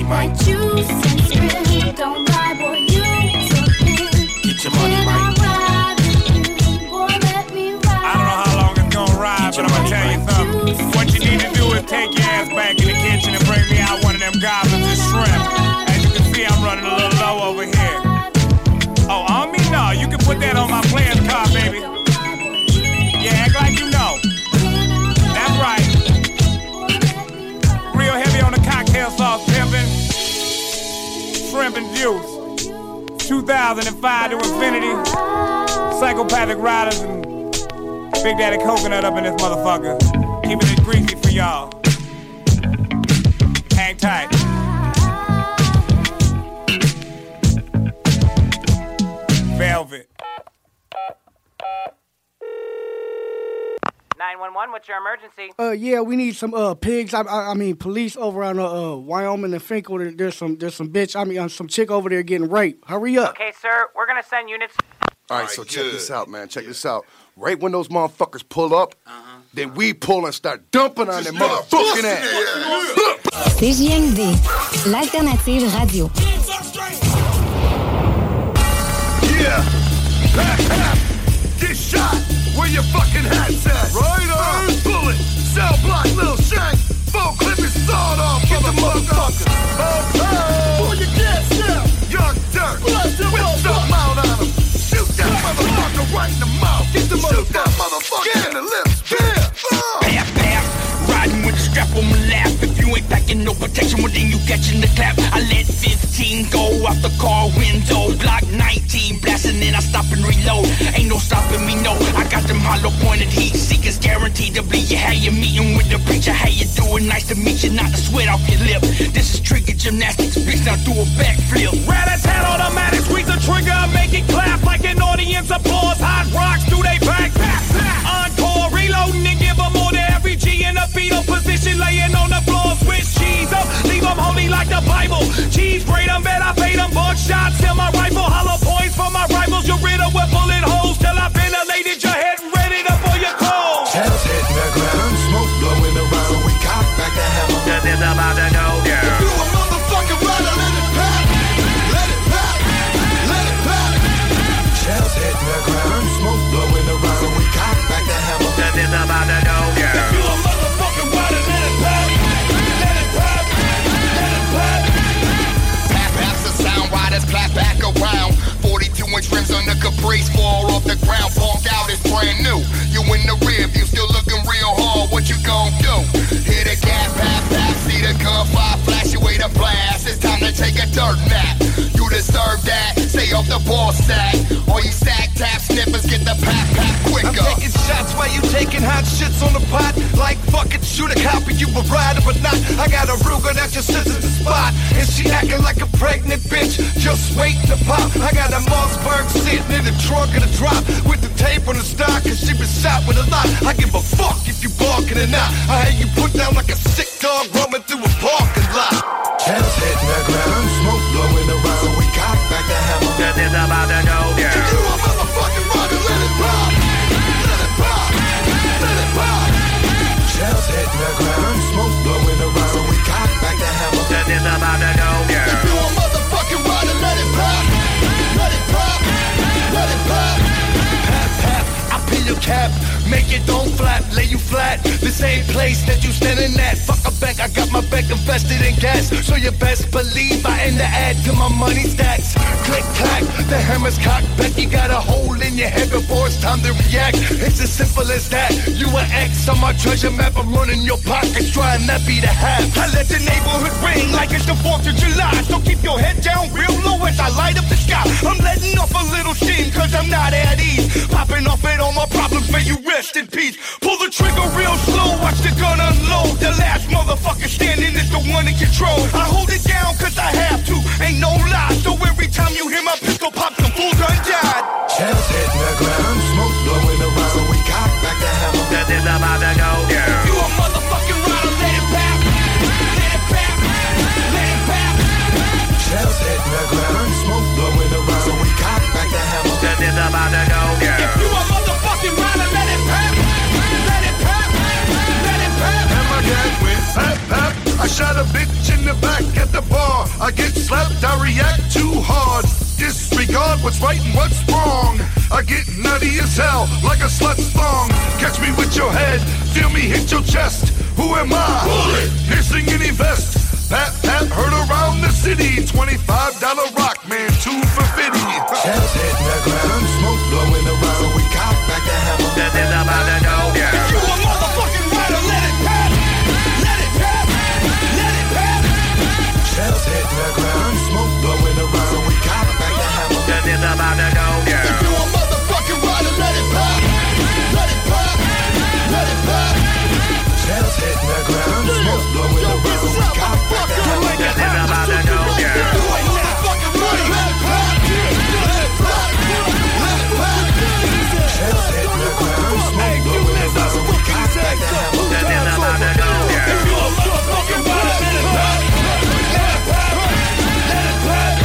money, Mike. Juice and script, don't lie, boy, you took me. Get your money, Mike. I don't know how long it's gonna ride, but I'm gonna tell you something. What you need to do is take your ass back in the kitchen and bring me out one of them goblins of shrimp. As you can see, I'm running a little low over here. Oh, on me? No, you can put that on my player's card, baby. Yeah, act like you know. That's right. Real heavy on the cocktail sauce, pimpin'. Shrimp and juice. 2005 to infinity. Psychopathic riders and Big Daddy Coconut up in this motherfucker. Keeping it greasy for y'all. Hang tight. Velvet. 911, what's your emergency? Yeah, we need some pigs. I mean, police over on Wyoming and Finkel. There's some bitch. I mean, some chick over there getting raped. Hurry up. Okay, sir, we're gonna send units. All right, so check this out, man. Check this out. Right when those motherfuckers pull up, then we pull and start dumping on them motherfucking ass. CJMD, l'alternative radio. Yeah. Get shot. Where your fucking hat's at? Right on. Bullet. Cell block, little shank. Full clip is sawed off. Get the motherfucker. Oh, pull your gas now. Young dirt. Whip some out on him. Shoot that motherfucker right in the mouth. Get the shoot that motherfucker in the lips. Pap, pap. Riding with the strap on my lap. If you ain't packing no protection, well then you catching the clap. I let 15 go out the car window. Block 19 blasting and I stop and reload. Ain't no stopping me, no. I got them hollow pointed heat seekers guaranteed to bleed you. How you meeting with the preacher? How you doing? Nice to meet you. Not the sweat off your lip. This is trigger gymnastics. Bitch, now do a backflip. Rat-a-tat automatic. Squeeze the trigger. Make it clap like an audience applause. Hot rocks through they back. Encore. Reloading and give them all to every G in a fetal position. Laying on the floor. Switch cheese up. Leave them holy like the Bible. Cheese grade them. Bet I paid them buckshots. Till my rifle. Hollow points for my rivals. You're riddled with bullet holes. Till I ventilated your head. Ready to pull your clothes. Tails hitting the ground. Smoke blowing around. So we cock back the hammer. Cause it's about to go down. If you a motherfucking rider, let it pop. Let it pop. Let it pop. Tails hitting the ground. Smoke blowing around. So we cock back the hammer. Cause it's about to go down. If you a motherfucking rider, let it pop. Let it pop. Let it pop. Pap, paps the sound riders clap back around. 42-inch rims on the Caprice fall off the ground. Bonk out is brand new. You in the rear view, still looking real hard. What you gon' do? Hit a gas, pap, pap. See the gunfire flash, you wait a blast. It's time to take a dirt nap. You deserve that. Stay off the ball stack. All you sack tap snippers get the pap, pap quicker. I'm taking shots while you taking hot shits on the pot. Like fucking shoot a cop and you a rider but not. I got a Ruger that just sits at the spot. And she acting like a pregnant bitch. Just wait to pop. I got a Mossberg sitting in the trunk of the drop. With the tape on the stock and she been shot with a lot. I give a fuck if you barking or not. I had you put down like a sick dog roaming through a parking lot. Tails hitting the ground. Smoke blowing around. So we cock back the hammer. Cause it's about to go down. If you a motherfucking rider, let it pop. Let it pop. Let it pop. Tails hitting the ground. Smoke blowing around. So we cock back the hammer. Cause it's about to go down. If you a motherfucking rider, let it pop. Let it pop. Let it pop. Pap, pap. I pin your cap. Make it don't flap. Lay you flat. The same place that you standing at. Fuck a bank. I got my bank invested in gas. So you best believe I end the ad to my money stacks. Click clack. The hammer's cocked back. You got a hole in your head before it's time to react. It's as simple as that. You an X on my treasure map. I'm running your pockets. Trying not be the half. I let the neighborhood ring like it's the 4th of July. So keep your head down real low as I light up the sky. I'm letting off a little steam cause I'm not at ease. Popping off it all my problems, may you rest in peace. Pull the trigger real slow, watch the gun unload. The last motherfucker standing is the one in control. I hold it down cause I have to, ain't no lie. So every time you hear my pistol pop, some fool done died. Tails hitting the ground. Smoke blowing around. So we cock back the hammer. Cause it's about to go down. If you a motherfucking rider, let it pop. Let it pop. Let it pop. Tails hitting the ground. Smoke blowing around. So we cock back the hammer. Cause it's about to go down. If you a motherfucking rider, let it pop. Let it pop. Let it pop. And my dad went pap, pap. I shot a bitch in the back at the bar. right and what's wrong. I get nutty as hell, like a slut's thong. Catch me with your head, feel me hit your chest. Who am I? Bullet! Piercing any vest. Pat, pat, heard around the city. $25 rock, man, 2 for 50. Shells hitting the ground, smoke blowing around. So we cock back the hammer. This is about to go down. If you a motherfucking rider, let it pop. Let it pop. Let it pop. Shells hitting the ground, smoke blowing around. So we cock back the hammer. This is about to go down. If you a motherfucking rider, let it pop. Let it pop. Let it pop. Shells hitting the ground, smoke blowing around. So we cock back the hammer. This is about to go down. If you a motherfucking rider, let it pop. Let it pop. Let it pop. Shells hitting the ground, smoke blowing around. So we cock back the hammer. This is about to go down. If you a motherfucking rider, let it pop. Let it pop. Let it pop.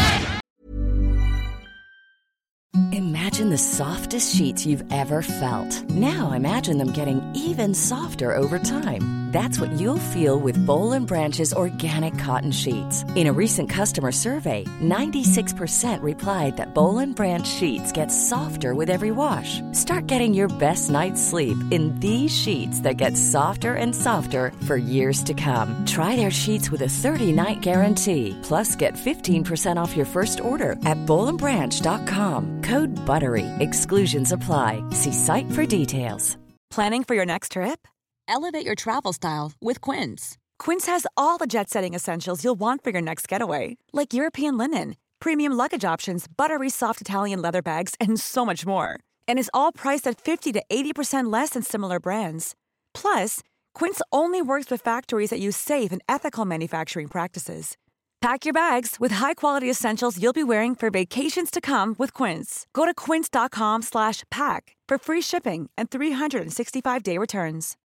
Imagine the softest sheets you've ever felt. Now imagine them getting even softer over time. That's what you'll feel with Boll & Branch's organic cotton sheets. In a recent customer survey, 96% replied that Boll & Branch sheets get softer with every wash. Start getting your best night's sleep in these sheets that get softer and softer for years to come. Try their sheets with a 30-night guarantee. Plus, get 15% off your first order at bollandbranch.com. Code BUTTERY. Exclusions apply. See site for details. Planning for your next trip? Elevate your travel style with Quince. Quince has all the jet-setting essentials you'll want for your next getaway, like European linen, premium luggage options, buttery soft Italian leather bags, and so much more. And is all priced at 50 to 80% less than similar brands. Plus, Quince only works with factories that use safe and ethical manufacturing practices. Pack your bags with high-quality essentials you'll be wearing for vacations to come with Quince. Go to quince.com/pack for free shipping and 365-day returns.